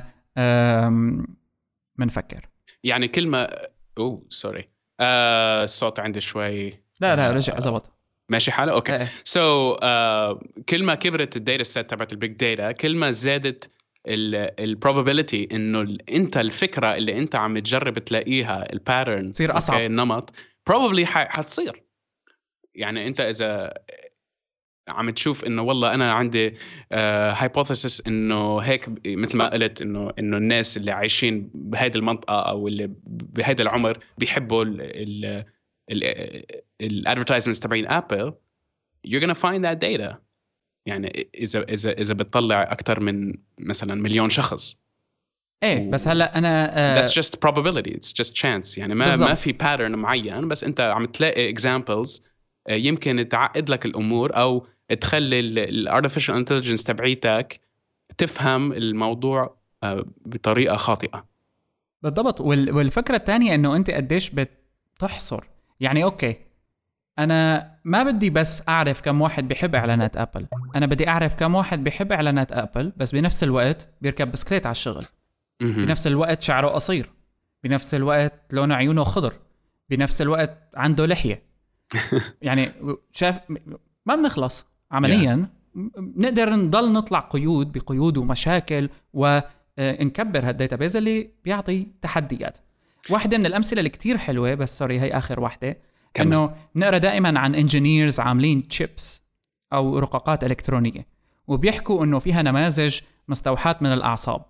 منفكر. يعني كلمة أوه سوري آه الصوت عندي شوي لا لا رجع زبط ماشي حاله اوكي. سو so, uh, كل ما كبرت الداتا سيت تبعت البيج داتا كل ما زادت البروبابيلتي انه انت الفكره اللي انت عم تجرب تلاقيها الباترن تصير اصعب. النمط probably حتصير. يعني انت اذا عم تشوف انه والله انا عندي هايبوثيسيس uh, انه هيك مثل ما قلت انه انه الناس اللي عايشين بهذه المنطقه او اللي بهذا العمر بيحبوا ال الادفيرتايزمنتس تبعين ابل، you're gonna find that data. يعني اذا اذا اذا بتطلع اكثر من مثلا مليون شخص ايه و... بس هلا انا uh... that's just probability, it's just chance. يعني ما بالزبط. ما في pattern معين، بس انت عم تلاقي examples uh, يمكن تعقد لك الامور او تخلي الارتفيشال انتليجنس تبعيتك تفهم الموضوع uh, بطريقه خاطئه. بالضبط. وال... والفكره الثانيه انه انت قديش بتحصر. يعني أوكي أنا ما بدي بس أعرف كم واحد بيحب إعلانات أبل، أنا بدي أعرف كم واحد بيحب إعلانات أبل بس بنفس الوقت بيركب بسكليت على الشغل، بنفس الوقت شعره قصير، بنفس الوقت لونه عيونه خضر، بنفس الوقت عنده لحية. يعني شاف ما بنخلص عمليا. نقدر نضل نطلع قيود بقيود ومشاكل ونكبر هالداتابيز اللي بيعطي تحديات. واحدة من الأمثلة اللي كتير حلوة، بس سوري هي آخر واحدة، إنه نقرأ دائما عن انجينيرز عاملين تشيبس أو رقاقات إلكترونية وبيحكوا إنه فيها نماذج مستوحاة من الأعصاب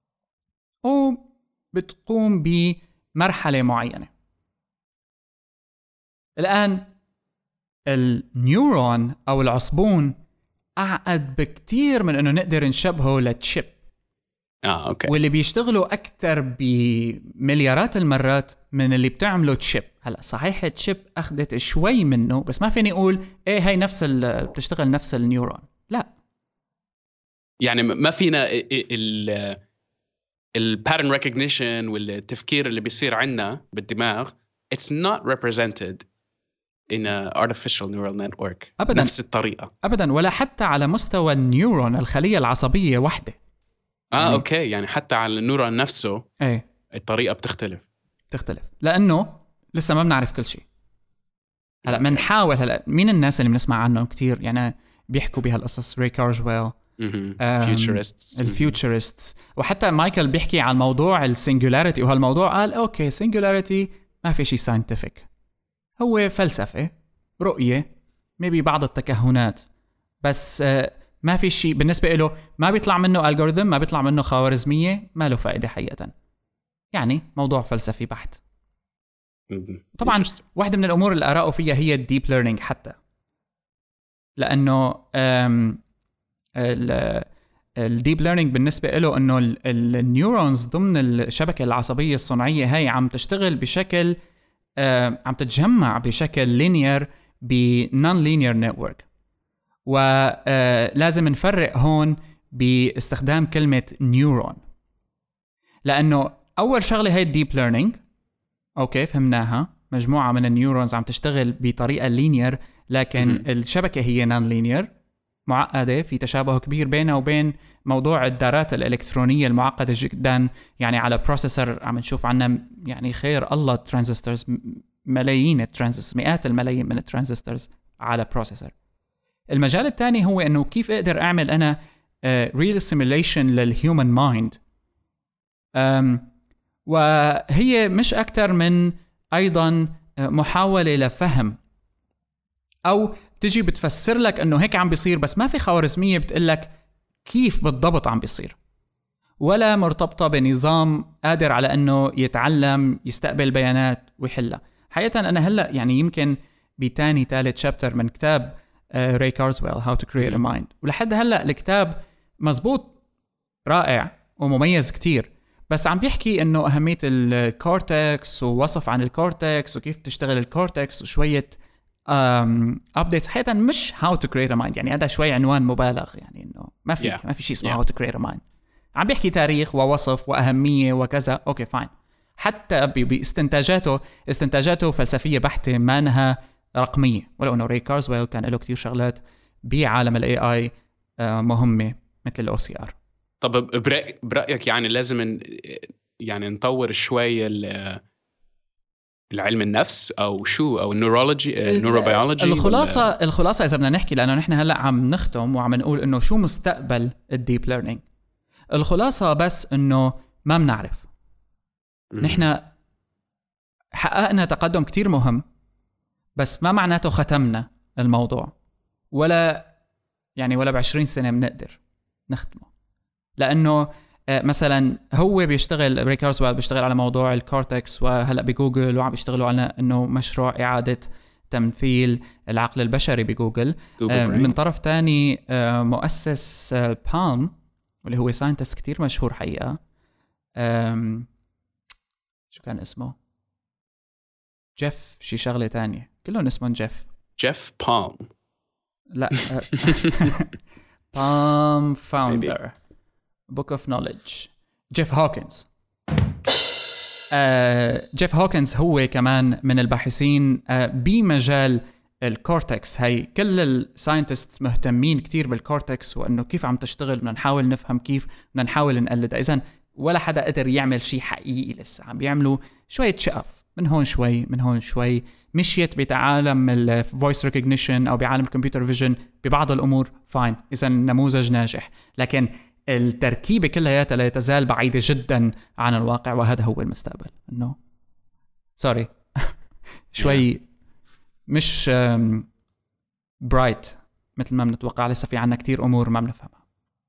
وبتقوم بمرحلة معينة. الآن النيورون أو العصبون أعقد بكتير من إنه نقدر نشبهه لتشيب. آه، أوكي. واللي بيشتغلوا أكتر بمليارات المرات من اللي بتعمله تشيب. هلأ صحيح تشيب أخذت شوي منه، بس ما فيني أقول إيه هاي نفس بتشتغل نفس النيورون. لا، يعني ما فينا ال ال pattern recognition والتفكير اللي بيصير عنا بالدماغ it's not represented in a artificial neural network أبداً. نفس الطريقة أبداً، ولا حتى على مستوى النيورون الخلية العصبية واحدة. اه يعني اوكي، يعني حتى على النيورون نفسه ايه الطريقه بتختلف تختلف لانه لسه ما بنعرف كل شيء. هلا بنحاول. هلا مين الناس اللي بنسمع عنهم كتير يعني بيحكوا بهالقصص؟ ري كارجويل، فيوتشرستس الفيوتشرستس، وحتى مايكل بيحكي عن موضوع السنجولاريتي، وهالموضوع قال اوكي سنجولاريتي ما في شيء ساينتفك، هو فلسفه، رؤيه، ميبي بعض التكهنات، بس آه ما في شيء بالنسبة له. ما بيطلع منه ألغوريثم، ما بيطلع منه خوارزمية، ما له فائدة حقيقة. يعني موضوع فلسفي بحت. طبعا واحدة من الأمور اللي أراه فيها هي الديب ليرنينج، حتى لأنه الديب ليرنينج بالنسبة له أنه النيورونز ضمن الشبكة العصبية الصناعية هاي عم تشتغل بشكل عم تتجمع بشكل لينير بنون لينير نتورك، ولازم نفرق هون باستخدام كلمة نيورون، لأنه أول شغلة هي الديب ليرنينج. أوكي فهمناها، مجموعة من النيورونز عم تشتغل بطريقة لينير، لكن م- الشبكة هي نان لينير معقدة، في تشابه كبير بينها وبين موضوع الدارات الإلكترونية المعقدة جدا. يعني على بروسيسور عم نشوف عنا يعني خير الله ترانزستورز، ملايين الترانزستورز، مئات الملايين من الترانزستورز على بروسيسور. المجال الثاني هو إنه كيف أقدر أعمل أنا ريل سيميليشن للهيومن مايند، وهي مش أكتر من أيضا محاولة لفهم، أو تجي بتفسر لك أنه هيك عم بيصير، بس ما في خوارزمية بتقلك كيف بالضبط عم بيصير، ولا مرتبطة بنظام قادر على أنه يتعلم يستقبل بيانات ويحلها. حقيقة أنا هلأ يعني يمكن بتاني ثالث شابتر من كتاب راي كارزويل How to Create a Mind، ولحد هلأ الكتاب مزبوط رائع ومميز كتير، بس عم بيحكي انه اهمية الكورتكس ووصف عن الكورتكس وكيف تشتغل الكورتكس وشوية ابديتس. حقيقة مش how to create a mind، يعني هذا شوي عنوان مبالغ، يعني انه ما في yeah. ما في شيء اسمه yeah. how to create a mind. عم بيحكي تاريخ ووصف واهمية وكذا، اوكي فاين. حتى باستنتاجاته استنتاجاته فلسفية بحتة، ما انها رقمية، ولو انه راي كارزويل كان له كتير شغلات بعالم الاي اي مهمة مثل الاو سي ار. طب برأي برأيك يعني لازم يعني نطور شوية العلم النفس او شو او النيورولوجي النيوروبيولوجي؟ الخلاصة ولا؟ الخلاصة اذا بدنا نحكي، لانه نحن هلا عم نختم وعم نقول انه شو مستقبل الديب ليرنينج. الخلاصة بس انه ما بنعرف. نحن حققنا تقدم كتير مهم، بس ما معناته ختمنا الموضوع، ولا يعني ولا بعشرين سنة بنقدر نختمه. لأنه مثلا هو بيشتغل راي كارزويل بيشتغل على موضوع الكورتكس، وهلأ بجوجل وعم بيشتغلوا على أنه مشروع إعادة تمثيل العقل البشري بجوجل. من طرف تاني مؤسس بالم واللي هو ساينتست كتير مشهور حقيقة، شو كان اسمه؟ جيف شي شغلة تانية، كلهم اسمهم جيف جيف بالم لا بالم فاوندر Book of Knowledge جيف هوكنز. آه، جيف هوكنز هو كمان من الباحثين آه، بمجال الكورتكس. هاي كل الساينتست مهتمين كتير بالكورتكس وأنه كيف عم تشتغل، بدنا نحاول نفهم كيف، بدنا نحاول نقلدها. إذن ولا حدا قدر يعمل شيء حقيقي لسه، عم بيعملوا شوية شقف من هون شوي من هون شوي. مشيت بعالم الفويس ريكوجنيشن أو بعالم الكمبيوتر فيجن ببعض الأمور فاين، إذن نموذج ناجح، لكن التركيبة كلها لا تزال بعيدة جدا عن الواقع، وهذا هو المستقبل. إنه سوري شوي مش برايت مثل ما بنتوقع، لسه في عنا كتير أمور ما بنفهمها.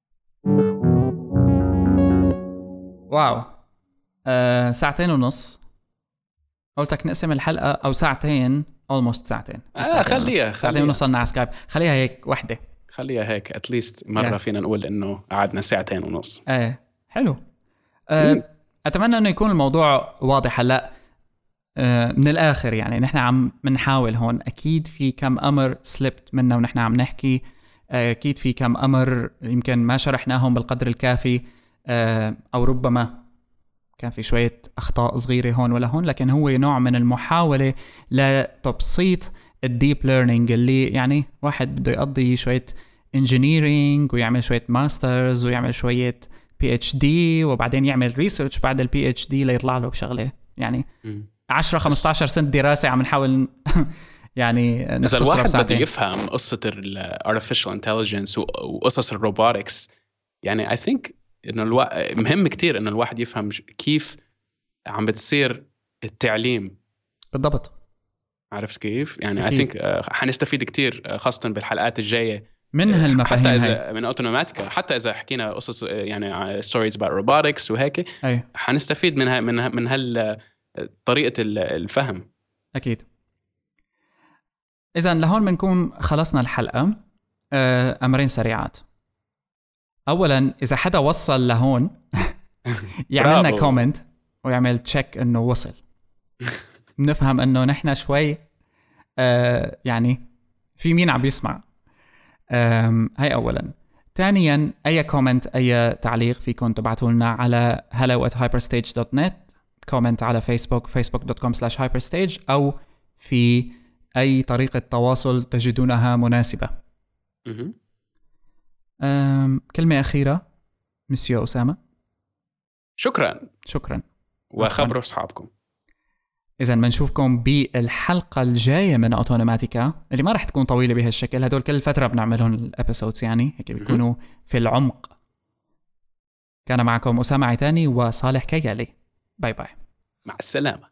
واو أه ساعتين ونص، قلتك نقسم الحلقة أو ساعتين almost ساعتين آه خليها ساعتين ونص على سكايب، خليها هيك وحدة، خليها هيك اتليست مرة yeah. فينا نقول إنه قعدنا ساعتين ونص. ايه حلو. أه أتمنى إنه يكون الموضوع واضح هلا. أه من الآخر يعني نحن عم منحاول هون، أكيد في كم أمر سلبت منا ونحن عم نحكي، أكيد في كم أمر يمكن ما شرحناهم بالقدر الكافي، أه أو ربما كان في شوية أخطاء صغيرة هون ولا هون، لكن هو نوع من المحاولة لتبسيط الديب ليرنينج، اللي يعني واحد بده يقضي شوية انجينيرينج ويعمل شوية ماسترز ويعمل شوية بي اتش دي وبعدين يعمل ريسيرش بعد البي اتش دي ليطلع له بشغلة يعني عشرة خمستاشر سنة دراسة عم نحاول يعني إذا الواحد بده يفهم قصة ال artificial intelligence وقصص الروبوتكس، يعني I think إنه الوا... مهم كتير إنه الواحد يفهم كيف عم بتصير التعليم بالضبط. عرفت كيف؟ يعني I think uh, حنستفيد كتير خاصة بالحلقات الجاية من هالمفاهيم، حتى إذا من أوتوماتيكا، حتى إذا حكينا قصص يعني stories about robotics وهيك أي. حنستفيد منها من من هال طريقة الفهم. أكيد. إذن لهون بنكون خلصنا الحلقة. أمرين سريعات. أولاً إذا حدا وصل لهون يعملنا كومنت ويعمل تشيك إنه وصل، نفهم إنه نحن شوي آه يعني في مين عم بيسمع. هاي أولا. ثانيا أي كومنت أي تعليق فيكم تبعتوا لنا على hello at hyperstage dot net، كومنت على فيسبوك facebook dot com slash hyperstage، أو في أي طريقة تواصل تجدونها مناسبة. كلمة أخيرة مسيو أسامة. شكرا شكرا وخبروا أصحابكم. إذا بنشوفكم بالحلقة الجاية من أوتونوماتيكا اللي ما رح تكون طويلة بهالشكل، هدول كل فترة بنعملهم الابيسودز يعني هيك بيكونوا في العمق. كان معكم أسامة عيتاني وصالح كيالي. باي باي. مع السلامة.